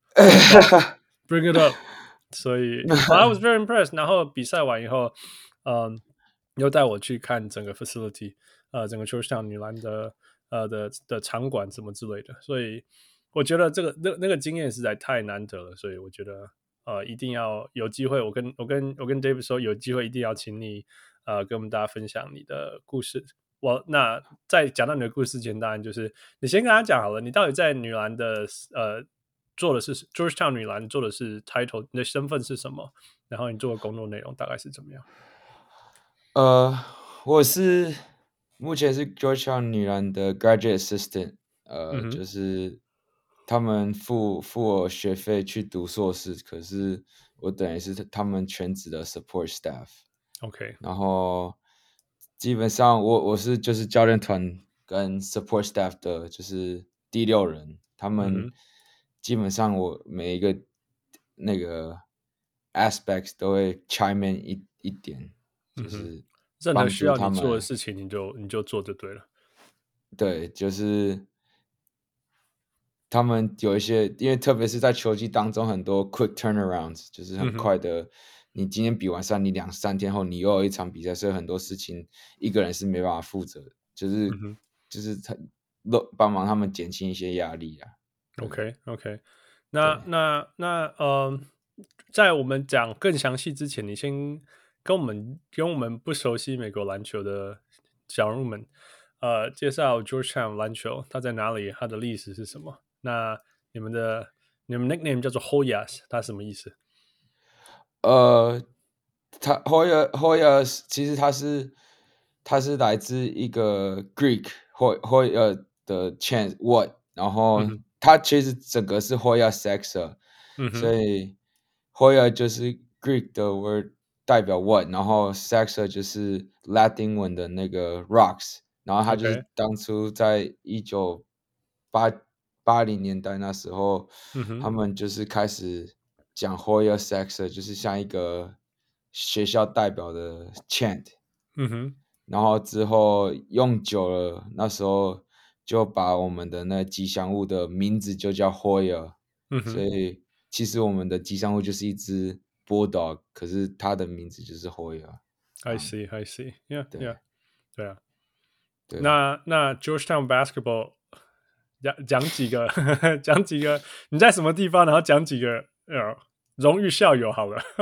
bring it up 所以 I was very impressed 然後比賽完以後嗯又帶我去看整個 facility 呃整個 Georgetown 女籃的呃的的場館什麼之類的，所以我覺得這個那那個經驗實在太難得了，所以我覺得呃一定要有機會我跟我跟我跟 David 說有機會一定要請你呃跟我們大家分享你的故事。我那在講到你的故事之前，當然就是你先跟他講好了，你到底在女籃的呃做的是 Georgetown 女籃做的是 title， 你的身份是什麼？然後你做的工作內容大概是怎麼樣？ 呃，我是目前是 Georgetown 女籃的 graduate assistant， 呃、嗯，就是他們付付我學費去讀碩士，可是我等於是他們全職的 support staff。OK， 然後。基本上我我是就是教練團跟 support staff 的就是第六人，他們基本上我每一個那個 aspects 都會 chime in 一一點，就是任何需要你做的事情你就你就做就對了。 對，就是他們有一些，因為特別是在球季當中很多 quick turnarounds， 就是很快的。嗯你今天比完賽，你兩三天後你又有一場比賽，所以很多事情一個人是沒辦法負責的，就是、嗯、就是他幫忙他們減輕一些壓力啊。 OK OK， 那那那呃，在我們講更詳細之前，你先跟我們跟我們不熟悉美國籃球的小人物們，呃，介紹 Georgetown 籃球，它在哪裡，它的歷史是什麼？那你們的你們 nickname 叫做 Hoyas， 它什麼意思？ 呃，他 Hoya Hoyas 其實他是他是來自一個 Greek Hoya 的 chant what， 然後他其實整個是 Hoya Sexa，、嗯、所以 Hoya 就是 Greek 的 word 代表 what， 然後 Sexa 就是 Latin 文的那個 rocks， 然後他就是當初在一九八八零年代那時候， 嗯、 他們就是開始講 Hoya Sexer，就是像一個學校代表的 chant。 嗯哼， 然後之後用久了，那時候就把我們的那吉祥物的名字就叫 Hoya。 嗯哼， 所以其實我們的吉祥物就是一隻 Bulldog， 可是它的名字就是 Hoya。I see, I see. Yeah, 對 yeah. 對啊。 對那那 Georgetown Basketball 講講幾個講幾個你在什麼地方，然後講幾個呃榮譽校友好了。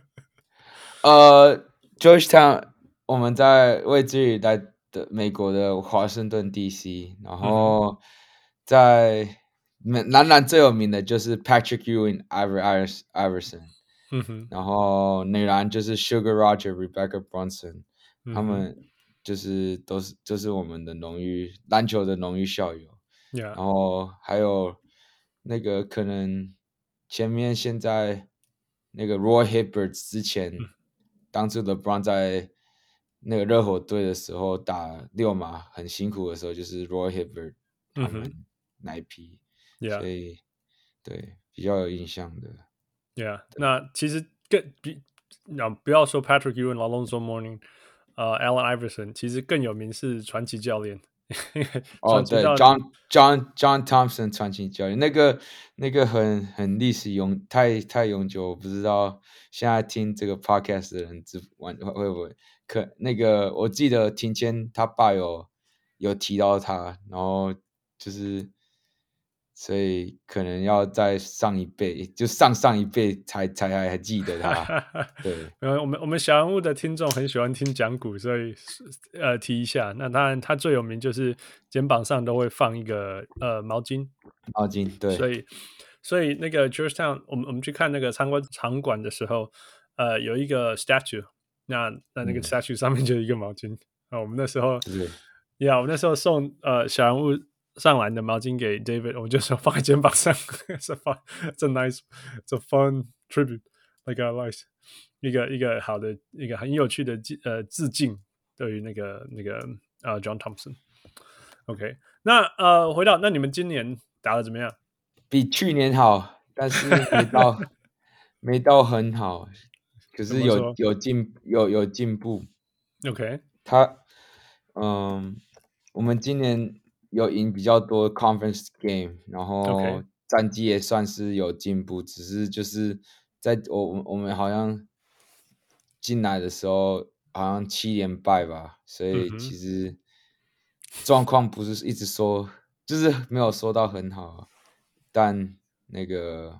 呃 Georgetown 我們在位置於在的美國的華盛頓 D C， 然後在男籃最有名的就是 Patrick Ewing、Iver Iverson， 嗯哼， 然後女籃就是 Sugar Roger、Rebecca Brunson，、 嗯、 他們就是都是就是我們的榮譽籃球的榮譽校友。 Yeah. 然後還有那個可能前面現在那個 Roy Hibbert 之前、嗯、當初的 LeBron 在那個熱火隊的時候打六碼很辛苦的時候，就是 Roy Hibbert 他們那一批。 Yeah. 所以對比較有印象的 Yeah， 那其實更比那不要說 Patrick Ewing、Alonzo Mourning， 呃 Allen Iverson， 其實更有名是傳奇教練。 哦，對 ，John John John Thompson 傳奇教練，那個那個很很歷史永太太永久，我不知道現在聽這個 podcast 的人知玩會會不會可那個我記得庭謙他爸有有提到他，然後就是。所以可能要再上一輩，就上上一輩才才還還記得他。對， 我們我們小人物的聽眾很喜歡聽講古，所以呃提一下。那當然，他最有名就是肩膀上都會放一個呃毛巾， 毛巾對。 所以所以那個 Georgetown， 我們我們去看那個參觀場館的時候，呃有一個 statue， 那那那個 statue 上面就有一個毛巾。啊、嗯，我們那時候， 是， 呀，我們那時候送呃小人物上籃的毛巾給 David， 我就說放在肩膀上。It's a fun, it's a nice, it's a fun tribute, like I like 一個一個好的一個很有趣的呃致敬，對於那個那個呃 John Thompson。OK， 那呃回到那你們今年打得怎麼樣？ 比去年好，但是沒到沒到很好，可是有有進有有進步。 OK， 他嗯，我們今年。有贏比較多 conference game， 然後戰績也算是有進步， okay. 只是就是在我我們好像進來的時候好像七連敗吧，所以其實狀況不是一直說，就是沒有說到很好，但那個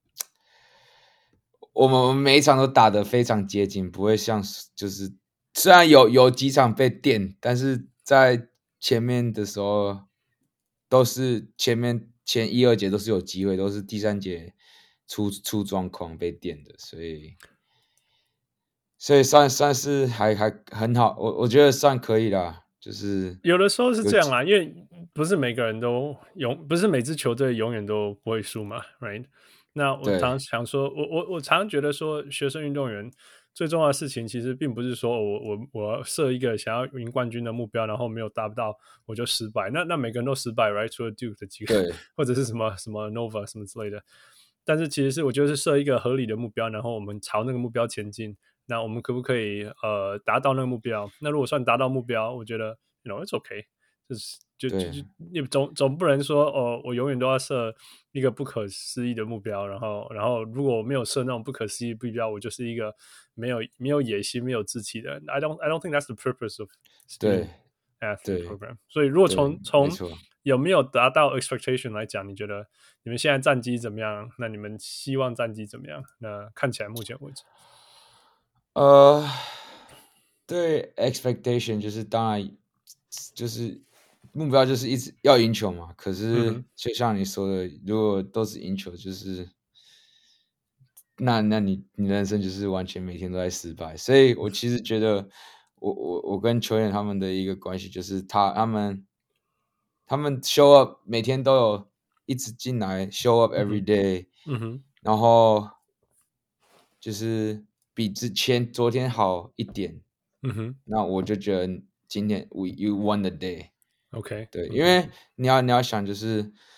我們每一場都打得非常接近，不會像就是雖然有有幾場被電，但是在前面的時候都是前面前一二節都是有機會，都是第三節出出狀況被電的，所以所以算算是還還很好，我我覺得算可以啦。就是有的時候是這樣啦，因為不是每個人都永不是每支球隊永遠都不會輸嘛 ，right？ 那我常常想說，我我我常常覺得說，學生運動員最重要的事情，其實並不是說我我我要設一個想要贏冠軍的目標，然後沒有達不到我就失敗。那那每個人都失敗 ，right？ 除了 Duke 的幾個，或者是什麼什麼 Nova 什麼之類的。但是其實是我覺得是設一個合理的目標，然後我們朝那個目標前進。那我們可不可以呃達到那個目標？那如果算達到目標，我覺得 you know it's okay， 就是就就就你總總不能說哦，我永遠都要設一個不可思議的目標，然後然後如果我沒有設那種不可思議的目標，我就是一個沒有沒有野心、沒有志氣的人。I don't I don't think that's the purpose of student athlete program。所以如果從從有沒有達到 expectation 來講，你覺得你們現在戰績怎麼樣？那你們希望戰績怎麼樣？那看起來目前為止。 呃，對 expectation 就是當然就是目標就是一直要贏球嘛。可是就像你說的，嗯、如果都是贏球，就是那那你你人生就是完全每天都在失敗。所以我其實覺得我我我跟球員他們的一個關係就是他他們他們 show up 每天都有一直進來 show up every day， 嗯哼， 然後就是。比之前昨天好一點， 嗯哼， 那我就覺得今天 we you won the day，OK，、 okay, 對， okay. 因為你要你要想就是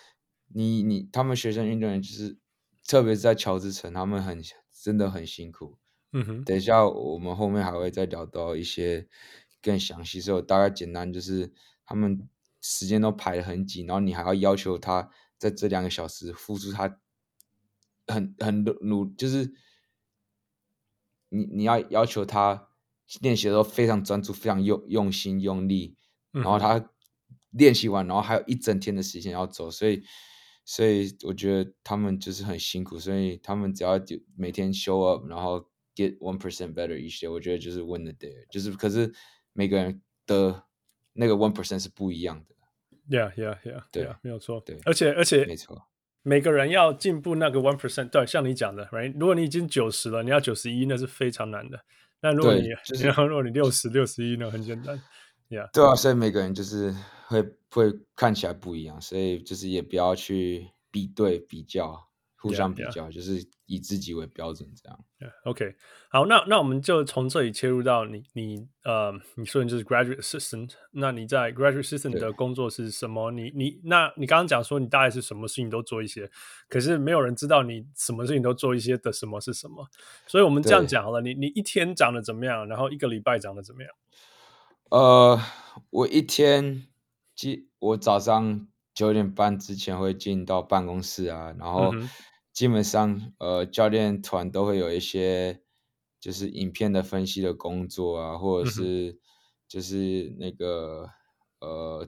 你你他們學生運動員就是特別是在喬治城，他們很真的很辛苦。 嗯哼， 等一下我們後面還會再聊到一些更詳細，所以我大概簡單就是他們時間都排得很緊，然後你還要要求他在這兩個小時付出他很很努，就是你你要要求他練習的時候非常專注，非常用用心用力，然後他練習完，然後還有一整天的時間要走，所以所以我覺得他們就是很辛苦，所以他們只要每天 show up，然後 get one percent better each day，我覺得就是 win the day， 就是可是每個人的那個 one percent 是不一樣的。 Yeah, yeah, yeah， 對 yeah， 沒有錯。 對， 而且而且沒錯， 每個人要進步那個 one percent， 對，像你講的 ，right？ 如果你已經九十了，你要九十一，那是非常難的。那如果你， 就是然後如果你六十、六十一，那很簡單。Yeah， 對啊，所以每個人就是會會看起來不一樣，所以就是也不要去比對比較，互相比較， yeah, yeah. 就是以自己為標準這樣。 Yeah, OK， 好，那那我們就從這裡切入到你你呃，你說你就是 graduate assistant， 那你在 graduate assistant 的工作是什麼？你你那你剛剛講說你大概是什麼事情都做一些，可是沒有人知道你什麼事情都做一些的什麼是什麼，所以我們這樣講好了，你你一天長得怎麼樣，然後一個禮拜長得怎麼樣？ 呃，我一天，我早上九點半之前會進到辦公室啊，然後基本上呃教練團都會有一些就是影片的分析的工作啊，或者是就是那個呃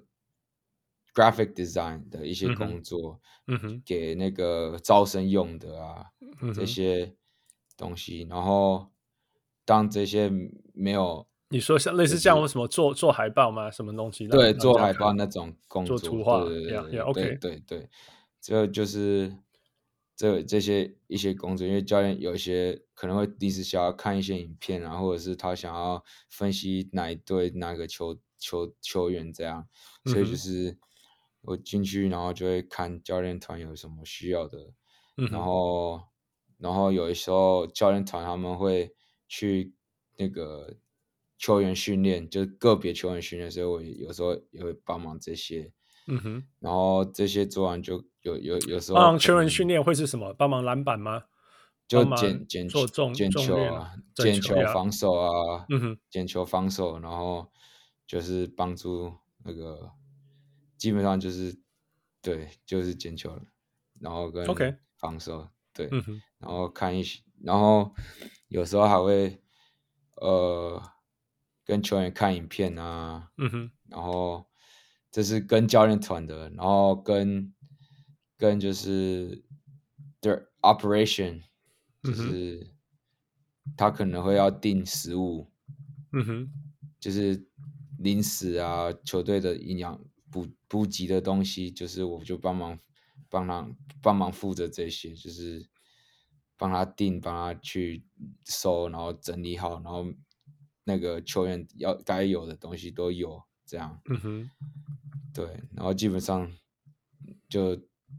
graphic design 的一些工作， 嗯哼， 給那個招生用的啊， 嗯哼， 這些東西，然後當這些沒有。 你說像類似這樣，什麼做做海報嗎？什麼東西？ 對，做海報那種工作， 做圖畫， 對對 yeah, yeah, okay. 對對對，這就是這這些一些工作，因為教練有一些可能會臨時想要看一些影片啊，或者是他想要分析哪一隊哪個球球球員這樣，所以就是我進去，然後就會看教練團有什麼需要的， 嗯、 然後然後有的時候教練團他們會去那個。球員訓練就是個別球員訓練，所以我有時候也會幫忙這些。 嗯哼， 然後這些做完就有有有時候幫忙球員訓練會是什麼？幫忙籃板嗎？ 就撿撿做重撿球啊，撿球防守啊， 嗯哼， 撿球防守，然後就是幫助那個，基本上就是對，就是撿球，然後跟防守，okay. 對， 嗯哼， 然後看一些，然後有時候還會呃。跟球員看影片啊， 嗯哼， 然後這是跟教練團的，然後跟跟就是對 operation，就是他可能會要訂食物， 嗯哼， 就是零食啊，球隊的營養補補給的東西，就是我就幫忙幫他幫忙負責這些，就是幫他訂，幫他去收，然後整理好，然後。那個球員要該有的東西都有，這樣， 嗯哼， 對，然後基本上就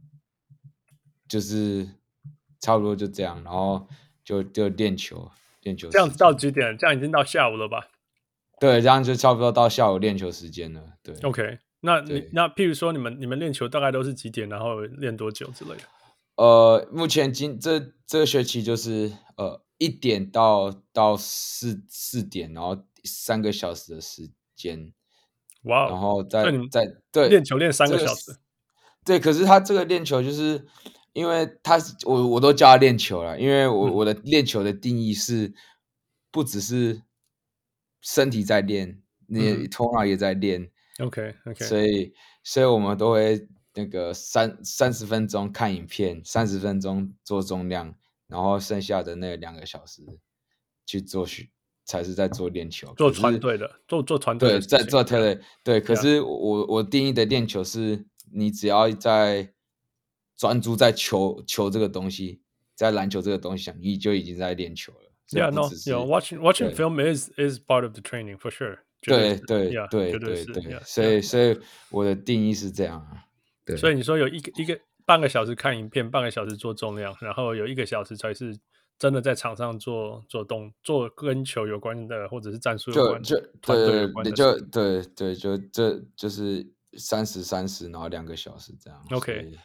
就是差不多就這樣，然後就就練球，練球。 這樣子到幾點？這樣已經到下午了吧？ 對，這樣就差不多到下午練球時間了。對 ，OK，那你那譬如說你們你們練球大概都是幾點？然後練多久之類的？ 呃，目前今這這個學期就是呃。一點到到四四點，然後三個小時的時間， 哇、wow, 然後再再對練球練三個小時， 這個、對，可是他這個練球就是因為他我我都叫他練球了，因為我、嗯、我的練球的定義是不只是身體在練，你頭腦也在練、 嗯、，OK OK， 所以所以我們都會那個三三十分鐘看影片，三十分鐘做重量。然後剩下的那兩個小時去做訓，才是在做練球， 做團隊的，做做團隊的， 對，在做團隊，對。可是我我定義的練球是，你只要在專注在球球這個東西，在籃球這個東西上，你就已經在練球了。 Yeah, no, yeah, watching watching film is is part of the training for sure. 對對對對對，所以所以我的定義是這樣啊。對， 所以你說有一個一個。半個小時看影片，半個小時做重量，然後有一個小時才是真的在場上做做動做跟球有關的，或者是戰術有關的， 就就團隊有關的， 就對對，就這就是三十三十，然後兩個小時這樣。 OK，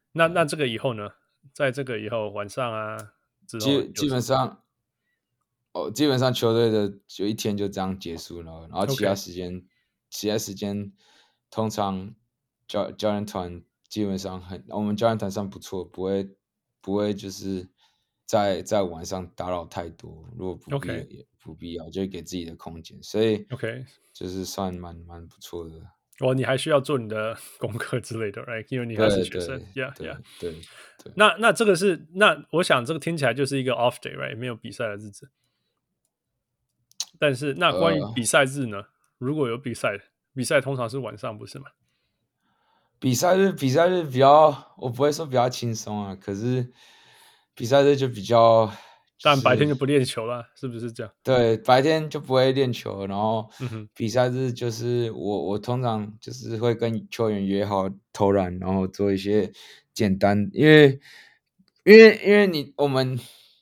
那那這個以後呢？在這個以後晚上啊，之後基基本上，哦，基本上球隊的就一天就這樣結束了，然後其他時間， Okay. 其他時間通常教教練團基本上很，我們教練團上不錯，不會不會就是在在晚上打擾太多，如果不必 Okay. 也不必要，就會給自己的空間，所以 OK 就是算蠻蠻不錯的。 哦，你還需要做你的功課之類的 ，right？ 因為你還是學生 ，Yeah Yeah。 對對。 那那這個是那我想這個聽起來就是一個 off day，right？ 沒有比賽的日子。但是那關於比賽日呢？呃、如果有比賽，比賽通常是晚上，不是嗎？ 比賽日比賽日比較，我不會說比較輕鬆啊，可是比賽日就比較。 但白天就不練球了，是不是這樣？ 對，白天就不會練球，然後比賽日就是我我通常就是會跟球員約好投籃，然後做一些簡單，因為因為因為你我們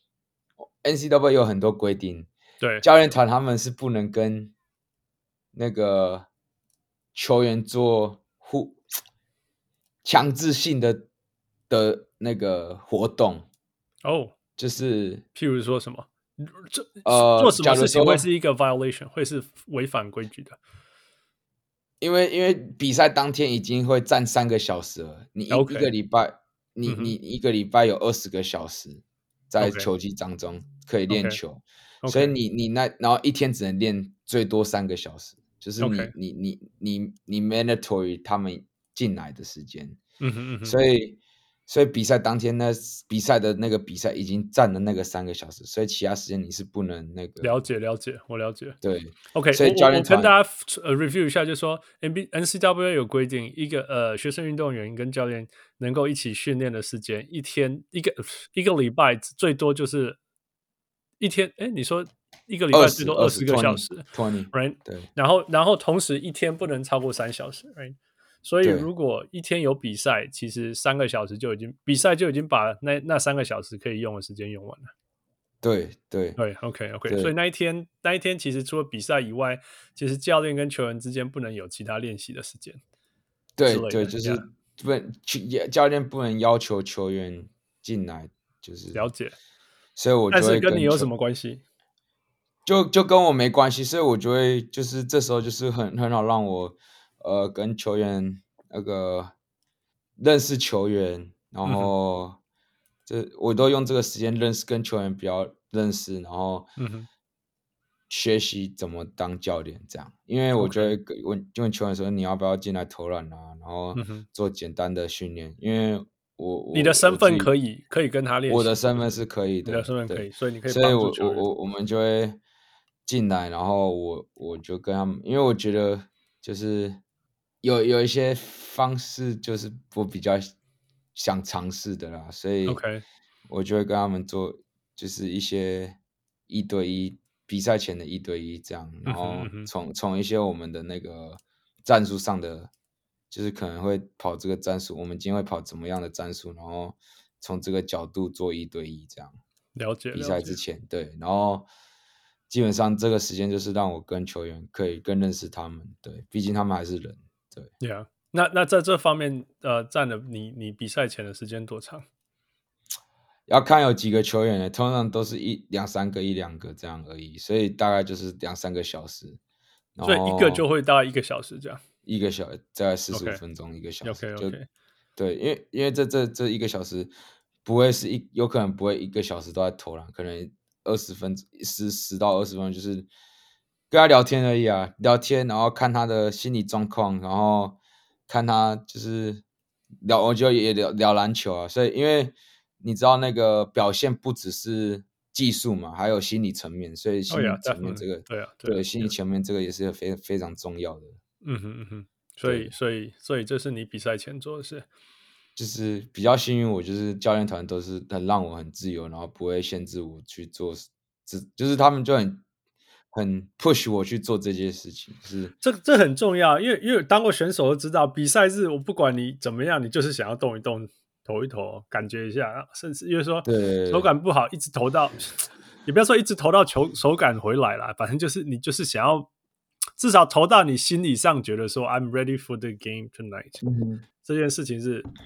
N C double A 有很多規定， 對， 教練團他們是不能跟那個球員做互強制性的的那個活動哦。Oh. 就是譬如說什麼，這呃， 做什麼事情會是一個 violation，會是違反規矩的。 因為因為比賽當天已經會站三個小時了，你一、okay. 一個禮拜，你、嗯、你一個禮拜有二十個小時在球季當中可以練球， okay. Okay. 所以你你那然後一天只能練最多三個小時，就是你、okay. 你你你你，你 mandatory 他們進來的時間， 嗯哼嗯哼， 所以。所以比賽當天呢，比賽的那個比賽已經占了那個三個小時，所以其他時間你是不能那個。 了解了解，我了解。 對 ，OK， 所以教練團我，我跟大家呃 review 一下，就是說 N B N C double A 有規定，一個呃學生運動員跟教練能夠一起訓練的時間，一天一個一個禮拜最多就是一天，哎，你說一個禮拜最多二十個小時 ，right？ 對， 然後然後同時一天不能超過三小時 ，right？所以，如果一天有比賽，其實三個小時就已經比賽就已經把那那三個小時可以用的時間用完了。 對對對 ，OK OK。所以那一天那一天其實除了比賽以外，其實教練跟球員之間不能有其他練習的時間。 對對，就是不能教練不能要求球員進來，就是了解。 所以我就會跟， 但是跟你有什麼關係？ 就就跟我沒關係，所以我就會就是這時候就是很很好讓我。呃，跟球員那個認識球員，然後這、嗯、我都用這個時間認識跟球員比較認識，然後學習怎麼當教練這樣。因為我覺得問問球員說你要不要進來投籃啊，然後做簡單的訓練。因為我你的身份可以可以跟他練習， 我的身份是可以的， 你的身份可以，所以你可以所以我我我我們就會進來，然後我我就跟他們，因為我覺得就是。有有一些方式就是我比較想嘗試的啦，所以我就會跟他們做，就是一些一對一比賽前的一對一這樣，然後從從一些我們的那個戰術上的，就是可能會跑這個戰術，我們今天會跑怎麼樣的戰術，然後從這個角度做一對一這樣。 了解。 比賽之前，對，然後基本上這個時間就是讓我跟球員可以更認識他們，對，畢竟他們還是人。對，Yeah， 那那在這方面，呃，占了你你比賽前的時間多長？ 要看有幾個球員呢，通常都是一兩三個一兩個這樣而已，所以大概就是兩三個小時。 所以一個就會大概一個小時這樣。 一個小時大概四十五分鐘， okay. 一個小時。 OK OK。 對，因為因為這這這一個小時不會是一，有可能不會一個小時都在投籃，可能二十分十十到二十分鐘就是。跟他聊天而已啊，聊天，然後看他的心理狀況，然後看他就是聊，我就也聊聊籃球啊。所以，因為你知道那個表現不只是技術嘛，還有心理層面，所以心理層面這個， oh yeah, 對啊， 對，心理層面這個也是非非常重要的。 嗯哼嗯哼，所以所以所以這是你比賽前做的事。 就是比較幸運，我就是教練團都是很讓我很自由，然後不會限制我去做，只就是他們就很。很 push 我去做這件事情，是這這很重要，因為因為當過選手都知道，比賽日我不管你怎麼樣，你就是想要動一動、投一投，感覺一下，甚至因為說手感不好，一直投到，你不要說一直投到球手感回來啦，反正就是你就是想要至少投到你心理上覺得說 I'm ready for the game tonight，、嗯、這件事情是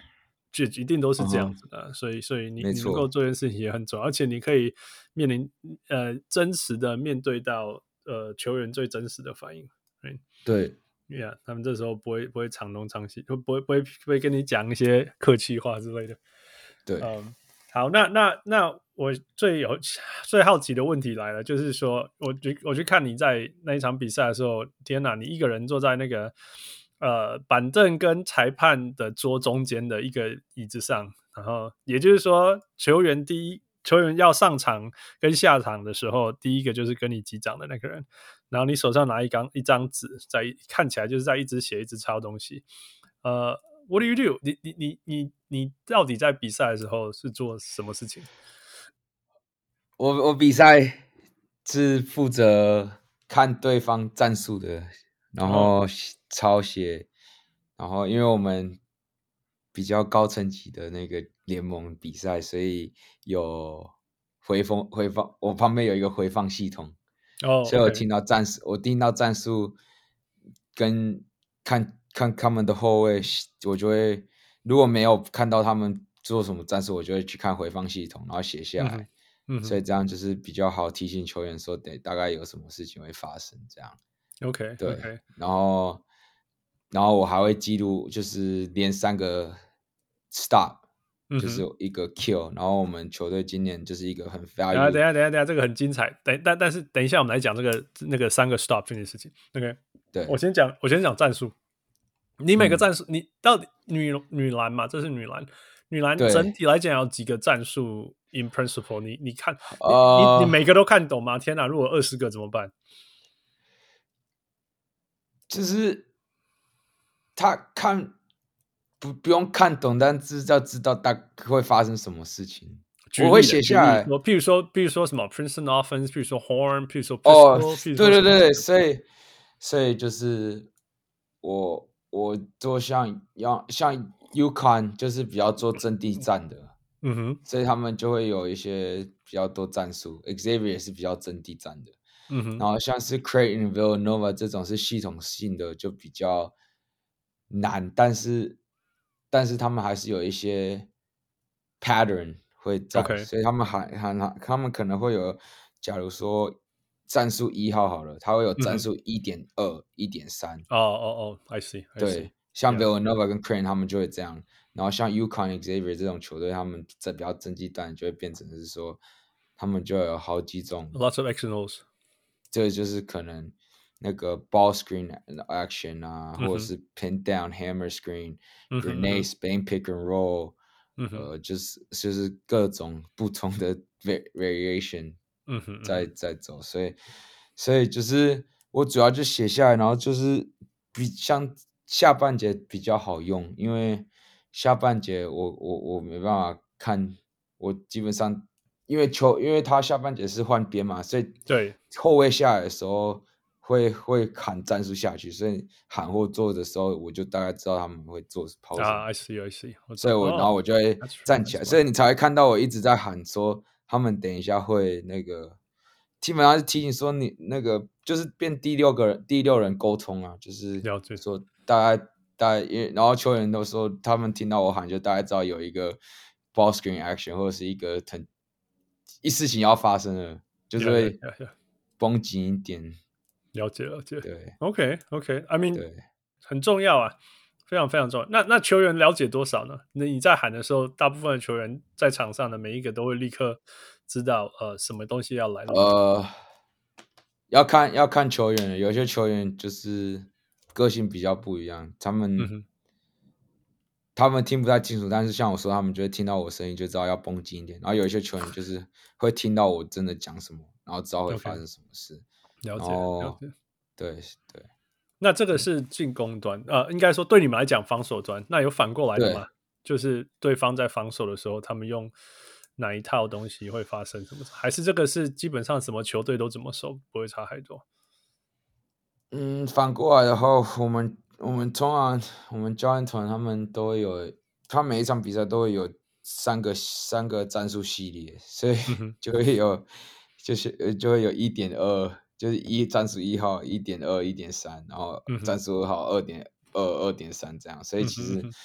就一定都是這樣子的，嗯、所以所以你你能夠做這件事情也很重要，而且你可以面臨呃真實的面對到呃球員最真實的反應， 對。 Yeah, 他們這時候不會不會長東長西，不會不會不會跟你講一些客氣話之類的。 對， 嗯，好，那那那我最有最好奇的問題來了，就是說，我去我去看你在那一場比賽的時候，天哪，你一個人坐在那個呃板凳跟裁判的桌中間的一個椅子上，然後也就是說，球員第一球員要上場跟下場的時候，第一個就是跟你擊掌的那個人。然後你手上拿一張一張紙，在看起來就是在一直寫一直抄東西。呃、uh, ，What do you do？ 你你你你你到底在比賽的時候是做什麼事情？ 我我比賽是負責看對方戰術的，然後抄寫，然後因為我們比較高層級的那個聯盟比賽，所以有回放回放，我旁邊有一個回放系統。 哦， oh, 所以我聽到戰術，okay. 我聽到戰術跟看看他們的後衛，我就會如果沒有看到他們做什麼戰術，我就會去看回放系統，然後寫下來。嗯，嗯，所以這樣就是比較好提醒球員說，得大概有什麼事情會發生這樣。 OK， 對 ，okay. 然後然後我還會記錄，就是連三個 stop。就是一個 kill，、嗯、然後我們球隊今年就是一個很 value。 等一下，等一下，等一下，這個很精彩。等，但但是等一下，我們來講這個那個三個 stop 這件事情。OK， 對， 我先講，我先講戰術。你每個戰術，嗯、你到底女女籃嘛？這是女籃，女籃整體來講有幾個戰術 in principle？你你看，呃、你你每個都看懂嗎？天哪，如果二十個怎麼辦？ 就是他看。不不用看懂，但是要知道大概會發生什麼事情。我會寫下來。 我譬如說，譬如說什麼 Princeton Offense，譬如說 Horn， 譬如說 Pistol， 哦，對對對，所以所以就是我我做像要像 UConn 就是比較做陣地戰的， 嗯哼， 所以他們就會有一些比較多戰術。Xavier 也是比較陣地戰的，嗯哼，然後像是 Creighton、Villanova 這種是系統性的，就比較難，但是。但是他們還是有一些 pattern 會在，okay. 所以他們還還他們可能會有，假如說戰術一號好了，他會有戰術一點二、一點三。哦哦哦 ，I see，, I see. 對，像 Villanova 跟 Creighton 他們就會這樣，然後像 UConn、Xavier 這種球隊，他們在比較爭擊戰就會變成是說，他們就有好幾種 ，lots of X and O's， 這就是可能。那個 ball screen action 啊，嗯、或者是 pin down hammer screen、嗯、grenade Spain pick and roll，、嗯、呃，就是就是各種不同的 variation 在、嗯、在走，所以所以就是我主要就寫下來，然後就是比像下半節比較好用，因為下半節我我我沒辦法看，我基本上因為球因為他下半節是換邊嘛，所以對後衛下來的時候。會會喊戰術下去，所以喊或做的時候，我就大概知道他們會做拋什麼。 啊、uh, ，I see, I see。 所以我、oh, 然後我就會站起來，所以你才會看到我一直在喊說，他們等一下會那個，基本上是提醒說你那個就是變第六個人，第六人溝通啊，就是說大概大概，因為然後球員都說他們聽到我喊，就大概知道有一個 ball screen action 或者是一個很一事情要發生了，就是會繃緊一點。Yeah, yeah, yeah, yeah. 了解了解， 對 ，OK OK，I mean，對，很重要啊，非常非常重要。那那球員了解多少呢？那你在喊的時候，大部分的球員在場上的每一個都會立刻知道，呃，什麼東西要來了。 呃，要看要看球員，有些球員就是個性比較不一樣，他們、嗯、他們聽不太清楚，但是像我說，他們就會聽到我聲音就知道要繃緊一點。然後有一些球員就是會聽到我真的講什麼，然後知道會發生什麼事。Okay. 了解，了解， 對對。 那這個是進攻端，呃，應該說對你們來講防守端，那有反過來的嗎？就是對方在防守的時候，他們用哪一套東西會發生什麼？還是這個是基本上什麼球隊都怎麼守，不會差太多？ 嗯，反過來的話，我們我們通常我們教練團他們都會有，他每一場比賽都會有三個三個戰術系列，所以就會有、嗯、就是就會有一點二。就是一戰術一號一點二一點三，然後戰術二號二點二二點三這樣，所以其實、嗯、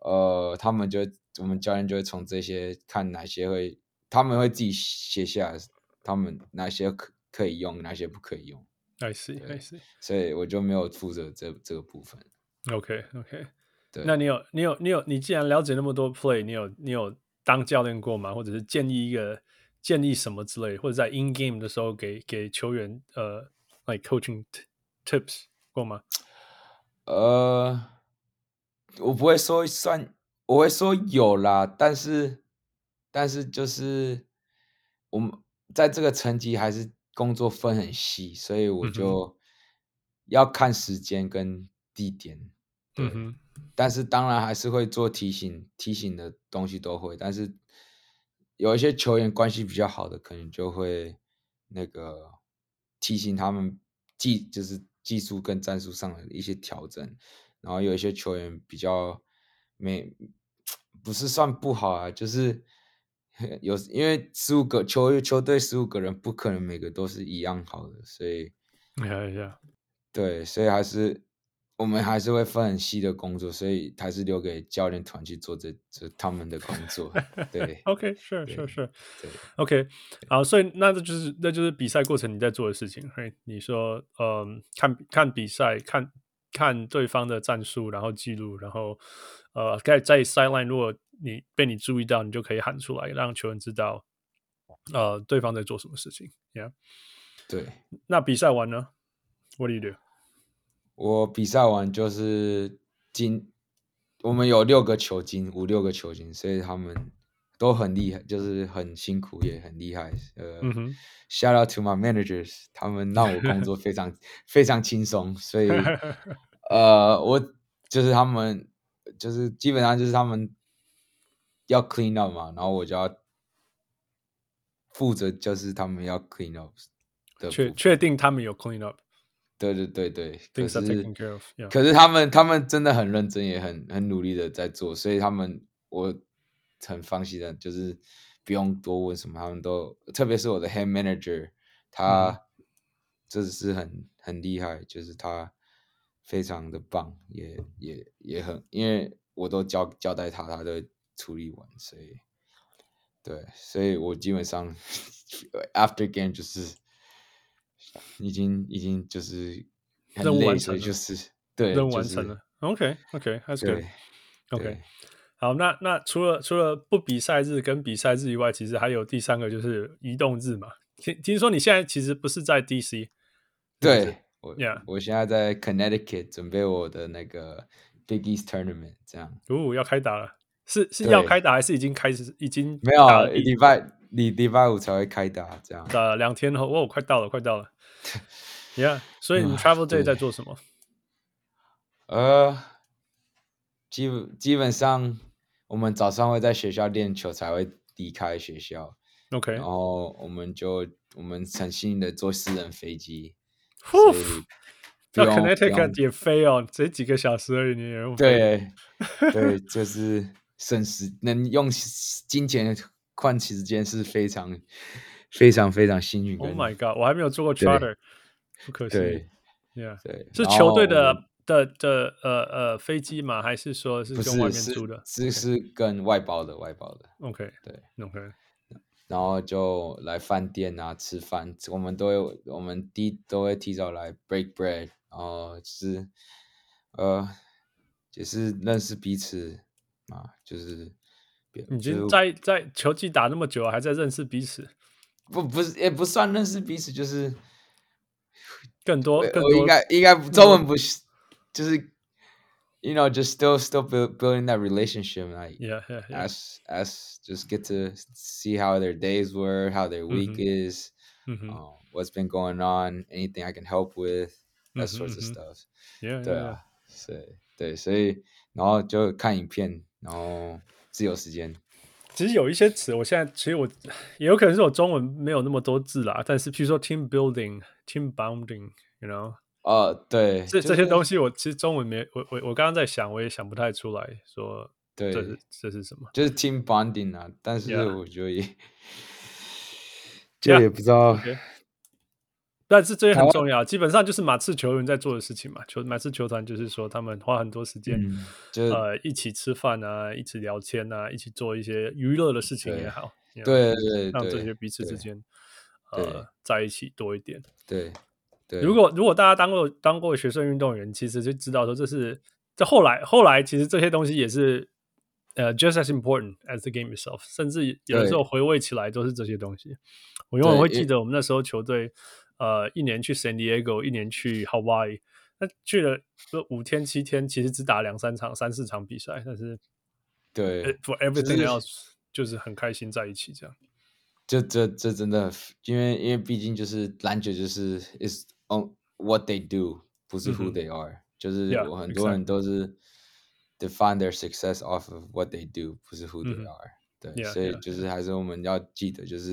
呃，他們就我們教練就會從這些看哪些會，他們會自己寫下來，他們哪些可可以用，哪些不可以用。 I see, I see. 所以我就沒有負責這這個部分。 OK, OK. 對， 那你有你有你有你既然了解那麼多 play， 你有你有當教練過嗎？或者是建議一個建議什麼之類，或者在 in game 的時候給給球員呃 like coaching tips 過嗎？ 呃，我不會說算，我會說有啦，但是但是就是我們在這個層級還是工作分很細，所以我就要看時間跟地點。對，嗯、但是當然還是會做提醒，提醒的東西都會。但是有一些球員關係比較好的，可能就會那個提醒他們技，就是技術跟戰術上的一些調整。然後有一些球員比較沒，不是算不好啊，就是有因為十五個球球隊十五個人，不可能每個都是一樣好的，所以， yeah, yeah. 對，所以還是我們還是會分很細的工作，所以還是留給教練團去做這這他們的工作。對 ，OK，是是是，對 ，OK， 好，所以那這就是那就是比賽過程你在做的事情，嘿，你說，嗯，看看比賽，看。看對方的戰術，然後記錄，然後呃，在在 sideline， 如果你被你注意到，你就可以喊出來，讓球員知道，呃，對方在做什麼事情。Yeah， 對。 那比賽完呢 ？What do you do？ 我比賽完就是金，我們有六個球金，五六個球金，所以他們都很厲害，就是很辛苦也很厲害。呃、嗯哼、，shout out to my managers， 他們讓我工作非常非常輕鬆，所以呃，我就是他們就是基本上就是他們要 clean up 嘛，然後我就要負責就是他們要 clean up 的，確確定他們有 clean up。 對對對對，可是 of, yeah. 可是他們他們真的很認真，也很很努力的在做，所以他們我很放心的，就是不用多問什麼，他們都，特別是我的 head manager， 他真的是很、嗯、很厲害，就是他非常的棒，也也也很，因為我都交交代他，他都處理完，所以對，所以我基本上 after game 就是已經已經就是很累，所以就是對任務完成了。 就是、 OK OK，That's、okay, good。OK。 對好，那那除了除了不比賽日跟比賽日以外，其實還有第三個就是移動日嘛。聽聽說你現在其實不是在 D C， 對， 是我、 yeah. 我現在在 Connecticut 準備我的那個 Big East Tournament， 這樣。 哦，要開打了，是是要開打還是已經開始？已經沒有，禮拜禮禮拜五才會開打，這樣。 打兩天後，哦，快到了，快到了。Yeah， 所以你 Travel Day 在做什麼？ 呃，基本基本上。我們早上會在學校練球，才會離開學校。 OK， 然後我們就我們很幸運的坐私人飛機。 呼，到 Connecticut 也飛哦，這幾個小時而已，你也用飛。 對對，就是省時，能用金錢換時間是非常非常非常幸運。 Oh my god， 我還沒有坐過 charter， 不可惜。 對 ，Yeah， 對， 是球隊的。的的呃呃飛機嗎？還是說是跟外面租的？ 是是跟外包的，外包的。 OK， 對 ，OK。 然後就來飯店啊吃飯，我們都會我們提都會提早來 break bread， 然後就是呃也是認識彼此啊，就是已經在在球季打那麼久，還在認識彼此？ 不不是也不算認識彼此，就是更多更多我應該應該中文不是。就是 you know, just still still build, building that relationship, like yeah, yeah, yeah. as as just get to see how their days were, how their week mm-hmm. is, mm-hmm. Uh, what's been going on, anything I can help with, that mm-hmm, sorts of mm-hmm. stuff. Yeah, 對啊，所以對，所以然後就看影片，然後自由時間。 其實有一些詞，我現在其實我也有可能是我中文沒有那麼多字啦，但是譬如說 team building, team bonding, you know。 哦、呃，對， 這、 就是、 這些東西我其實中文沒我我我剛剛在想，我也想不太出來說， 對， 這是這是什麼？ 就是 team bonding 啊，但是 Yeah. 我覺得也，就也不知道。 Yeah. Okay. 但是這也很重要，基本上就是馬刺球員在做的事情嘛。球馬刺球團就是說，他們花很多時間，嗯、呃，一起吃飯啊，一起聊天啊，一起做一些娛樂的事情也好， 對對對， 讓這些彼此之間呃在一起多一點。 對對， 如果如果大家當過當過學生運動員，其實就知道說這是這後來後來其實這些東西也是呃 just as important as the game itself， 甚至有的時候回味起來都是這些東西。我永遠會記得我們那時候球隊。呃，一年去 San Diego， 一年去 Hawaii， 那去了五天七天，其實只打兩三場、三四場比賽，但是對 ，for everything else 就是很開心在一起這樣。 這這這真的，因為因為畢竟就是籃球就是 is on what they do， 不是 who they are，、嗯、就是我很多人都是 define their success off of what they do， 不是 who they are、嗯。對， yeah, 所以就是還是我們要記得就是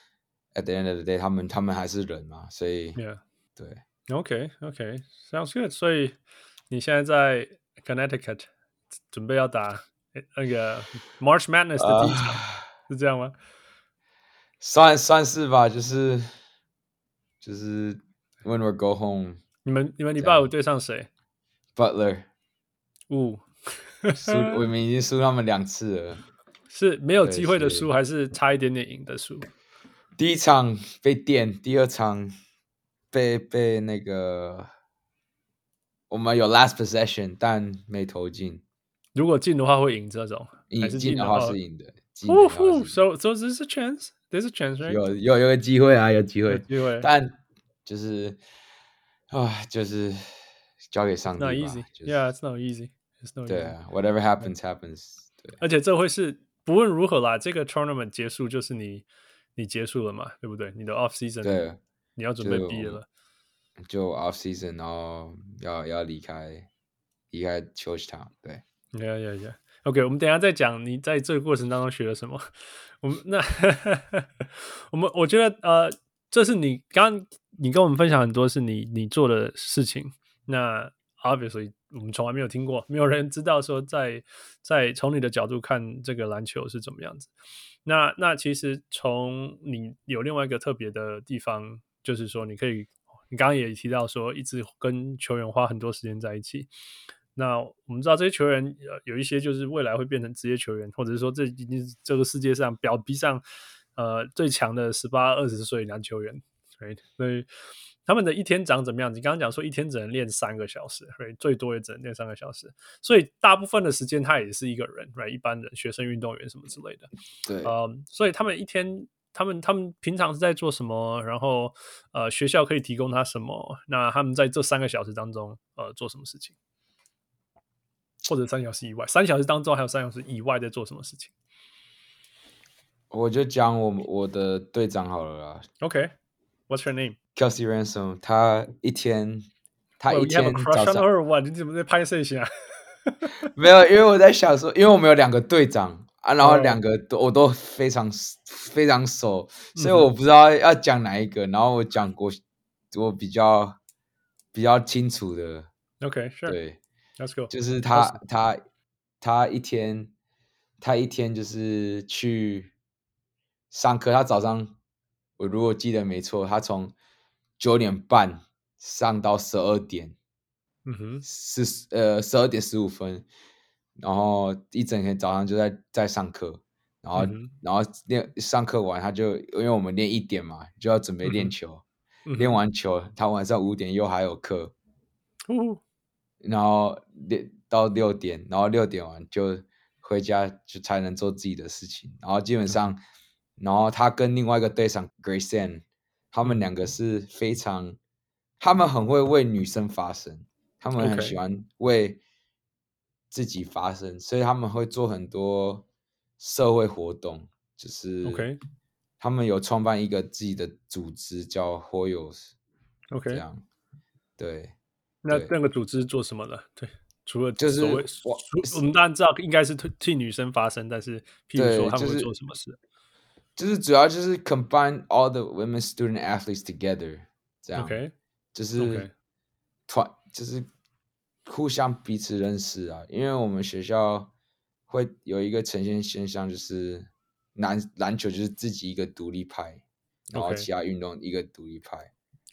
。At the end of the day， 他們他們還是人嘛，所以 yeah. 對 ，OK OK sounds good。所以你現在在 Connecticut 準備要打那個 March Madness 的第一場， uh, 是這樣嗎？ 算算是吧，就是就是 When we go home， 你們你們禮拜五對上誰 ？Butler。 五輸，我們已經輸他們兩次了， 是沒有機會的輸，還是差一點點贏的輸？ 第一場被電，第二場被被那個我們有 last possession， 但沒投進。 如果進的話會贏這種，還是進的話是贏的。 哦呼 ，so so there's a chance, there's a chance, right? 有有有個機會啊，有機會， 機會。 但就是啊，就是交給上帝吧。 Not easy, yeah, it's not easy. It's not easy. 對啊 ，whatever happens, happens。對， 而且這會是不論如何啦，這個 tournament 結束就是你。你結束了嘛？對不對？你的 off season， 對，你要準備畢業了， 就，就 off season， 然後要要離開離開 Georgetown， 對 ，yeah yeah yeah，OK， 我們等一下再講你在這個過程當中學了什麼。我們那我們我覺得呃，這是你剛剛你跟我們分享很多是你你做的事情。那 obviously 我們從來沒有聽過，沒有人知道說在在從你的角度看這個籃球是怎麼樣子。那那其實從你有另外一個特別的地方，就是說你可以，你剛剛也提到說一直跟球員花很多時間在一起。那我們知道這些球員有一些就是未來會變成職業球員，或者是說這已經是這個世界上表皮上呃最強的十八、二十歲男球員，對，所以他們的一天長怎麼樣？你剛剛講說一天只能練三個小時，對，最多也只能練三個小時，所以大部分的時間他也是一個人，對，一般人、學生運動員什麼之類的， 對， 嗯，所以他們一天，他們他們平常是在做什麼？然後呃，學校可以提供他什麼？那他們在這三個小時當中，呃，做什麼事情？或者三小時以外，三小時當中還有三小時以外在做什麼事情？ 我就講我我的隊長好了啦。 OK，What's your name？ Kelsey Ransom， 他一天，他一天早上， 哇，你怎麼在拍攝一下？ 沒有，因為我在想說，因為我們有兩個隊長啊，然後兩個都、oh. 我都非常非常熟，所以我不知道要講哪一個。然後我講過我比較比較清楚的。 OK，sure，、okay, 對 ，Let's go。 就是他他他一天他一天就是去上課，他早上我如果記得沒錯，他從九點半上到十二點， 嗯哼， 是呃十二點十五分，然後一整天早上就在在上課，然後、嗯、然後練上課完他就因為我們練一點嘛，就要準備練球，嗯、練完球他晚上五點又還有課， 嗯、 然後練到六點，然後六點完就回家就才能做自己的事情，然後基本上，嗯、然後他跟另外一個隊長 Grayson。他們兩個是非常，他們很會為女生發聲，他們很喜歡為自己發聲， okay. 所以他們會做很多社會活動，就是 OK， 他們有創辦一個自己的組織叫 Hoyos，OK， 這樣，對， 那那個組織做什麼的？對，除了就是我， 我們當然知道應該是替女生發聲，但是譬如說他們會做什麼事？ 就是主要就是 combine all the women student athletes together， 這樣，okay. 就是團，okay. 就是互相彼此認識啊。因為我們學校會有一個呈現現象，就是籃籃球就是自己一個獨立派，然後其他運動一個獨立派，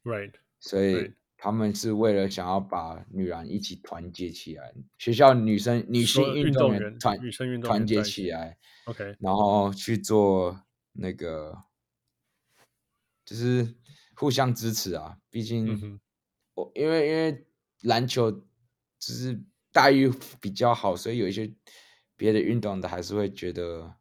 ，right， 所以 right. 他們是為了想要把女籃一起團結起來，學校女生女性運動員團女生運動員團結起來 ，OK， 然後去做那個，就是互相支持啊。畢竟我、嗯、因為因為籃球就是待遇比較好，所以有一些別的運動的還是會覺得，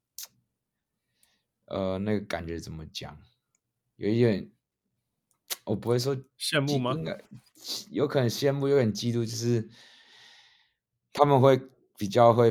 呃，那個感覺怎麼講，有一點。我不會說羨慕嗎？ 應該有可能羨慕，有點嫉妒，就是他們會比較會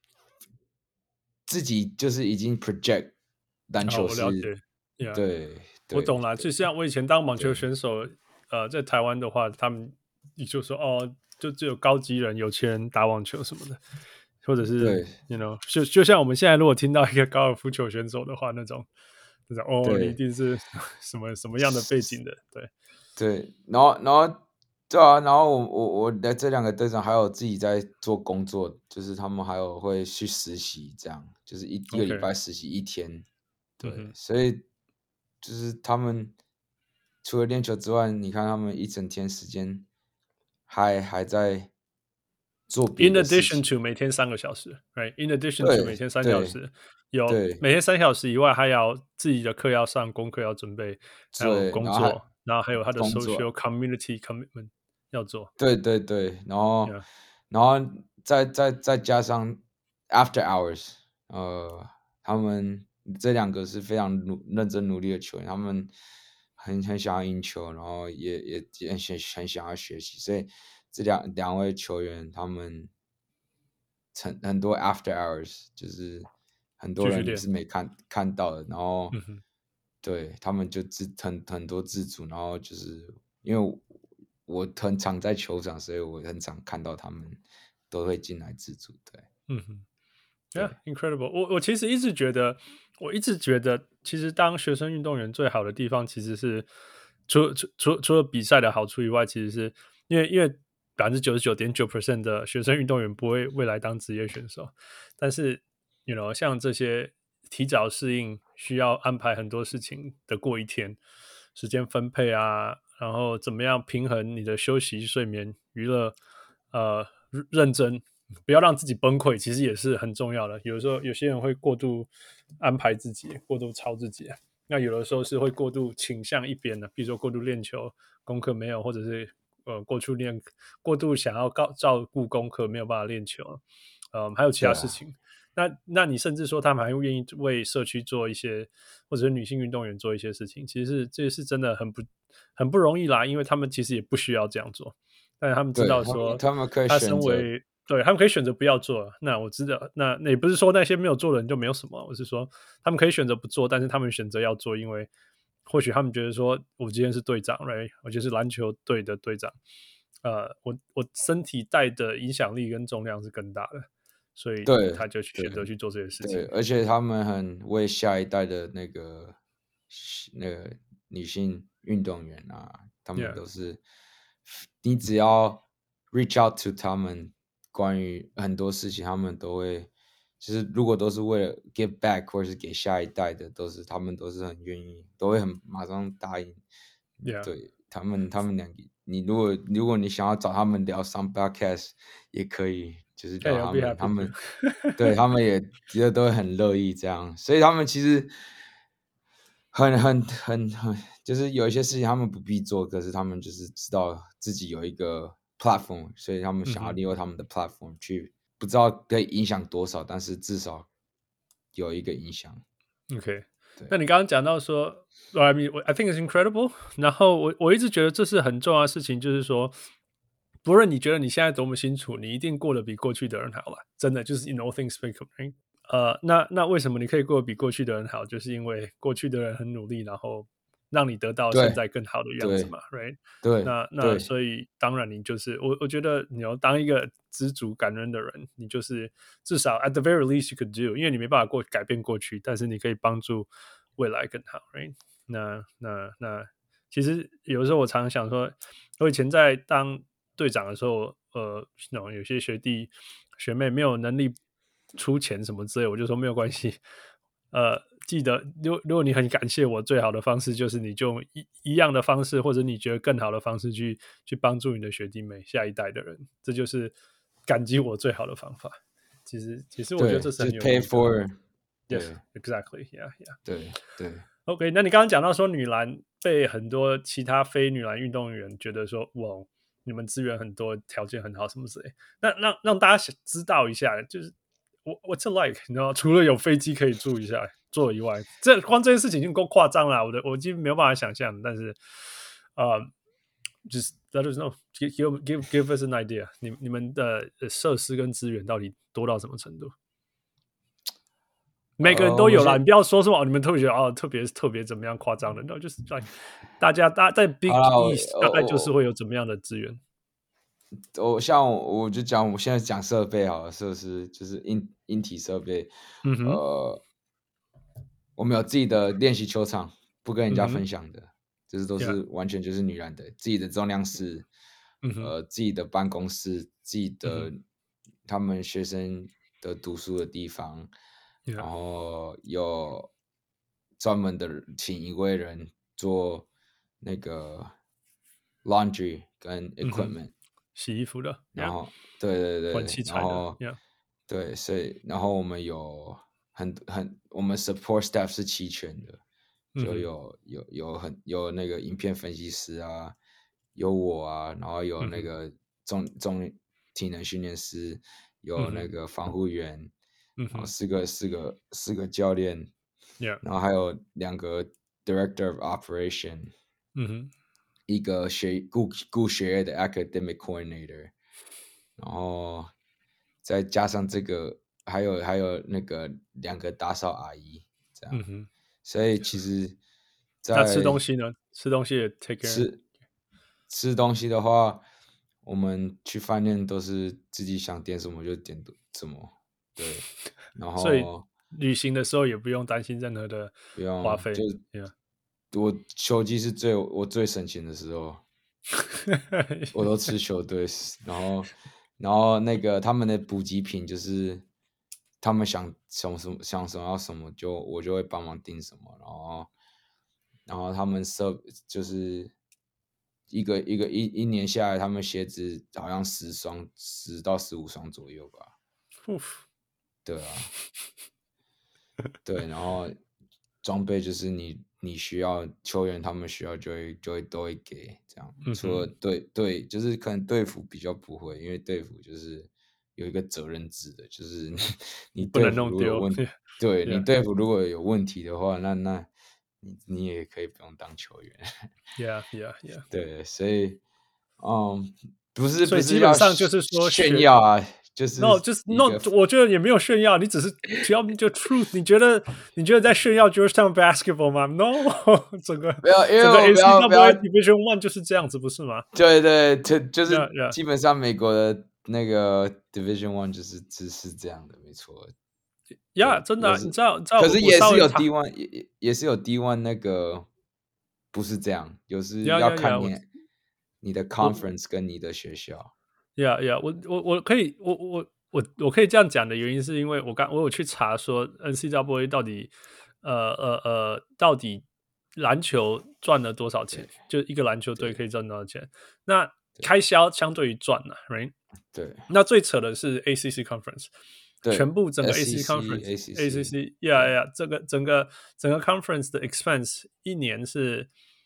自己就是已經 project 籃球是， 哦、我了解，yeah. 對，對， 我懂了。就像我以前當網球選手，呃，在台灣的話，他們你就說哦，就只有高級人、有錢人打網球什麼的，或者是對，you know，就就像我們現在如果聽到一個高爾夫球選手的話，那種。哦，你一定是什麼什麼樣的背景的？對對，然後然後對啊，然後我我我的這兩個隊長還有自己在做工作，就是他們還有會去實習，這樣就是一一個禮拜實習一天。Okay. 對、嗯，所以就是他們除了練球之外，你看他們一整天時間還還在做別的事情。 In addition to 每天三個小時 ，right？In addition to 每天三小時。有每天三小時以外，還要自己的課要上，功課要準備，還有工作，然後，然後還有他的 social community commitment 要做。對對對，然後、yeah. 然後再再再加上 after hours， 呃，他們這兩個是非常努認真努力的球員，他們很很想要贏球，然後也也也很很想要學習，所以這兩兩位球員他們很很多 after hours 就是。很多人是沒看看到的，然後、嗯、對他們就自很很多自主，然後就是因為我，我很常在球場，所以我很常看到他們都會進來自主。對， 嗯哼 ，Yeah, incredible 我。我我其實一直覺得，我一直覺得，其實當學生運動員最好的地方，其實是除除除除了比賽的好處以外，其實是因為因為百分之九十九點九 percent 的學生運動員不會未來當職業選手，但是。You know, 像這些提早適應需要安排很多事情的過一天，時間分配啊，然後怎麼樣平衡你的休息、睡眠、娛樂，呃，認真，不要讓自己崩潰，其實也是很重要的。有的時候有些人會過度安排自己，過度操自己，那有的時候是會過度傾向一邊的，比如說過度練球，功課沒有，或者是呃過度練，過度想要照顧功課，沒有辦法練球，呃，還有其他事情。那那你甚至說他們還會願意為社區做一些，或者是女性運動員做一些事情，其實是這是真的很不很不容易啦，因為他們其實也不需要這樣做，但是他們知道說他們可以選擇，他身為對他們可以選擇不要做。那我知道，那那也不是說那些沒有做的人就沒有什麼，我是說他們可以選擇不做，但是他們選擇要做，因為或許他們覺得說我今天是隊長 right？ 我就是籃球隊的隊長，呃，我我身體帶的影響力跟重量是更大的。所以他就選擇去做這些事情。 對，而且他們很為下一代的那個那個女性運動員啊，他們都是、yeah. 你只要 reach out to 他們，關於很多事情，他們都會，其實如果都是為了 give back 或者是給下一代的，都是他們都是很願意，都會很馬上答應。 Yeah. 對他們，他們兩個，你如果如果你想要找他們聊上 podcast 也可以。就是叫他們， hey, 他們對他們也覺得都會很樂意這樣，所以他們其實很很很很，就是有一些事情他們不必做，可是他們就是知道自己有一個 platform， 所以他們想要利用他們的 platform 去，不知道可以影響多少，但是至少有一個影響。 OK， 那你剛剛講到說 I mean, I think it's incredible， 然後我我一直覺得這是很重要的事情，就是說。不論你覺得你現在多麼辛苦，你一定過得比過去的人好了，真的就是 in all things speak of，right? 呃，那那為什麼你可以過得比過去的人好？就是因為過去的人很努力，然後讓你得到現在更好的樣子嘛，right？ 對， 那那所以當然你就是我，我覺得你要當一個知足感恩的人，你就是至少 at the very least you could do， 因為你沒辦法過改變過去，但是你可以幫助未來更好 ，right？ 那那那其實有時候我常常想說，我以前在當隊長的時候，呃，有些學弟學妹沒有能力出錢什麼之類，我就說沒有關係， 呃，記得，如如果你很感謝我，最好的方式就是你就用一一樣的方式，或者你覺得更好的方式去去幫助你的學弟妹、下一代的人，這就是感激我最好的方法。其實，其實我覺得這是很有意義的。 Pay for Yes, exactly. Yeah, yeah. 對對。 OK， 那你剛剛講到說女籃被很多其他非女籃運動員覺得說，哇，你們資源很多，條件很好，什麼之類。那讓讓大家知道一下，就是我 What's it like？ 你知道，除了有飛機可以住一下坐以外，這光這件事情已經夠誇張了。我的我已經沒有辦法想象，但是呃，就是 let us know, give give give us an idea 你。你你們的設施跟資源到底多到什麼程度？每個人都有啦，uh, 你不要說什麼、哦、你們特別覺得哦，特別特別怎麼樣誇張的，那就是在大家大在 Big East 大概就是會有怎麼樣的資源。 我像我就講，我現在講設備好了，設施就是硬硬體設備。嗯哼，呃，我們有自己的練習球場，不跟人家分享的，嗯、就是都是完全就是女籃的，自己的重量室，嗯、呃，自己的辦公室，自己的、嗯、他們學生的讀書的地方。Yeah. 然後有專門的請一位人做那個 laundry 跟 equipment、嗯、 洗衣服的， 然後、yeah. 對對對， 換器材的， 然後、yeah. 對，所以然後我們有很很我們 support staff 是齊全的，就有、嗯、有有很有那個影片分析師啊，有我啊，然後有那個重重體能訓練師，有那個防護員。然後四個四個四個教練， yeah. 然後還有兩個 director of operation，、嗯、一個學顧顧學業的 academic coordinator， 然後再加上這個還有還有那個兩個打掃阿姨，這樣，嗯、所以其實在， 那吃東西呢？吃東西也 take care。 吃吃東西的話，我們去飯店都是自己想點什麼就點什麼。對，然後所以旅行的時候也不用擔心任何的花費， 就、yeah. 我球季是最我最省錢的時候，我都吃球隊，然後然後那個他們的補給品就是他們想想什麼想什麼要什麼就我就會幫忙訂什麼，然後然後他們設就是一個一個一一年下來，他們鞋子好像十雙十到十五雙左右吧。對啊，對，然後裝備就是你你需要球員他們需要就會就會都會給這樣，嗯、除了隊隊就是可能隊服比較不會，因為隊服就是有一個責任制的，就是你隊服如果有問題，對你隊服如果有問題的話，那那你你也可以不用當球員。 Yeah, yeah, yeah. 對，所以嗯，不是所以基本上就是說炫耀啊。就是 no， 就是 no， 我覺得也沒有炫耀，你只是只要就 truth， 你覺得你覺得在炫耀 Georgetown basketball 嗎 ？No， 整個沒有，因為整個 N C double A Division One 就是這樣子，不是嗎？ 對對，就就是基本上美國的那個 Division One 就是只是這樣的，沒錯。 呀、yeah, ，真的、啊，你知道，你知道， 可是也是有 D One， 也也是有 D One 那個不是這樣，有時要看你 yeah, yeah, yeah, 你的 conference 跟你的學校。 呀、yeah, 呀、yeah, ，我我我可以，我我我我可以這樣講的原因是因為我剛我有去查說 N C double A 到底呃呃呃到底籃球賺了多少錢，就一個籃球隊可以賺多少錢？那開銷相對於賺了 ，right？ 對。那最扯的是 A C C Conference， 全部整個 A C C Conference，A C C，yeah yeah， 這個整個整個 Conference 的 expense 一年是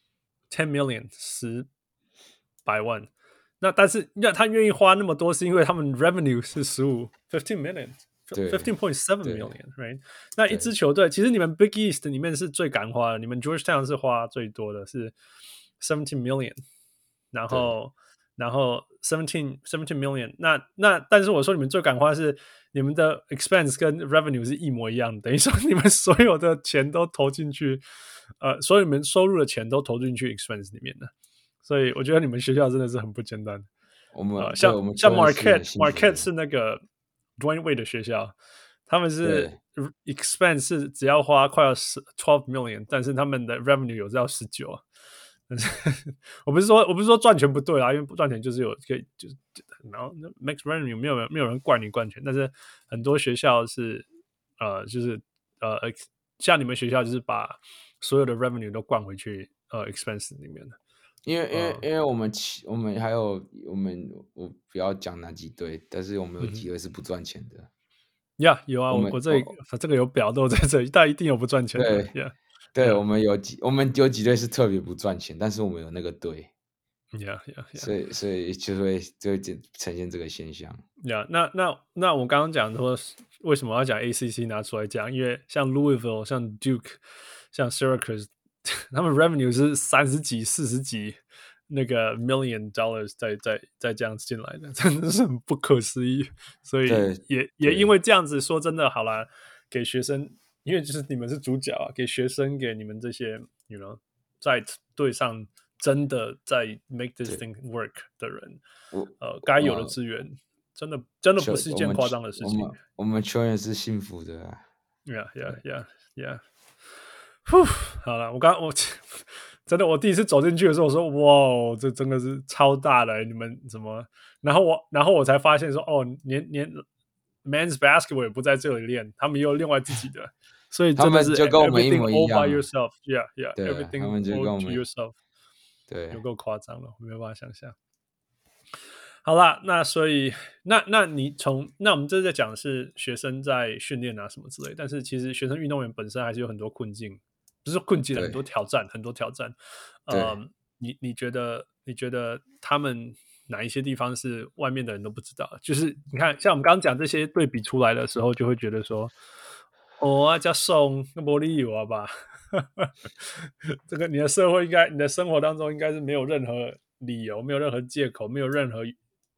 ten million 十百萬。那但是那他願意花那麼多，是因為他們 revenue 是十五 fifteen million fifteen point seven million right？ 那一支球隊其實你們 Big East 裡面是最敢花的，你們 Georgetown 是花最多的是 seventeen million， 然後然後 seventeen seventeen million， 那那但是我說你們最敢花的是你們的 expense 跟 revenue 是一模一樣的，等於說你們所有的錢都投進去，呃，所有你們收入的錢都投進去 expense 裡面的。所以我覺得你們學校真的是很不簡單。 我們、呃、 像我們像 Marquette Marquette 是那個 Dwayne Wade 的學校，他們是 expense 是只要花快要twelve million， 但是他們的 revenue 有到十九。但是我不是說我不是說賺錢不對啦，因為不賺錢就是有可以就是然後 max revenue 沒有人沒有人怪你賺錢，但是很多學校是呃就是呃像你們學校就是把所有的 revenue 都灌回去呃 expense 裡面的。 因為因為、呃、因為我們我們還有我們我不要講哪幾隊，但是我們有幾隊是不賺錢的。 呀、嗯 yeah, 有啊，我我這裡、哦、這個有表都在這裡，但一定有不賺錢的。 對 yeah, 對 yeah. 我們有幾我們有幾隊是特別不賺錢，但是我們有那個隊。 Yeah, yeah, yeah. 所以所以就會就會呈現這個現象。 Yeah, 那那那我剛剛講說為什麼要講 A C C 拿出來講？因為像 Louisville、像 Duke、像 Syracuse， 他們 revenue 是三十幾、四十幾那個 million dollars 在在在這樣進來的，真的是很不可思議。所以也也因為這樣子，說真的，好啦，給學生，因為就是你們是主角啊，給學生，給你們這些 you know 在隊上。真的在 make this thing work 的人，呃，該有的資源，真的真的不是一件誇張的事情。 我們，我們球員是幸福的、啊。 Yeah, yeah, yeah, yeah. 呼，好了，我剛我真的我第一次走進去的時候，我說哇，這真的是超大的，你們怎麼？然後我然後我才發現說，哦，連連 men's basketball 也不在這裡練，他們也有另外自己的，所以真的是 everything all by yourself. Yeah, yeah, everything all to yourself. 對， 有夠誇張了，我沒有辦法想象。好啦，那所以那那你從那我們這在講的是學生在訓練啊什麼之類，但是其實學生運動員本身還是有很多困境，不是困境，很多挑戰，很多挑戰。呃，你你覺得你覺得他們哪一些地方是外面的人都不知道？就是你看，像我們剛剛講這些對比出來的時候，就會覺得說，哦啊，加送那沒理由啊吧。這個你的社會應該，你的生活當中應該是沒有任何理由，沒有任何借口，沒有任何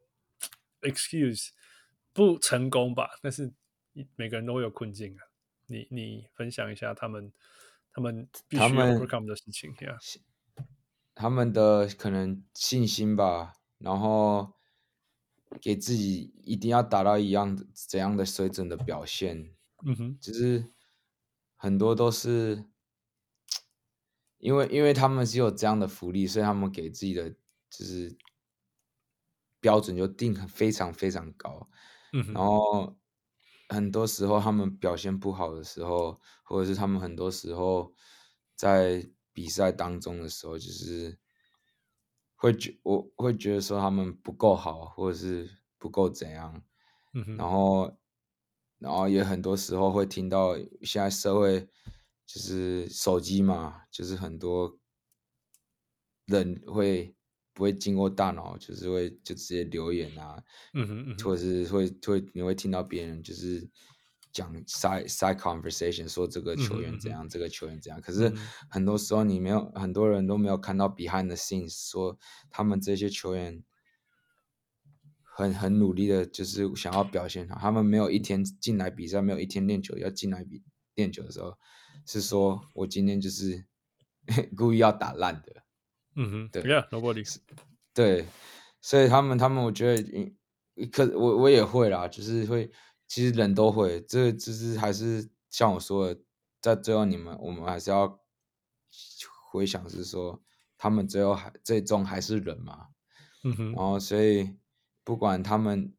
excuse 不成功吧？但是每個人都會有困境啊。你你分享一下他們他們必須 overcome 的事情呀、yeah ？ 他們的可能信心吧，然後給自己一定要達到一樣的怎樣的水準的表現。 嗯哼， 就是很多都是。因為因為他們是有這樣的福利，所以他們給自己的就是標準就定很非常非常高， 嗯哼， 然後很多時候他們表現不好的時候，或者是他們很多時候在比賽當中的時候，就是會覺我會覺得說他們不夠好，或者是不夠怎樣， 嗯哼， 然後然後也很多時候會聽到現在社會。就是手機嘛，就是很多人會不會經過大腦，就是會就直接留言啊， 嗯哼嗯哼， 或者是會會你會聽到別人就是講 side side conversation 說這個球員怎樣，嗯哼嗯哼，這個球員怎樣，可是很多時候你沒有很多人都沒有看到 behind the scenes，說他們這些球員很很努力的，就是想要表現好，他們沒有一天進來比賽，沒有一天練球要進來比練球的時候。是說我今天就是故意要打爛的， 嗯哼， 對 ，Yeah, nobody， 對，所以他們他們我覺得，可我我也會啦，就是會，其實人都會，這就是還是像我說的，在最後你們我們還是要回想是說，他們最後還最終還是人嘛， 嗯哼， 然後所以不管他們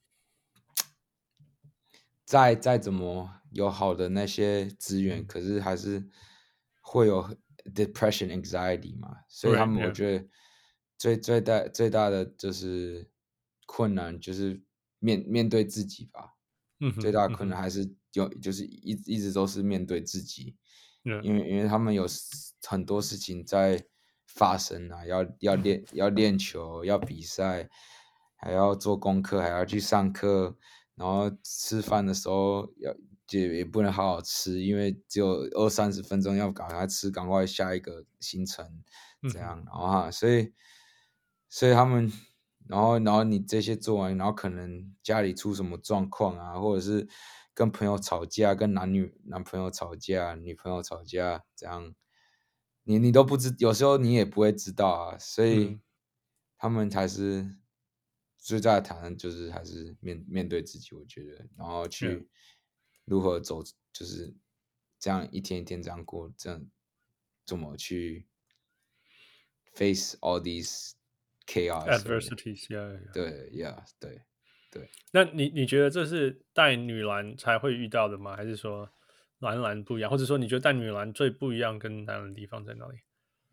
再再怎麼。有好的那些資源，嗯、可是還是會有 depression anxiety 嘛，所以他們我覺得最 Right, yeah. 最大最大的就是困難就是面面對自己吧，嗯、最大的困難還是有、嗯、就是一一直都是面對自己，Yeah. 因為因為他們有很多事情在發生啊，要要練要練球，要比賽，還要做功課，還要去上課，然後吃飯的時候要。也也不能好好吃，因為只有二三十分鐘要趕快吃，趕快下一個行程，這樣，嗯、然後哈，所以，所以他們，然後，然後你這些做完，然後可能家裡出什麼狀況啊，或者是跟朋友吵架，跟男女男朋友吵架，女朋友吵架，這樣，你你都不知，有時候你也不會知道啊，所以、嗯、他們才是最大的挑戰，就是還是面面對自己，我覺得，然後去。嗯如何走，就是這樣一天一天這樣過，這樣怎麼去 face all these chaos adversities？Yeah, yeah. 對，yeah，對，對。 那你你覺得這是帶女籃才會遇到的嗎？還是說男籃不一樣，或者說你覺得帶女籃最不一樣跟男籃的地方在哪裡？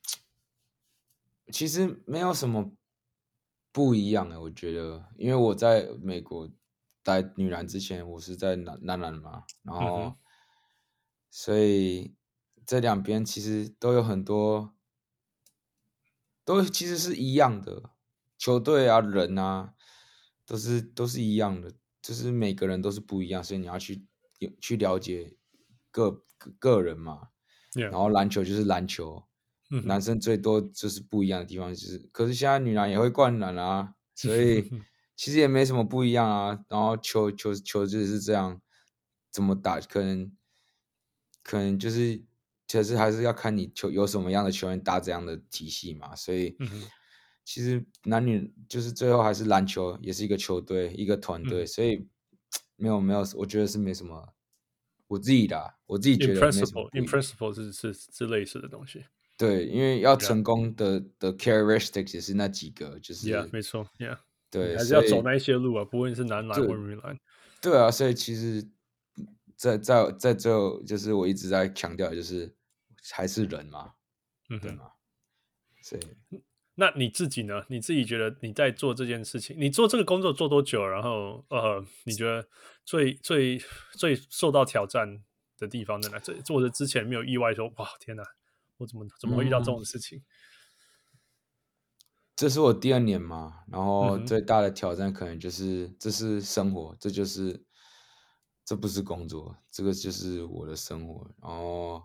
其實沒有什麼不一樣的，我覺得，因為我在美國帶女籃之前，我是在男男籃嘛，然後、嗯、所以這兩邊其實都有很多，都其實是一樣的，球隊啊、人啊，都是都是一樣的，就是每個人都是不一樣，所以你要去去了解個個個人嘛。Yeah. 然後籃球就是籃球。男生最多就是不一樣的地方，就是，可是現在女籃也會灌籃啊，所以其實也沒什麼不一樣啊。然後球球球就是這樣，怎麼打，可能可能就是其實還是要看你球有什麼樣的球員打這樣的體系嘛。所以其實男女就是最後還是籃球也是一個球隊一個團隊，所以沒有沒有，我覺得是沒什麼。我自己的、啊，我自己覺得沒什麼不一樣。 In principle 是是是類似的東西。 對，因為要成功的 yeah. 的 characteristics 也是那幾個，就是 yeah, 沒錯 yeah. 對， 還是要走那一些路啊，不論是男籃或女籃。 對啊，所以其實在，在在在最後，就是我一直在強調，就是還是人嘛，嗯，對嗎？所以， 那你自己呢？你自己覺得你在做這件事情，你做這個工作做多久？然後呃，你覺得最最最受到挑戰的地方在哪？這做的之前沒有意外說，哇，天哪！我怎麼怎麼會遇到這種事情？嗯， 這是我第二年嘛，然後最大的挑戰可能就是，嗯，這是生活，這就是這不是工作，這個就是我的生活。然後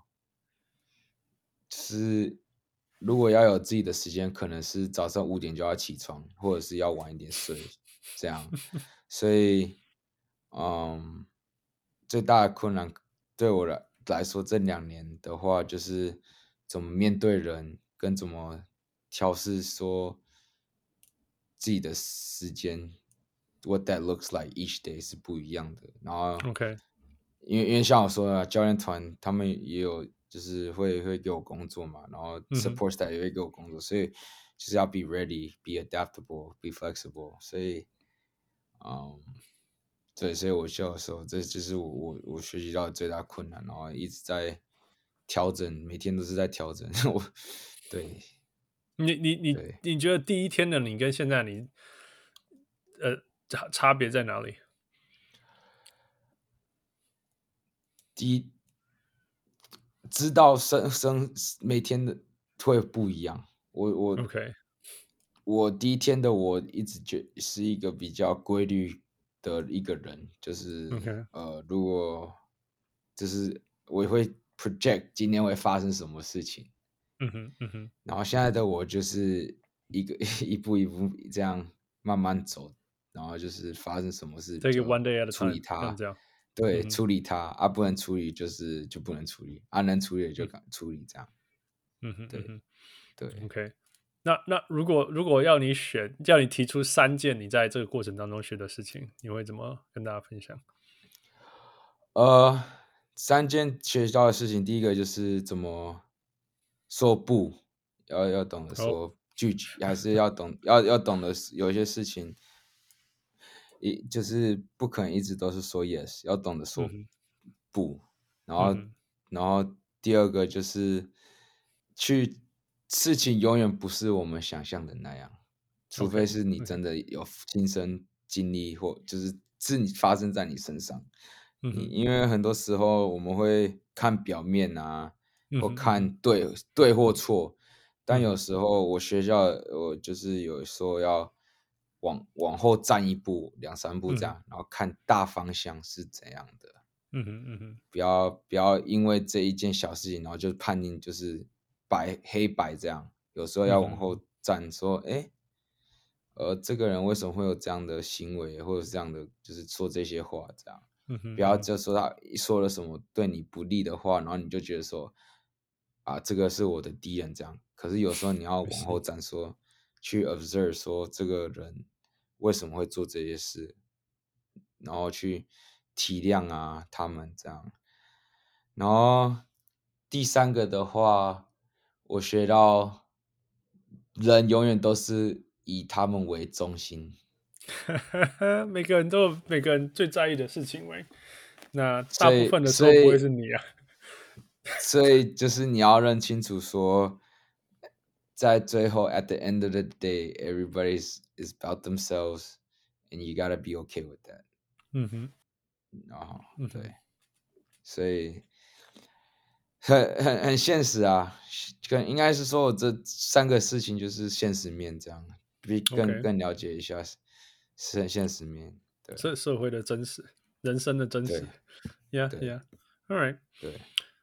就是如果要有自己的時間，可能是早上五點就要起床，或者是要晚一點睡，這樣。所以，嗯，最大的困難對我來來說，這兩年的話就是。怎麼面對人，跟怎麼調適說自己的時間 ，what that looks like each day 是不一樣的。然後，OK，因為因為像我說的，教練團他們也有就是會會給我工作嘛，然後 support staff 也會給我工作，嗯，所以就是要 be ready，be adaptable，be flexible。所以，嗯，對，所以我教的時候，這就是我我我學習到的最大困難，然後一直在。調整，每天都是在調整。我，對， 你你你你覺得第一天的你跟現在你，呃，差差別在哪裡？ 第一，知道生生每天的會不一樣。我我 OK， 我第一天的我一直覺是一個比較規律的一個人，就是、okay. 呃，如果就是我會。project 今天會發生什麼事情，嗯哼嗯哼，然後現在的我就是一個一步一步這樣慢慢走，然後就是發生什麼事就處理它，對，嗯、處理它啊，不能處理就是就不能處理啊，能處理就敢處理這樣，嗯哼，對、嗯、對 ，OK，那那如果如果要你選，叫你提出三件你在這個過程當中學的事情，你會怎麼跟大家分享？ 呃。三件學到的事情，第一個就是怎麼說不，要要懂得說拒絕，oh. 還是要懂要要懂得有一些事情，一就是不可能一直都是說 yes， 要懂得說不。Mm-hmm. 然後、mm-hmm. 然後第二個就是去事情永遠不是我們想象的那樣，除非是你真的有親身經歷或就是是你發生在你身上。因為很多時候我們會看表面啊，嗯、或看對對或錯，但有時候我學校我就是有說要往往後站一步兩三步這樣，嗯，然後看大方向是怎樣的。嗯哼嗯哼，不要不要因為這一件小事情，然後就判定就是白黑白這樣。有時候要往後站，說，哎，嗯，呃，這個人為什麼會有這樣的行為，或者是這樣的，就是說這些話這樣。嗯哼嗯，不要就說他說了什麼對你不利的話，然後你就覺得說啊，這個是我的敵人這樣。可是有時候你要往後站說，說去 observe 說這個人為什麼會做這些事，然後去體諒啊他們這樣。然後第三個的話，我學到人永遠都是以他們為中心。 每個人都有每個人最在意的事情，喂， 那大部分的時候不會是你啊。 所以就是你要認清楚說，在最後 at the end of the day, everybody is is about themselves, and you gotta be okay with that. 嗯哼， 然後、 嗯、 對，所以很很很現實啊，跟應該是說我這三個事情就是現實面這樣，比更、okay. 更了解一下是很現實面，對， 社社會的真實，人生的真實 ，Yeah Yeah, all right， 對。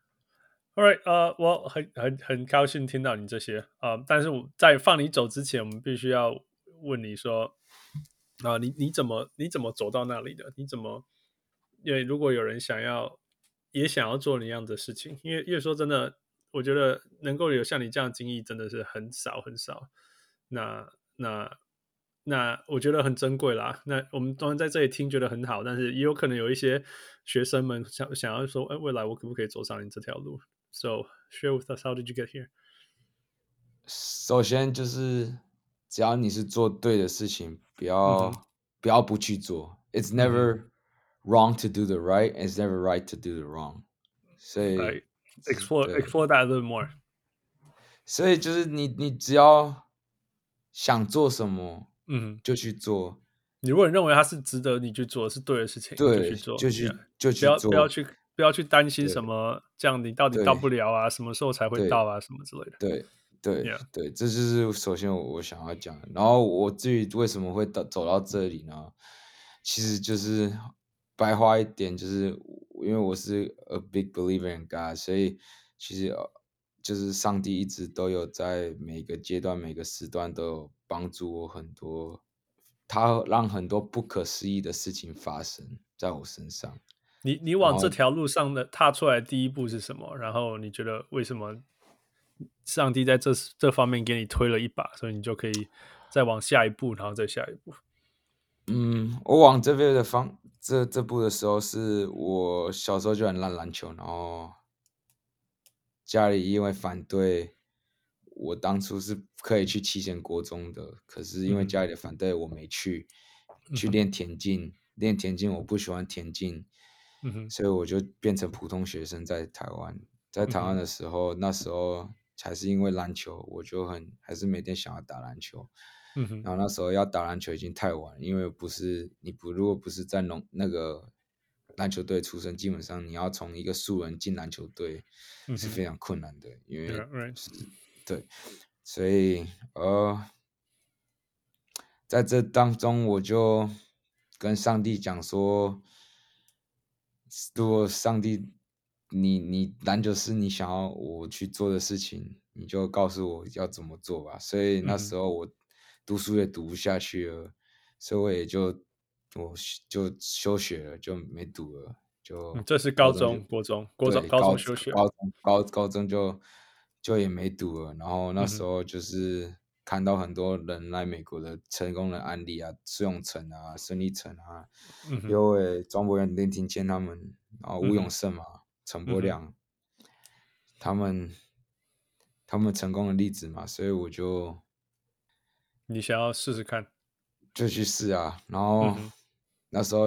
All right， 呃，我很很很高興聽到你這些啊、呃，但是我在放你走之前，我們必須要問你說，啊、呃，你你怎麼你怎麼走到那裡的？你怎麼？因為如果有人想要也想要做你一樣的事情，因為因為說真的，我覺得能夠有像你這樣的經歷真的是很少很少。那那那我覺得很珍貴啦。那我們當然在這裡聽覺得很好，但是也有可能有一些學生們想想要說，哎，未來我可不可以走上你這條路？So share with us, how did you get here? 首先就是只要你是做對的事情，不要、嗯、不要不去做。It's never、嗯、wrong to do the right, and it's never right to do the wrong. 所以 right. explore explore that a little more. 所以就是你你只要想做什麼，嗯，就去做。 你如果認為它是值得你去做，是對的事情， 對， 就去做， 就去、yeah. 就去做， 不要不要去。不要去擔心什麼，這樣你到底到不了啊？什麼時候才會到啊？什麼之類的。對對 yeah. 對，這就是首先我我想要講的。然後我至於為什麼會到走到這裡呢？其實就是白話一點，就是因為我是 a big believer in God， 所以其實就是上帝一直都有在每個階段、每個時段都有幫助我很多，他讓很多不可思議的事情發生在我身上。 你你往這條路上的踏出來的第一步是什麼？然後你覺得為什麼上帝在這這方面給你推了一把，所以你就可以再往下一步，然後再下一步？ 嗯，我往這邊的方這這步的時候，是我小時候就很爛籃球，然後家裡因為反對，我當初是可以去七賢國中的，可是因為家裡的反對，我沒去、嗯、去練田徑，練田徑我不喜歡田徑。嗯哼，所以我就變成普通學生，在台灣，在台灣的時候、嗯，那時候才是因為籃球，我就很還是每天想要打籃球。嗯哼，然後那時候要打籃球已經太晚，因為不是你不如果不是在農那個籃球隊出身，基本上你要從一個素人進籃球隊是非常困難的，嗯、因為、yeah, right. 對，所以呃，在這當中我就跟上帝講說。如果上帝，你你籃球是你想要我去做的事情，你就告訴我要怎麼做吧。所以那時候我讀書也讀不下去了，嗯、所以我也就我就休學了，就沒讀了。就、嗯、 這是高中、國中、國中、高中休學， 高中高高中就就也沒讀了。然後那時候就是看到很多人來美國的成功的案例啊，蘇永成啊，孫立成啊，有誒莊柏元、林庭謙他們，然後吳永勝嘛，陳、嗯、柏亮、嗯，他們他們成功的例子嘛，所以我就你想要試試看， 就去試啊。然後、嗯、那時候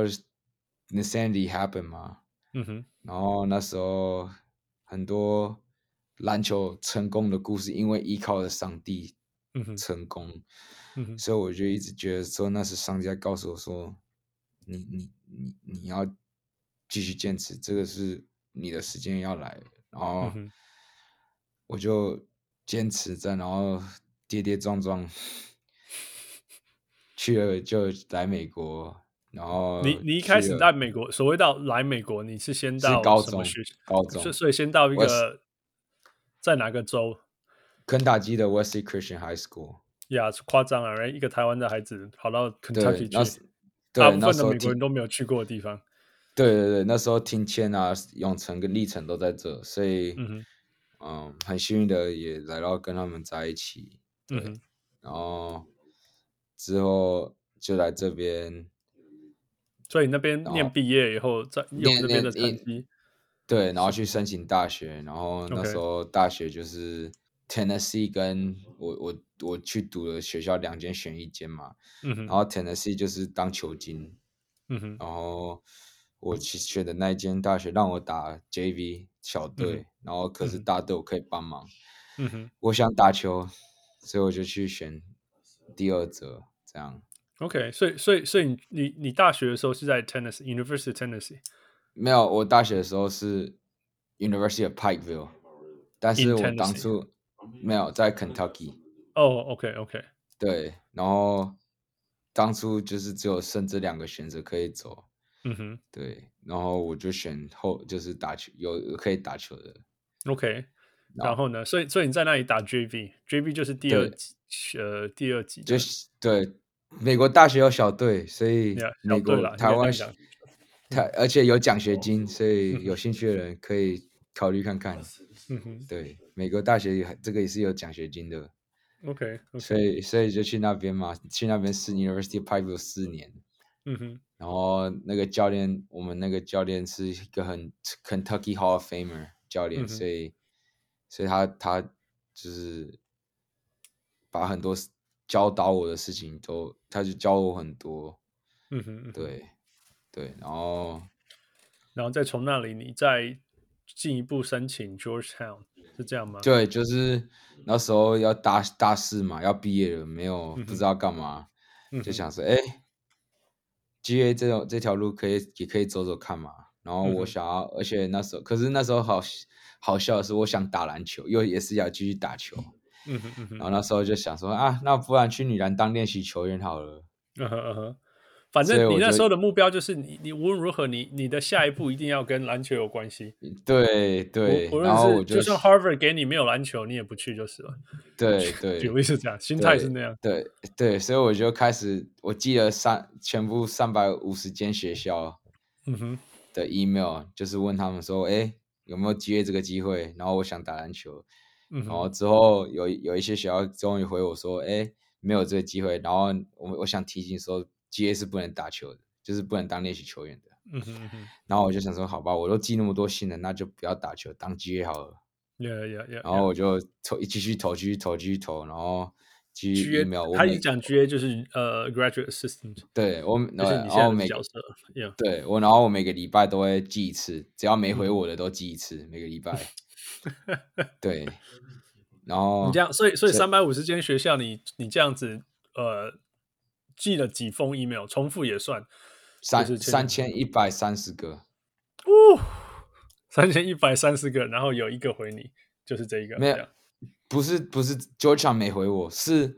Insanity happen 嘛，嗯哼，然後那時候很多籃球成功的故事，因為依靠了上帝。成功、嗯，所以我就一直覺得說那是上帝在告訴我說，你你你你要繼續堅持，這個是你的時間要來，然後我就堅持在，然後跌跌撞撞去了，就來美國，然後你你一開始在美國，所謂到來美國，你是先到高中什麼學校？ 高中， 所以所以先到一個在哪個州？ 肯塔基的 Wesley Christian High School， 呀、yeah, 誇張啊！right? 一個台灣的孩子跑到肯塔基去，大部分的美國人都沒有去過的地方。 對對對，那時候庭謙啊、永成跟立成都在這，所以嗯，嗯很幸運的也來到跟他們在一起。對，嗯、然後之後就來這邊， 所以那邊念畢業以後，在用那邊的成績， 對，然後去申請大學，然後那時候大學就是。Tennessee 跟我我我去讀的學校兩間選一間嘛，嗯、然後 Tennessee 就是當球經，嗯、然後我去選的那一間大學讓我打 J V 小隊，嗯、然後可是大隊我可以幫忙。嗯哼，我想打球，所以我就去選第二者，這樣。 OK， 所以所以所以你你你大學的時候是在 Tennessee University of Tennessee？ 沒有，我大學的時候是 University of Pikeville， 但是我當初沒有在 Kentucky。 哦、oh, ，OK OK。對， 然後當初就是只有剩這兩個選擇可以走。 嗯哼， 對，然後我就選後就是打球有有可以打球的。 OK。然後呢？所以，所以你在那裡打 J V，J V 就是第二級，呃，第二級就是對。美國大學有小隊，所以美國、yeah, 台灣台，而且有獎學金，所以有興趣的人可以考慮看看。嗯哼，對，美國大學這個也是有獎學金的。 OK，, okay. 所以所以就去那邊嘛，去那邊是 University of Pikeville 四年。嗯哼，然後那個教練，我們那個教練是一個很 Kentucky Hall of Famer 教練，嗯、所以。所以他他就是把很多教導我的事情都，他就教我很多，嗯哼，嗯哼，對對，然後然後再從那裡你再進一步申請 Georgetown 是這樣嗎？ 對，就是那時候要大大四嘛，要畢業了，沒有、嗯、不知道幹嘛，嗯、就想說，哎 ，G A 這種這條路可以也可以走走看嘛。然後我想要，嗯、而且那時候，可是那時候好好笑的是，我想打籃球，又也是要繼續打球。嗯哼嗯哼，然後那時候就想說啊，那不然去女籃當練習球員好了。嗯哼嗯哼， 反正你那時候的目標就是你，你無論如何你，你你的下一步一定要跟籃球有關係。 對對， 無然後我就，就算 Harvard 給你沒有籃球，你也不去就是了。 對對， 舉例是這樣，心態是那樣。 對 對, 對，所以我就開始，我記了三全部三百五十間學校。嗯哼。的 email 就是問他們說，哎，有沒有機會這個機會？然後我想打籃球，嗯、然後之後有有一些學校終於回我說，哎，沒有這個機會。然後我我想提醒說 ，G A 是不能打球的，就是不能當練習球員的。嗯哼嗯哼，然後我就想說，好吧，我都寄那麼多信了，那就不要打球，當 G A 好了。 Yeah, yeah, yeah, 然後我就投，繼續投，繼續投，繼續投，然後。G A, G A 他一講 G A 就是呃、uh, graduate assistant， 對我， 就是你現在的角色。 Yeah. 對我，然後我每個禮拜都會寄一次，只要沒回我的都寄一次，嗯、每個禮拜。對，然後你這樣，所以所以三百五十間學校你，你你這樣子呃寄了幾封 email， 重複也算三三千一百三十個。 哦，三千一百三十個，然後有一個回你，就是這一個。 沒有。不是不是 Georgetown 沒回我，是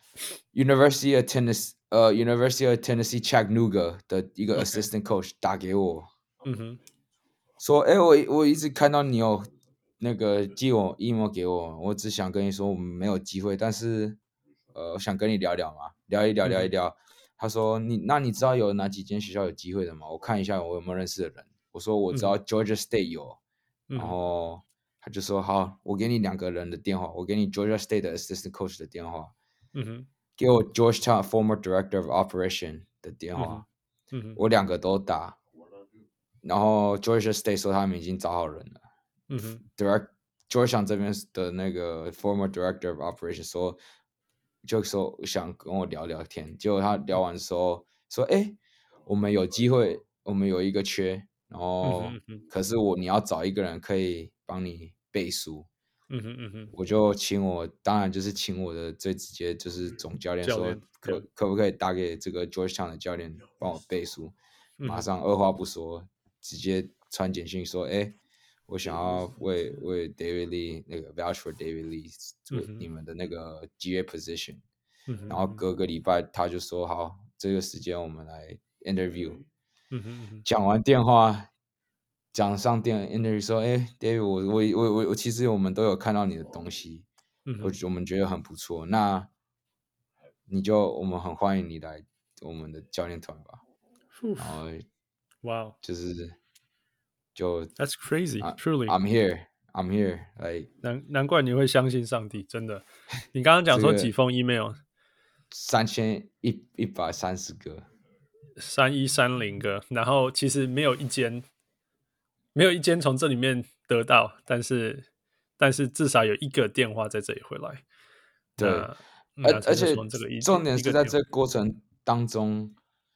University of Tennessee 呃、uh, University of Tennessee Chattanooga 的一個 assistant coach 打給我，嗯哼，說哎我我一直看到你有那個寄我 email 給我，我只想跟你說我們沒有機會，但是呃我想跟你聊聊嘛，聊一聊聊一聊。嗯、他說你那你知道有哪幾間學校有機會的嗎？我看一下我有沒有認識的人。我說我知道 Georgia State 有，嗯、然後。他就說好，我給你兩個人的電話，我給你 Georgia State 的 assistant coach 的電話，嗯哼，給我 Georgetown former director of operation 的電話，嗯哼，我兩個都打，然後 Georgia State 說他們已經找好人了，嗯哼 ，direct Georgetown 這邊的那個 former director of operation 說，就說想跟我聊聊天，結果他聊完之後說，哎，我們有機會，我們有一個缺，然後、嗯、哼哼可是我你要找一個人可以幫你背書，嗯哼嗯哼，我就請我，當然就是請我的最直接就是總教練說可可不可以打給這個 Georgetown 的教練幫我背書，嗯、馬上二話不說直接傳簡訊說，哎，我想要為為 David Lee 那個 vouch for David Lee 做你們的那個 G A position，嗯哼，然後隔個禮拜他就說好，這個時間我們來 interview，嗯哼嗯哼，講完電話。講上電 interview 說，哎 ，David，我我我我我其實我們都有看到你的東西，嗯、我我們覺得很不錯，那你就我們很歡迎你來我們的教練團吧。然後， 哇、wow. 就是就 That's crazy, truly. I'm here, I'm here. Like, 難難怪你會相信上帝，真的。你剛剛講說幾封 email？ 三千一一百三十個， 三一三零個，然後其實沒有一間。沒有一間從這裡面得到，但是但是至少有一個電話在這裡回來。 對，而而且重點是在這個過程當中，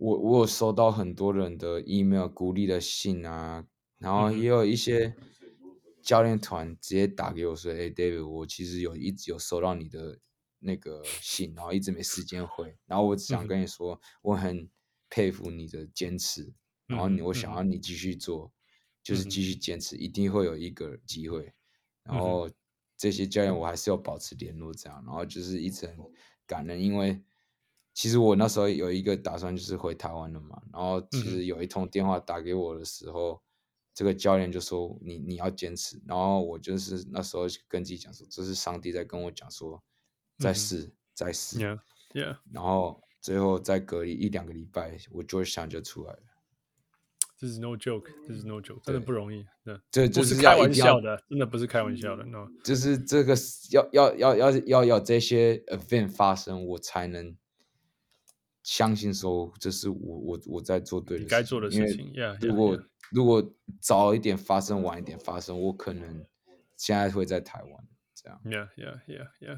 我我有收到很多人的 email 鼓勵的信啊，然後也有一些教練團直接打給我說：“哎、嗯欸、，David，我其實有一直有收到你的那個信，然後一直沒時間回，然後我只想跟你說，嗯、我很佩服你的堅持，然後你、嗯、我想要你繼續做，嗯、就是繼續堅持，嗯、一定會有一個機會。然後這些教練我還是要保持聯絡，這樣，然後就是一直很感恩，因為。”其實我那時候有一個打算，就是回台灣了嘛。然後其實有一通電話打給我的時候，嗯、這個教練就說你：“你你要堅持。”然後我就是那時候跟自己講說：“這是上帝在跟我講說，再試，嗯、再試。 Yeah, yeah. ” 然後最後再隔一兩個禮拜，我 Georgetown 就出來了。 這是 no joke，這是 no joke，真的不容易。 這不是開玩笑的，真的不是開玩笑的。No， 就是這個要要要要要有這些 event 發生，我才能。相信說這是我我我在做對的事情，該做的事情。Yeah, 如果 yeah, yeah. 如果早一點發生，晚一點發生，我可能現在會在台灣這樣。 Yeah, yeah, yeah, yeah.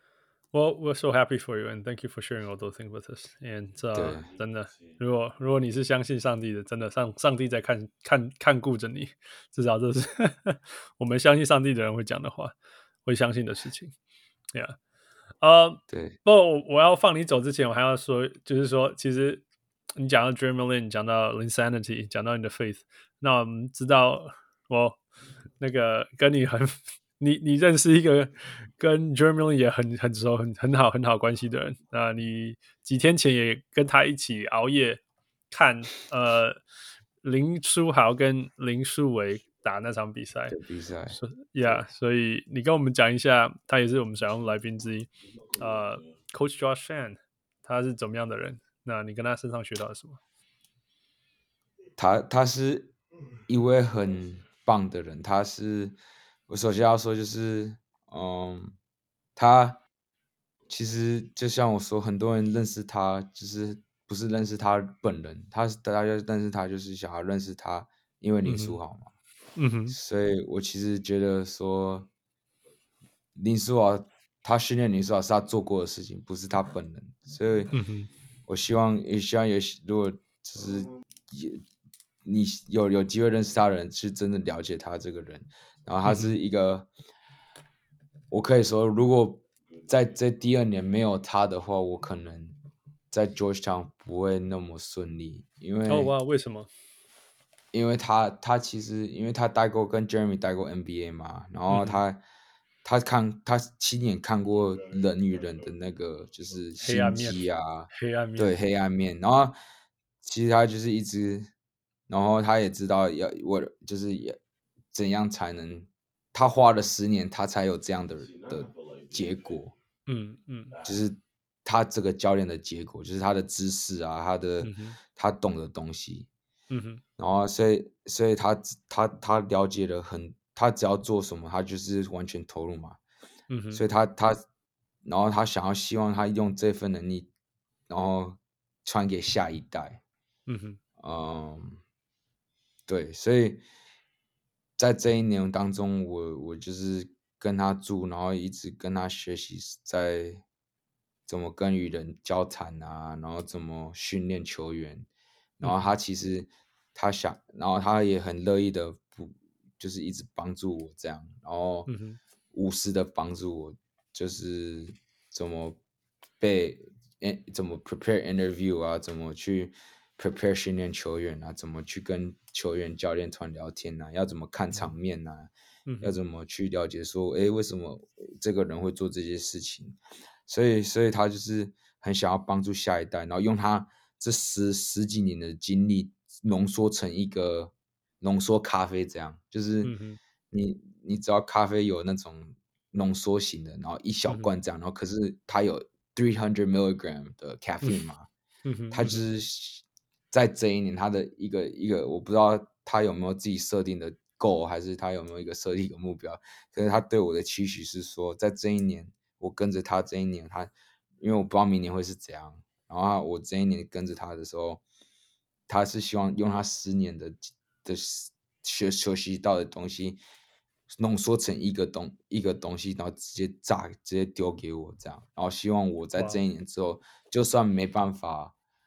Well, we're so happy for you, and thank you for sharing all those things with us. And、uh, 真的，如果如果你是相信上帝的，真的上上帝在看看看顧着你，至少這是我們相信上帝的人會講的話，會相信的事情。Yeah. 呃， uh, 對， 不，我要放你走之前，我還要說，就是說，其實你講到 Adrenaline， 講到 Insanity， 講到你的 Faith， 那我們知道，我那個跟你很，你你認識一個跟 Adrenaline 也很很熟、很很好、很好關係的人，那你幾天前也跟他一起熬夜看，呃，林書豪跟林書緯打那場比賽， 比賽 ，Yeah， 所以你跟我們講一下，他也是我們想要來賓之一，呃 ，Coach Josh Fan， 他是怎麼樣的人？那你跟他身上學到了什麼？ 他他是一位很棒的人，他是我首先要說就是，嗯，他其實就像我說，很多人認識他，就是不是認識他本人，他大家認識他就是想要認識他，因為林書豪嘛。嗯嗯哼， 所以我其實覺得說，林書豪他訓練林書豪是他做過的事情，不是他本人。所以，我希望也希望也如果就是也你有有機會認識他的人，是真的了解他這個人。然後他是一個，嗯、我可以說，如果在這第二年沒有他的話，我可能在 Georgetown 不會那麼順利，因為哦哇，為什麼？ 因為他他其實因為他待過跟 Jeremy 待過 N B A 嘛，然後他、嗯、他看他親眼看過人與人的那個就是心機啊， 黑暗面， 對黑暗面，然後其實他就是一直，然後他也知道要我就是也怎樣才能，他花了十年他才有這樣的的結果， 嗯嗯， 就是他這個教練的結果，就是他的知識啊，他的、嗯、他懂的東西。 嗯哼， 然後所以所以他他他了解了很，他只要做什麼，他就是完全投入嘛。 嗯哼， 所以他他，然後他想要希望他用這份能力，然後傳給下一代。 嗯哼， 嗯，對，所以在這一年當中，我我就是跟他住，然後一直跟他學習，在怎麼跟與人交談啊，然後怎麼訓練球員。然後他其實他想，然後他也很樂意的不，就是一直幫助我這樣，然後無私的幫助我，就是怎麼被怎麼 prepare interview 啊，怎麼去 prepare 訓練球員啊，怎麼去跟球員教練團聊天啊，要怎麼看場面啊，嗯、要怎麼去了解說，哎，為什麼這個人會做這些事情？所以，所以他就是很想要幫助下一代，然後用他。這十十幾年的經歷濃縮成一個濃縮咖啡，這樣就是你、嗯、你只要咖啡有那種濃縮型的，然後一小罐這樣，嗯、然後可是它有三百 milligram 的 caffeine 嘛，嗯、它就是在這一年它的一個一個，我不知道他有沒有自己設定的 goal，還是他有沒有一個設定一個目標，可是他對我的期許是說，在這一年我跟着他這一年他，因為我不知道明年會是怎樣。然後我這一年跟着他的時候，他是希望用他十年的的學學習到的東西濃縮成一個東一個東西，然後直接炸，直接丟給我這樣。然後希望我在這一年之後，Wow. 就算沒辦法，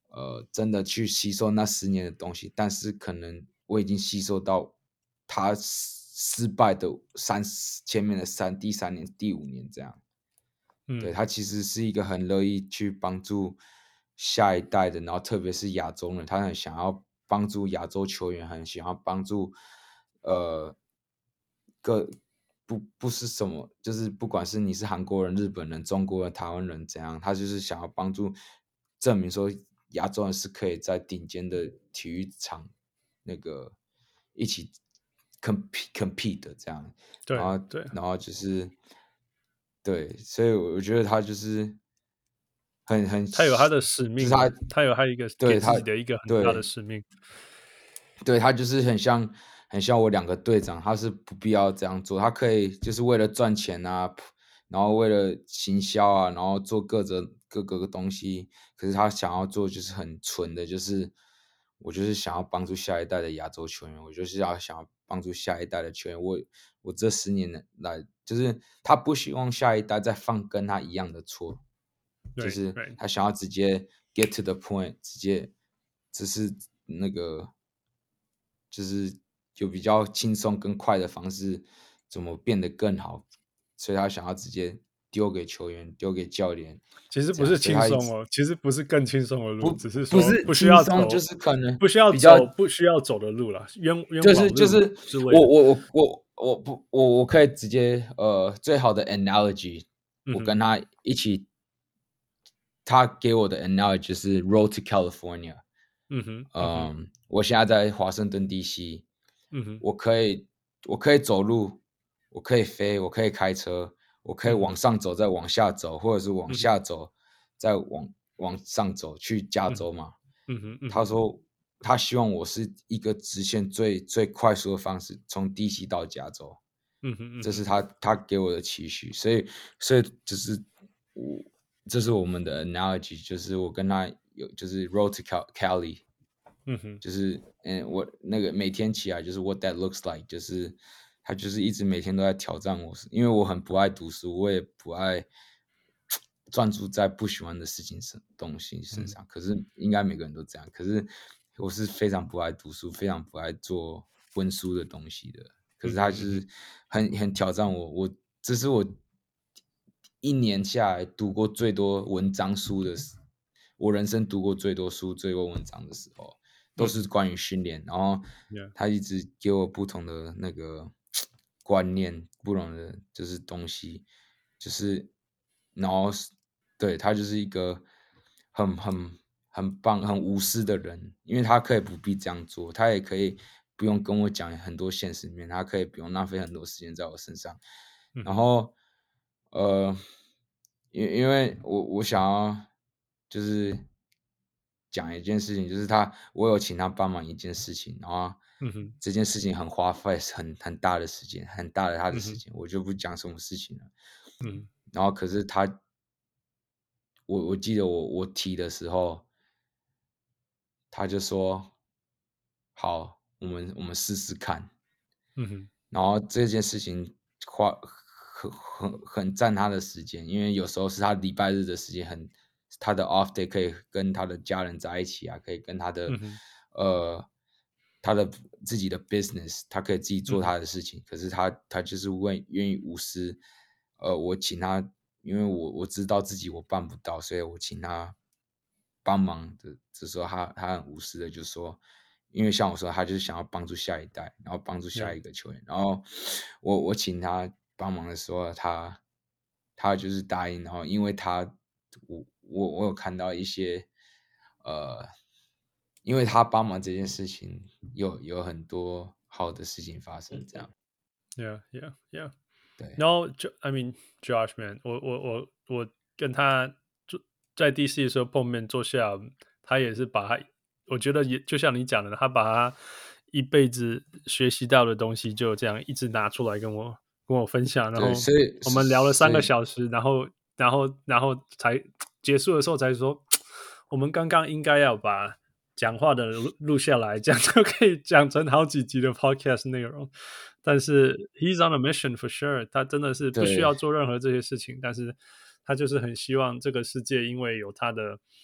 呃真的去吸收那十年的東西，但是可能我已經吸收到他失敗的三前面的三第三年第五年這樣。嗯、對，他其實是一個很樂意去幫助下一代的，然後特別是亞洲人，他很想要幫助亞洲球員，很想要幫助呃各不不是什麼，就是不管是你是韓國人、日本人、中國人、台灣人怎樣，他就是想要幫助證明說亞洲人是可以在頂尖的體育場那個一起 compete compete 的這樣， 對然後對， 然後就是。對，所以我覺得他就是很很， 他有他的使命， 就是、他他有他一個給自己的一個很大的使命。 對，對他就是很像很像我兩個隊長，他是不必要這樣做，他可以就是為了賺錢啊，然後為了行銷啊，然後做各種各個個東西。可是他想要做就是很純的，就是我就是想要幫助下一代的亞洲球員，我就是要想要幫助下一代的球員。我我這十年來。就是他不希望下一代再犯跟他一樣的錯，就是他想要直接 get to the point， 直接只是那個就是有比較輕鬆跟快的方式，怎麼變得更好，所以他想要直接丟給球員，丟給教練。 其實不是輕鬆哦，其實不是更輕鬆的路，只是說不是不需要走， 就是可能不需要走不需要走的路了，冤冤枉路就是就是我我我我。我不，我我可以直接，呃，最好的 analogy，、嗯、我跟他一起，他給我的 analogy 是 Road to California，嗯哼，嗯，嗯我現在在華盛頓 D C，嗯哼，我可以，我可以走路，我可以飛，我可以開車，我可以往上走，再往下走，或者是往下走，嗯、再往往上走去加州嘛，嗯哼，嗯他說。他希望我是一個直線最最快速的方式，從 D C 到加州，嗯哼，嗯這是他他給我的期許，所以所以就是我這是我們的 analogy，就是我跟他有就是 road to Cali， 嗯哼，就是嗯我那個每天起來就是 what that looks like， 就是他就是一直每天都在挑戰我，因為我很不愛讀書，我也不愛專注在不喜歡的事情上東西身上，嗯、可是應該每個人都這樣，可是。我是非常不愛讀書，非常不愛做溫書的東西的。可是他就是很很挑戰我，我這是我一年下來讀過最多文章書的時，我人生讀過最多書、最多文章的時候，都是關於訓練。然後他一直給我不同的那個觀念，不同的就是東西，就是然後對他就是一個很很。很棒、很無私的人，因為他可以不必這樣做，他也可以不用跟我講很多現實面，他可以不用浪費很多時間在我身上。嗯、然後，呃，因因為我我想要就是講一件事情，就是他我有請他幫忙一件事情，然後這件事情很花費很很大的時間，很大的他的時間，嗯、我就不講什麼事情了。嗯，然後可是他，我我記得我我提的時候。他就說：“好，我們我們試試看。”嗯哼。然後這件事情花很很很佔他的時間，因為有時候是他禮拜日的時間，很他的 off day 可以跟他的家人在一起啊，可以跟他的、嗯、呃他的自己的 business， 他可以自己做他的事情。嗯、可是他他就是願願意無私，呃，我請他，因為我我知道自己我辦不到，所以我請他。幫忙的，這時候他他很無私的就說，因為像我說，他就是想要幫助下一代，然後幫助下一個球員。Yeah. 然後我我請他幫忙的時候，他他就是答應。然後因為他我我我有看到一些呃，因為他幫忙這件事情有有很多好的事情發生，這樣。 Yeah, yeah, yeah. 對。 然後就 I mean Josh man，我我我我跟他。在 D C 的時候碰面坐下，他也是把他，我覺得也就像你講的，他把他一輩子學習到的東西就這樣一直拿出來跟我跟我分享，然後我們聊了三個小時，然後然後然後才結束的時候才說，我們剛剛應該要把講話的錄錄下來，這樣就可以講成好幾集的 podcast 內容。但是 he's on a mission for sure， 他真的是不需要做任何這些事情，但是。他就是很希望這個世界，因為有他的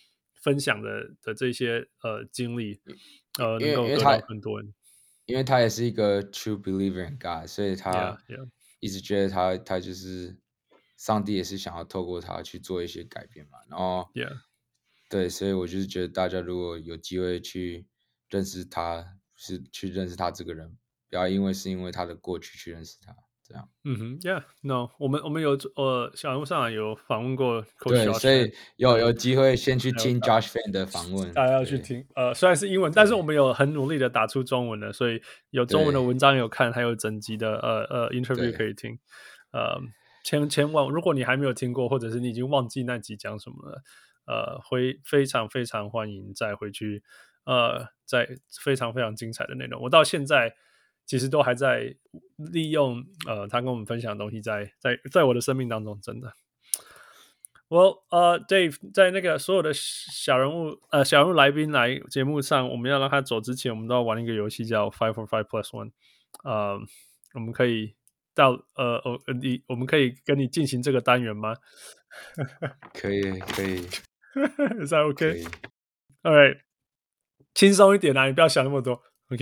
分享的的這些呃經歷，呃，能夠得到更多人。 因為他也是一個 true believer in God，所以他一直覺得他 yeah, yeah. 他就是上帝也是想要透過他去做一些改變嘛。然後，yeah. 對，所以我就是覺得大家如果有機會去認識他，是去認識他這個人，不要因為是因為他的過去去認識他。這樣， 嗯哼 ，Yeah，No， 我們我們有呃，小人物上來有訪問過 Coach， 對，所以有有機會先去聽 Josh Fan 的訪問， 大家要去聽。呃，雖然是英文，但是我們有很努力的打出中文的，所以有中文的文章有看，還有整集的呃呃 interview 可以聽。呃，千千萬，如果你還沒有聽過，或者是你已經忘記那集講什麼了，呃，會非常非常歡迎再回去，呃，在非常非常精彩的內容。我到現在。其實都還在利用呃他跟我們分享的東西在，在在在我的生命當中，真的。Well，呃、uh, ，Dave，在那個所有的小人物呃小人物來賓來節目上，我們要讓他走之前，我們都要玩一個遊戲叫 Five for Five Plus One。呃，我們可以到呃呃你我們可以跟你進行這個單元嗎？ 可以可以。 Is that okay? All right， 輕鬆一點啊，你不要想那麼多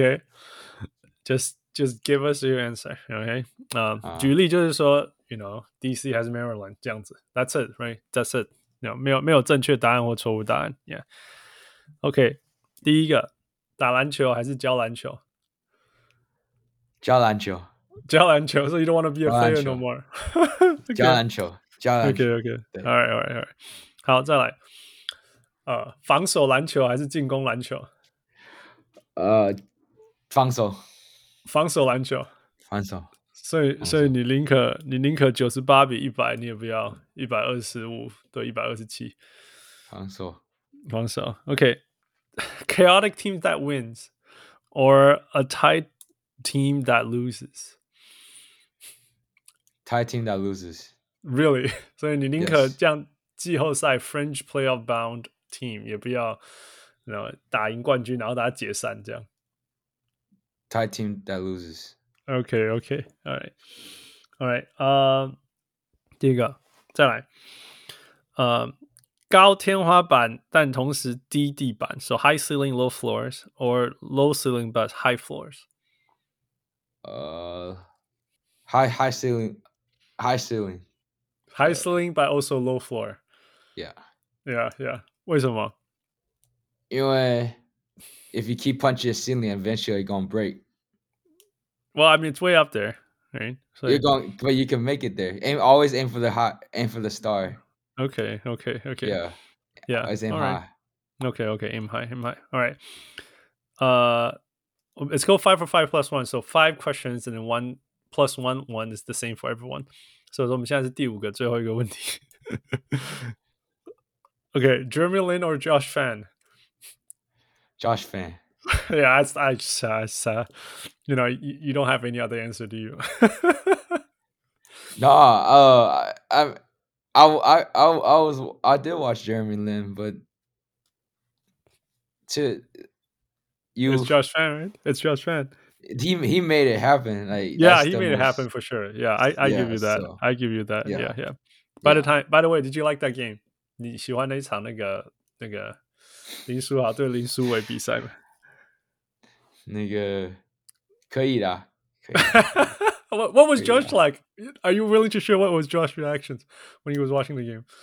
，OK？Just just give us your answer, okay? 啊、uh, ，uh, 舉例就是說 ，you know, D C has Maryland 這樣子 ，That's it, right? That's it. No, 沒有沒有正確答案或錯誤答案 ，Yeah. OK， 第一個，打籃球還是教籃球？ 教籃球， 教籃球。So you don't want to be a player no more. 教籃球，教籃球。 OK OK. All right, all right, all right. 好，再來。呃，防守籃球還是進攻籃球？ 呃，防守。 防守籃球， 防守， 所以所以你寧可你寧可九十八比一百，你也不要一百二十五對一百二十七。 防守， 防守 ，OK。Chaotic team that wins or a tight team that loses. Tight team that loses. Really？ 所以你寧可這樣季後賽 Fringe playoff bound team 也不要，然後打贏冠軍，然後大家解散這樣。 Tight team that loses. Okay, okay, all right, all right. 呃、uh, 第一個，再來，呃、uh, 高天花板但同時低地板 ，so high ceiling, low floors, or low ceiling but high floors. 呃、uh, high high ceiling, high ceiling, high ceiling but also low floor. Yeah, yeah, yeah. 為什麼？ 因為 if you keep punching your ceiling, eventually you're gonna break. Well, I mean, it's way up there, right? So you're going, but you can make it there. Aim, always aim for the high, aim for the star. Okay, okay, okay. Yeah, yeah. Always aim All high. Right. Okay, okay. Aim high, aim high. All right. Uh, let's go five for five plus one. So five questions and then one plus one, one is the same for everyone. So 我們現在是第五個，最後一個問題。Okay, Jeremy Lin or Josh Fan? Josh Fan. Yeah, I, I just, I just uh, you know, you, you don't have any other answer, do you? No, uh, I, I, I, I, I was, I did watch Jeremy Lin, but to you, it's Josh Fan, right? It's Josh Fan. He he made it happen. Like yeah, he made most... it happen for sure. Yeah, I, I yeah, give you that. So, I give you that. Yeah, yeah. yeah. By yeah. the time, by the way, did you like that game? 你喜歡那一場那個那個林書豪對林書緯比賽嗎？ 那個可以的，可以。 what, what was Josh like? Are you willing to share what was Josh's reactions when he was watching the game?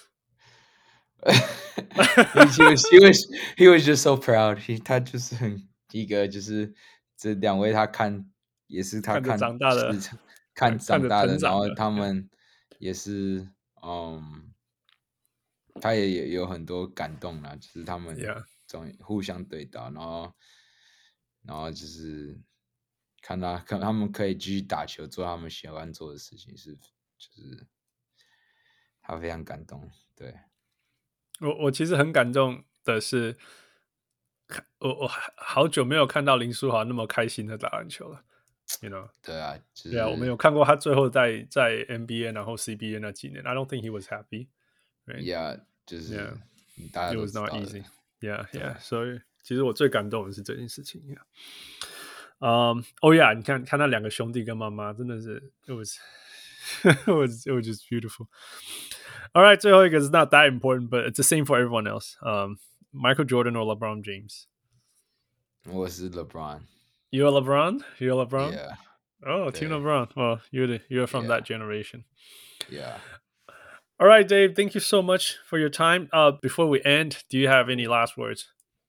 he, was, he was he was just so proud. He 他就是很一個就是這兩位他看也是他看長大的看長大的， 的然後他們也是嗯，他也也有很多感動啦，就是他們總互相對打，然後。然後就是看他看他們可以繼續打球，做他們喜歡做的事情，是就是他非常感動。對， 我我其實很感動的是，我我好久沒有看到林書豪那麼開心的打籃球了。You know？ 對啊，就是、 對啊，我們有看過他最後在在 N B A 然後 C B A 那幾年 ，I don't think he was happy. Right? Yeah， 就是 yeah. 大家都 It was not easy. Yeah, yeah. 所以。其實我最感動的是這件事情。嗯，哦呀，你看看那兩個兄弟跟媽媽，真的是 it was it was it was just beautiful. All right, 最後一個 is not that important, but it's the same for everyone else. Um, Michael Jordan or LeBron James? 我是 LeBron. You're LeBron? You're LeBron? Yeah. Oh, Team LeBron. Well, you're the, you're from yeah. that generation. Yeah. All right, Dave. Thank you so much for your time. Uh, before we end, do you have any last words?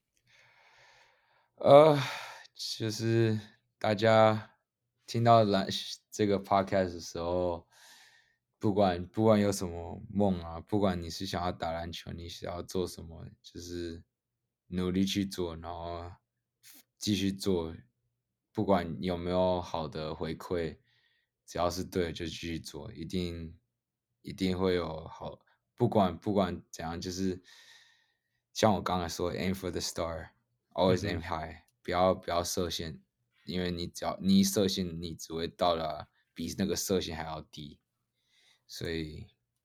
呃，就是大家聽到籃這個 podcast 的時候，不管不管有什麼夢啊，不管你是想要打籃球，你想要做什麼，就是努力去做，然後繼續做，不管有沒有好的回饋，只要是對的就繼續做，一定一定會有好。不管不管怎樣，就是像我剛才說 ，aim for the star，always aim high，、嗯、不要不要設限，因為你只要你一設限，你只會到了比那個設限還要低。所以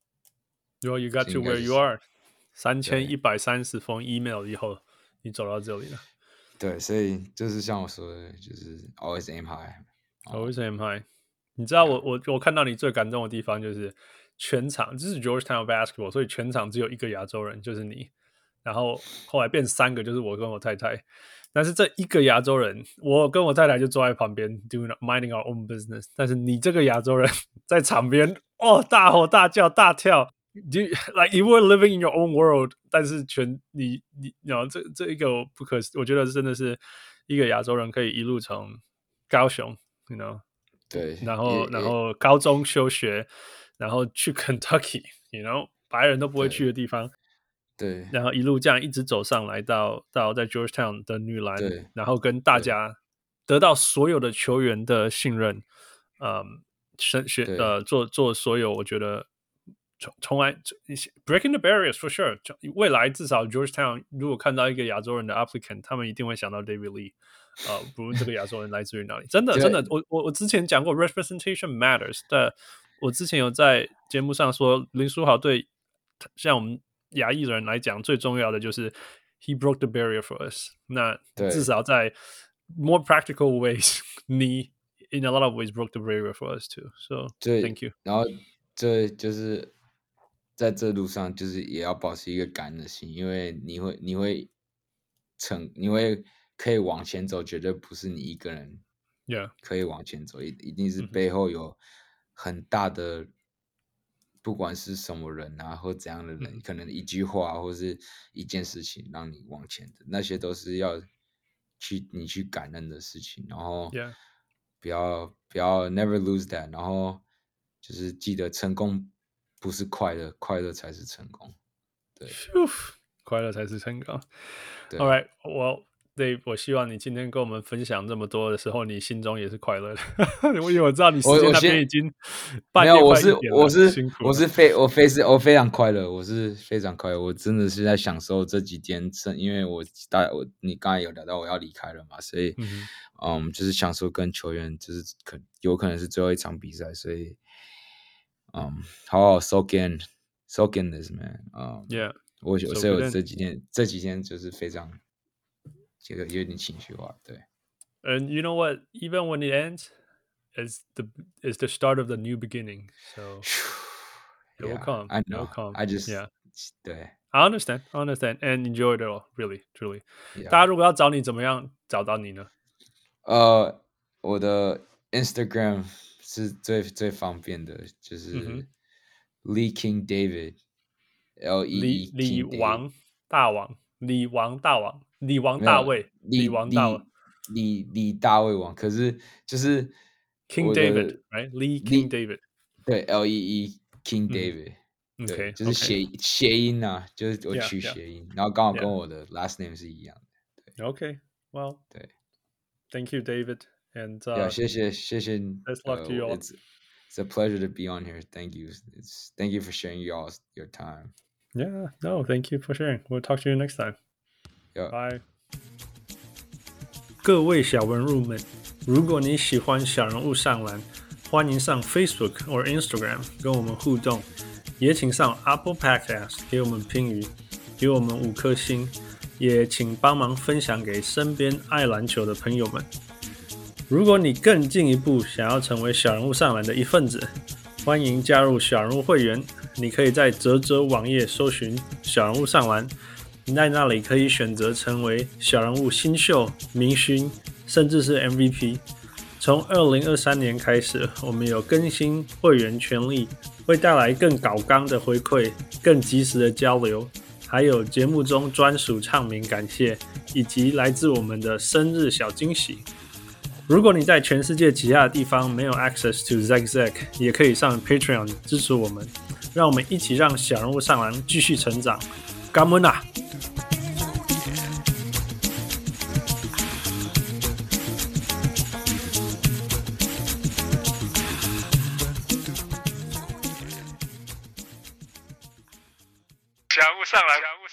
，Well, you got to where you are， 三千一百三十封 email 以後，你走到這裡了。 對，所以就是像我說的，就是 always aim high，always aim high。你知道我我我看到你最感動的地方就是全場，這是 Georgetown basketball， 所以全場只有一個亞洲人，就是你。然後後來變三個，就是我跟我太太。但是這一個亞洲人，我跟我太太就坐在旁邊 doing minding our own business。但是你這個亞洲人在場邊，哦，大吼大叫大跳 ，you like you were living in your own world。但是全你你，然後這這一個不可，我覺得真的是一個亞洲人可以一路從高雄 ，you know， 對， 然後然後高中休學，然後去 Kentucky，you know， 白人都不會去的地方。 對， 然後一路這樣一直走上來到到在 Georgetown 的女籃，然後跟大家得到所有的球員的信任，嗯，學呃做做所有，我覺得從從來 breaking the barriers for sure。未來至少 Georgetown 如果看到一個亞洲人的 applicant， 他們一定會想到 David Lee， 呃，不論這個亞洲人來自於哪裡，真的真的，我我我之前講過 representation matters， 但我之前有在節目上說林書豪對像我們亞裔人來講，最重要的就是 he broke the barrier for us。那至少在 more practical ways， 你 in a lot of ways broke the barrier for us too。So thank you。 然後這就是在這路上，就是也要保持一個感恩的心，因為你會你會成你會可以往前走，絕對不是你一個人 ，yeah， 可以往前走，一一定是背後有很大的。不管是什麼人啊，或怎樣的人，嗯、可能一句話或是一件事情讓你往前的，那些都是要去你去感恩的事情。然後不要、yeah. 不要 never lose that， 然後就是記得成功不是快樂，快樂才是成功。對， 快樂才是成功。All right， well。對，我希望你今天跟我們分享這麼多的時候，你心中也是快樂的。因為我知道你時間那邊已經半夜快一點了， 沒有，我是我是我是非我非是我非常快樂，我是非常快樂，我真的是在享受這幾天，因為我大我你剛才有聊到我要離開了嘛，所以嗯，嗯，就是享受跟球員，就是可有可能是最後一場比賽，所以嗯，好好 soak in soak in this man， 嗯 ，yeah， 我所以我這幾天這幾天就是非常。覺得有點情緒化，對。 And you know what? Even when it ends, is the is the start of the new beginning. So it will come. I know. It will come. I just yeah. 對。 I understand. I understand. And enjoy it all. Really, truly. Yeah. 大家如果要找你，怎麼樣找到你呢？ 呃，我的 Instagram 是最最方便的，就是 Lee King David，L E E 李王大王，李王大王。李王大衛，李王大衛， 李李大衛王，可是就是 King David，right？ Lee King David， 對 ，L E E King David， 嗯、 對， okay, 就是諧諧 okay. 音啊，就是我取諧音， yeah, 然後剛好跟我的 last name 是一樣的。對 OK，well， 對 ，Thank you, David，and、uh, yeah, 謝謝謝謝 ，Best luck to you all. It's it's a pleasure to be on here. Thank you. It's thank you for sharing your your time. Yeah, no, thank you for sharing. We'll talk to you next time. Yeah. Bye. 各位小文入們，如果你喜歡小人物上籃，歡迎上 Facebook 或 Instagram 跟我們互動，也請上 Apple Podcast 給我們評語，給我們五顆星，也請幫忙分享給身邊愛籃球的朋友們。如果你更進一步想要成為小人物上籃的一份子，歡迎加入小人物會員。 你可以在嘖嘖網頁搜尋小人物上籃，你在那裡可以選擇成為小人物新秀、明星，甚至是 M V P。從二零二三年開始，我們有更新會員權利，會帶來更搞剛的回饋、更及時的交流，還有節目中專屬唱名感謝，以及來自我們的生日小驚喜。如果你在全世界其他的地方沒有 access to Zack Zack， 也可以上 Patreon 支持我們，讓我們一起讓小人物上籃繼續成長。感恩啊！ 小人物上籃。